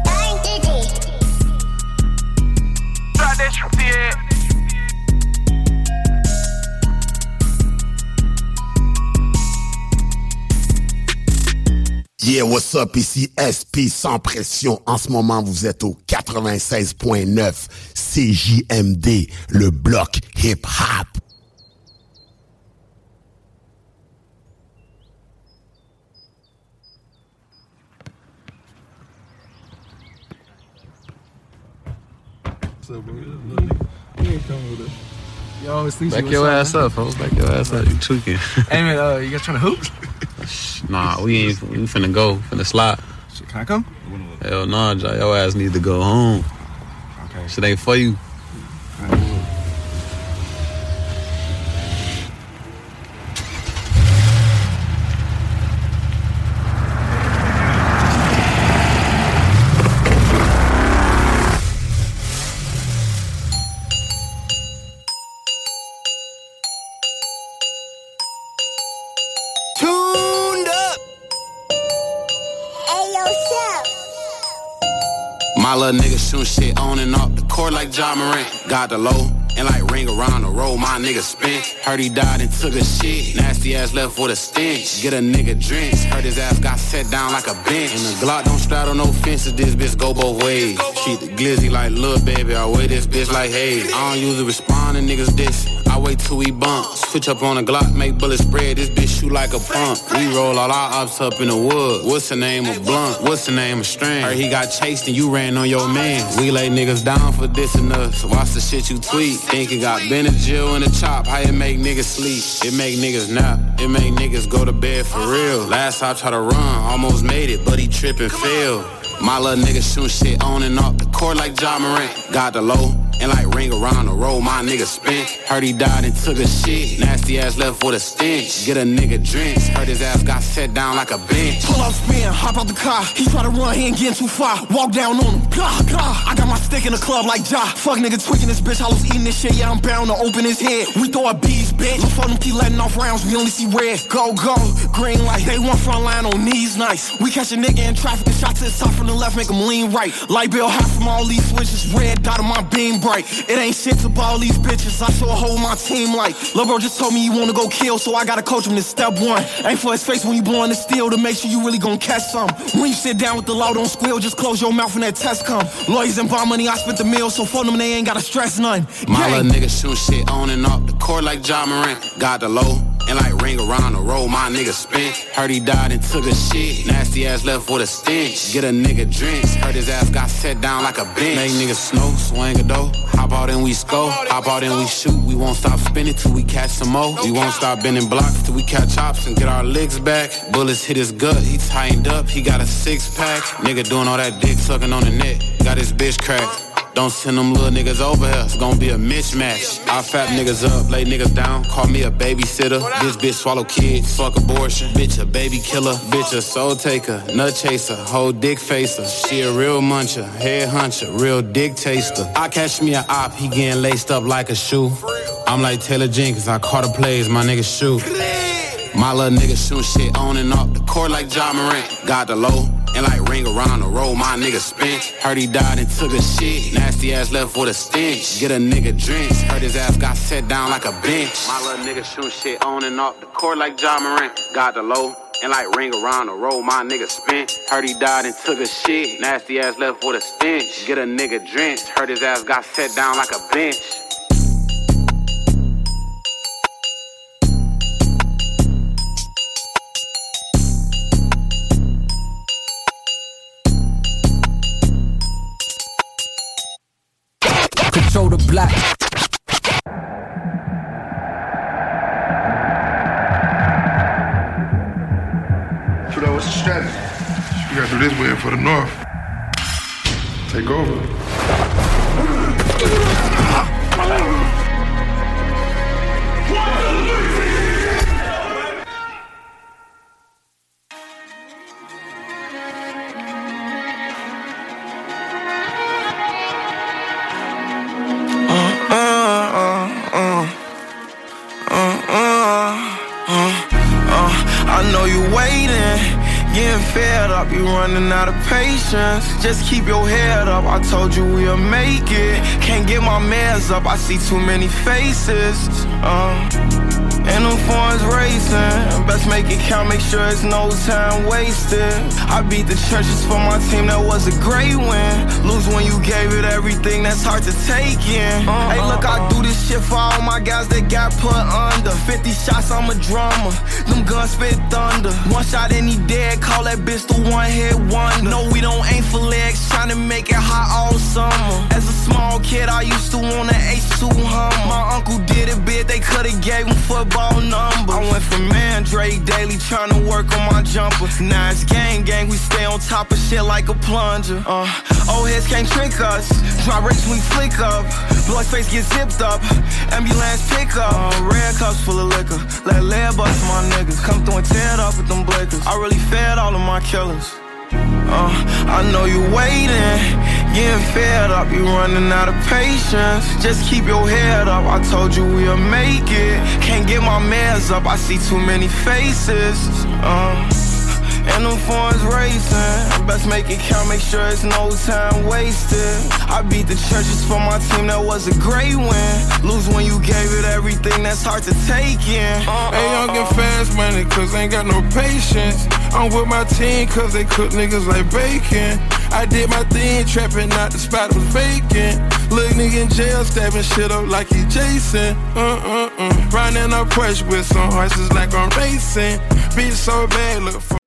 Try that shit, yeah. Yeah, what's up, ici SP sans pression. En ce moment, vous êtes au 96.9 CJMD, le bloc hip-hop. Yo, it's Lisa. Back your ass up, folks. Back your ass up. You tweaking. Hey, man, you guys trying to hoop? Nah, we finna go. Finna slide. Shit, can I come? Hell nah, your ass need to go home. Okay. Shit ain't for you. My little nigga shoot shit on and off the court like Ja Morant. Got the low and like ring around the road, my nigga spent. Heard he died and took a shit. Nasty ass left with a stench. Get a nigga drenched. Heard his ass got set down like a bench. And the Glock don't straddle no fences, this bitch go both ways. Treat the glizzy like lil' baby, I weigh this bitch like hey. I don't usually respond to niggas this. I wait till we bump. Switch up on the Glock, make bullets spread. This bitch shoot like a pump. We roll all our ops up in the wood. What's the name of Blunt? What's the name of Strand? Heard he got chased and you ran on your man. We lay niggas down for dissing us. Watch the shit you tweet. Think it got Benadryl in the chop. How it make niggas sleep? It make niggas nap. It make niggas go to bed for real. Last I tried to run, almost made it, but he tripped and failed. My little nigga shoot shit on and off the court like Ja Morant. Got the low and like ring around the road, my nigga spent. Heard he died and took a shit. Nasty ass left with a stench. Get a nigga drenched. Heard his ass got set down like a bench. Pull up, spin, hop out the car. He try to run, he ain't getting too far. Walk down on him, blah, blah. I got my stick in the club like Ja. Fuck nigga tweaking this bitch, I was eating this shit. Yeah, I'm bound to open his head. We throw a bees, bitch. Look for them, keep letting off rounds, we only see red. Go, go, green light. They want front line on knees, nice. We catch a nigga in traffic, and shot to the top from the left, make him lean right. Light bill half from all these switches, red dot on my beam bright. It ain't shit to ball these bitches, I show a whole my team like. Lil' bro just told me you wanna go kill, so I gotta coach him to step one. Ain't for his face when you blowing the steel to make sure you really gon' catch some. When you sit down with the law, don't squeal, just close your mouth when that test come. Lawyers and bond money, I spent the meal, so for them they ain't gotta stress none. My little nigga shoot shit on and off the court like Ja Morant. Got the low and like ring around the road, my nigga spent. Heard he died and took a shit. Nasty ass left with a stench. Get a nigga drinks. Heard his ass got set down like a bench. Make niggas snow, swing a dough. Hop out and we score. Hop out and we shoot. We won't stop spinning till we catch some more. We won't stop bending blocks till we catch ops and get our legs back. Bullets hit his gut, he tightened up. He got a 6-pack. Nigga doing all that dick sucking on the net. Got his bitch cracked. Don't send them little niggas over here, it's gonna be a mismatch. I fat niggas up, lay niggas down, call me a babysitter. This bitch swallow kids, fuck abortion. Bitch a baby killer, bitch a soul taker, nut chaser, whole dick facer. She a real muncher, head huncher, real dick taster. I catch me a op, he getting laced up like a shoe. I'm like Taylor Jenkins, I caught the plays, my nigga shoot. My little nigga shoot shit on and off the court like Ja Morant. Got the low. And like ring around the road, my nigga spent. Heard he died and took a shit. Nasty ass left with a stench. Get a nigga drinks. Heard his ass got set down like a bench. My little nigga shoot shit on and off the court like Ja Morant. Got the low. And like ring around the road, my nigga spent. Heard he died and took a shit. Nasty ass left with a stench. Get a nigga drinks. Heard his ass got set down like a bench. Control the block. Trudeau, what's the strategy? We gotta do this win for the North. Take over. I know you waiting, getting fed up, you running out of patience. Just keep your head up, I told you we'll make it. Can't get my meds up, I see too many faces. And them phones racing, best make it count, make sure it's no time wasted. I beat the churches for my team, that was a great win. Lose when you gave it everything, that's hard to take in. Hey look, I do this shit for all my guys that got put under. 50 shots, I'm a drummer, them guns spit thunder. One shot and he dead, call that bitch the one hit wonder. No, we don't aim for legs, tryna make it hot all summer. As a small kid, I used to want an H2 Hummer. My uncle did it big, they could've gave him football number. I went from Mandrake Daily, tryna work on my jumper. Now it's gang, we stay on top of shit like a plunger. Old heads can't trick us, drop rates we flick up. Blood face get zipped up, ambulance pick up. Red cups full of liquor, let lead bust my niggas. Come through and tear it up with them blickers. I really fed all of my killers. I know you waiting, getting fed up, you running out of patience. Just keep your head up, I told you we'll make it. Can't get my meds up, I see too many faces. And them phones racing, best make it count, make sure it's no time wasted. I beat the churches for my team, that was a great win. Lose when you gave it everything, that's hard to take in. Hey, y'all get fast money, cause ain't got no patience. I'm with my team, cause they cook niggas like bacon. I did my thing, trapping out the spot was vacant. Little nigga in jail, stabbing shit up like he Jason. Riding up push with some horses like I'm racing. Beat so bad, look for.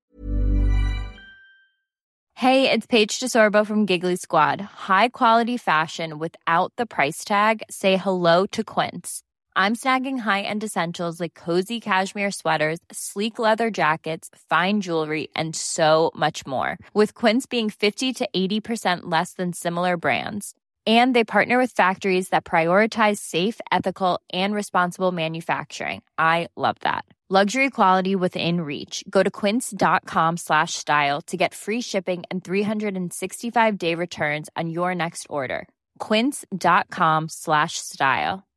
Hey, it's Paige DeSorbo from Giggly Squad. High quality fashion without the price tag. Say hello to Quince. I'm snagging high-end essentials like cozy cashmere sweaters, sleek leather jackets, fine jewelry, and so much more. With Quince being 50 to 80% less than similar brands. And they partner with factories that prioritize safe, ethical, and responsible manufacturing. I love that. Luxury quality within reach. Go to quince.com/style to get free shipping and 365-day returns on your next order. Quince.com/style.